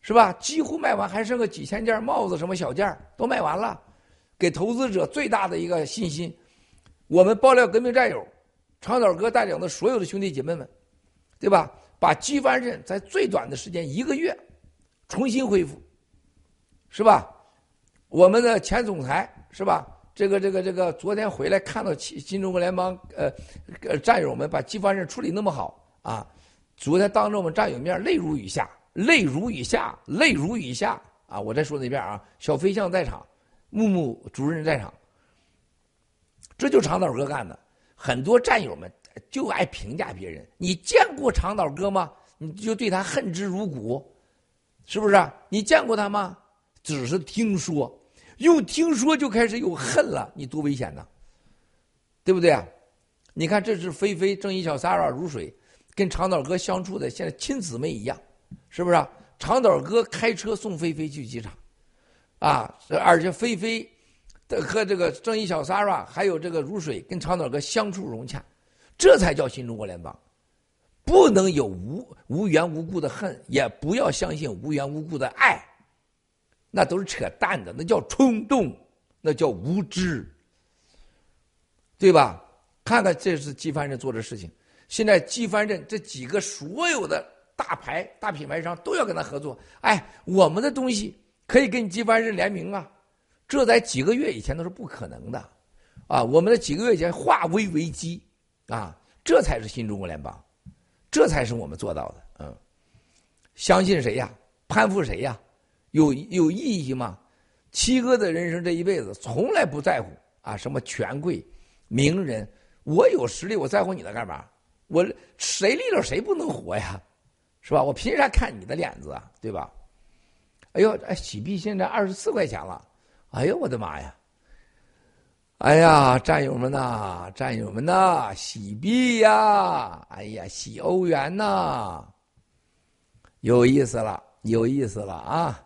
是吧？几乎卖完，还剩个几千件帽子，什么小件都卖完了，给投资者最大的一个信心。我们爆料革命战友长岛哥带领的所有的兄弟姐妹们，对吧？把机帆镇在最短的时间一个月重新恢复，是吧？我们的前总裁是吧？这个这个这个昨天回来看到新中国联邦呃呃战友们把机帆镇处理那么好啊，昨天当着我们战友面泪如雨下。泪如雨下，泪如雨下啊！我再说那遍啊，小飞象在场，木木主任在场，这就长岛哥干的。很多战友们就爱评价别人，你见过长岛哥吗？你就对他恨之入骨，是不是？你见过他吗？只是听说，用听说就开始有恨了，你多危险呐，对不对啊？你看，这是菲菲、正义小 Sarah 如水，跟长岛哥相处的现在亲姊妹一样。是不是啊？长岛哥开车送菲菲去机场，啊，而且菲菲和这个正义小 Sarah 还有这个如水跟长岛哥相处融洽，这才叫新中国联邦。不能有无无缘无故的恨，也不要相信无缘无故的爱，那都是扯淡的，那叫冲动，那叫无知，对吧？看看这是机帆镇做的事情，现在机帆镇这几个所有的大牌大品牌商都要跟他合作，哎，我们的东西可以跟机帆镇联名啊，这在几个月以前都是不可能的，啊，我们的几个月以前化危为机，啊，这才是新中国联邦，这才是我们做到的，嗯，相信谁呀？攀附谁呀？有有意义吗？七哥的人生这一辈子从来不在乎啊什么权贵、名人，我有实力，我在乎你的干嘛？我谁立了谁不能活呀？是吧？我凭啥看你的脸子啊？对吧？哎呦，哎，喜币现在二十四块钱了，哎呦我的妈呀！哎呀，战友们呐，战友们呐，喜币呀，哎呀，喜欧元呐，有意思了，有意思了啊！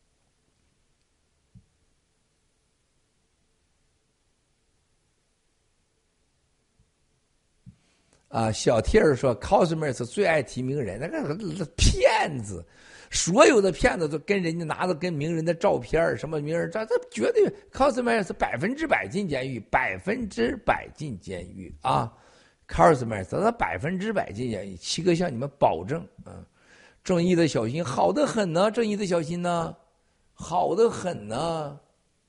啊，小 T 儿说 ，Cosmos 最爱提名人，那个骗子，所有的骗子都跟人家拿着跟名人的照片，什么名人照，这绝对 Cosmos 百分之百进监狱，百分之百进监狱啊 ！Cosmos 他百分之百进监狱，七哥向你们保证啊！正义的小心，好得很呢，正义的小心呢，好得很呢，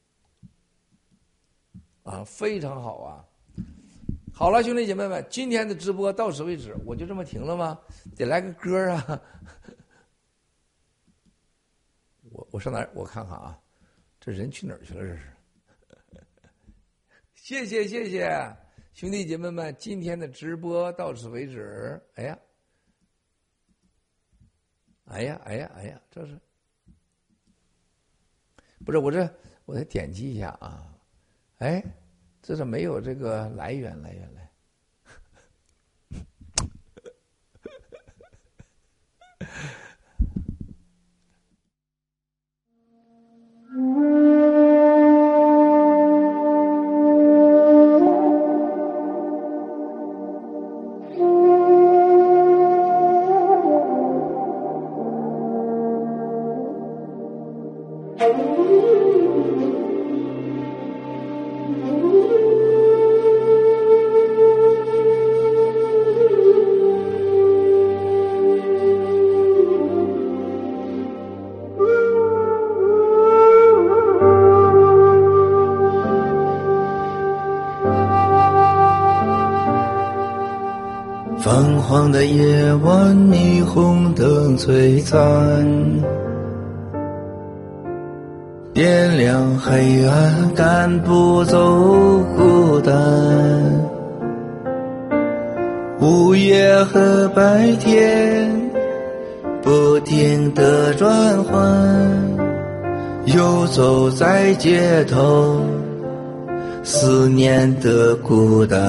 啊，非常好啊！好了，兄弟姐妹们，今天的直播到此为止，我就这么停了吗？得来个歌啊！我我上哪儿？我看看啊，这人去哪儿去了？这是。谢谢谢谢，兄弟姐妹们，今天的直播到此为止。哎呀，哎呀，哎呀，哎呀，这是不是我这我得点击一下啊？哎。这是没有这个来源，来源来。 泛黄的夜晚，霓虹灯璀璨，点亮黑暗，赶不走孤单。午夜和白天不停地转换，游走在街头，思念的孤单。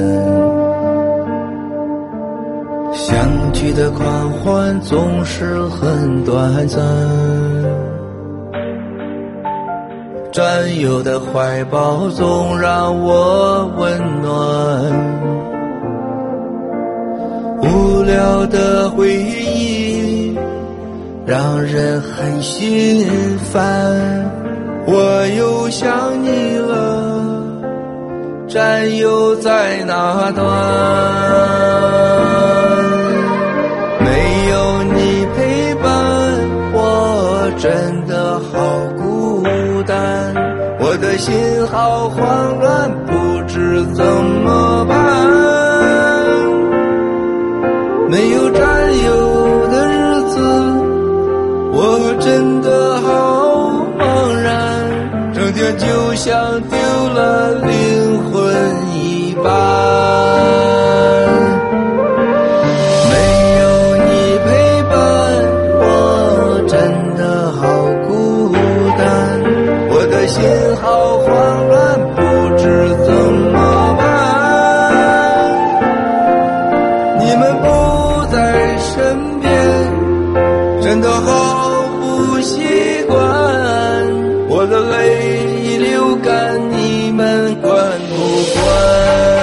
相聚的狂欢总是很短暂，战友的怀抱总让我温暖，无聊的回忆让人很心烦。我又想你了，战友在哪端？没有你陪伴，我真的好孤单，我的心好慌乱，不知怎么办。没有战友的日子，我真的好茫然，整天就像丢了灵魂一般。没有你陪伴，我真的好孤单，我的心好慌乱，不知怎么办。你们不在身边，真的好不习惯，我的泪已流干，你们管不管？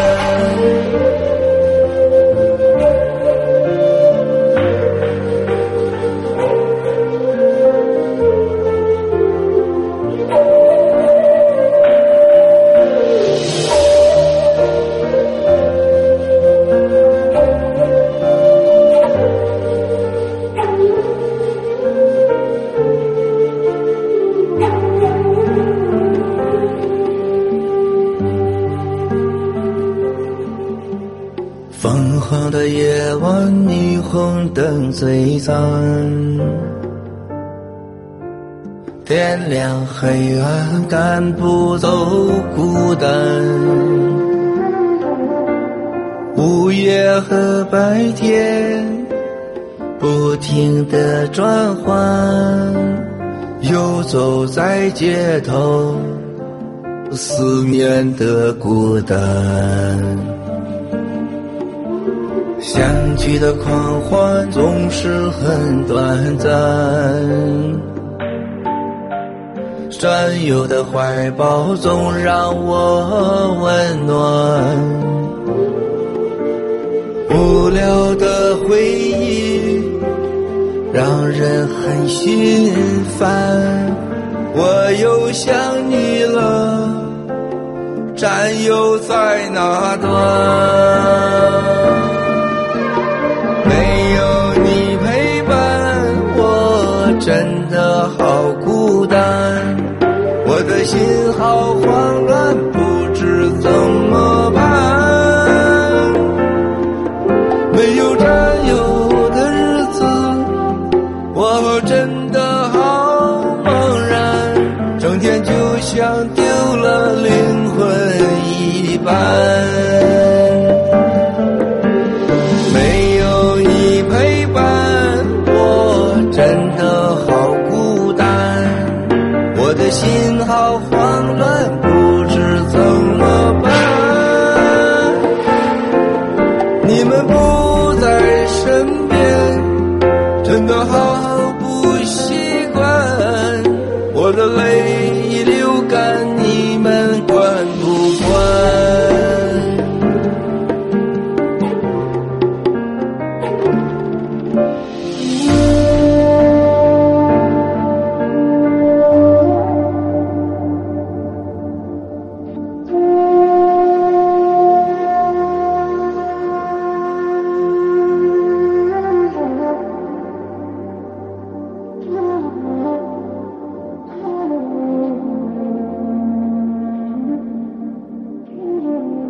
疯狂的夜晚，霓虹灯最赞，天亮黑暗赶不走孤单，午夜和白天不停地转换，游走在街头，思念的孤单。相聚的狂欢总是很短暂，战友的怀抱总让我温暖，无聊的回忆让人很心烦。我又想你了，战友在哪端？没有你陪伴，我真的好孤单，我的心好慌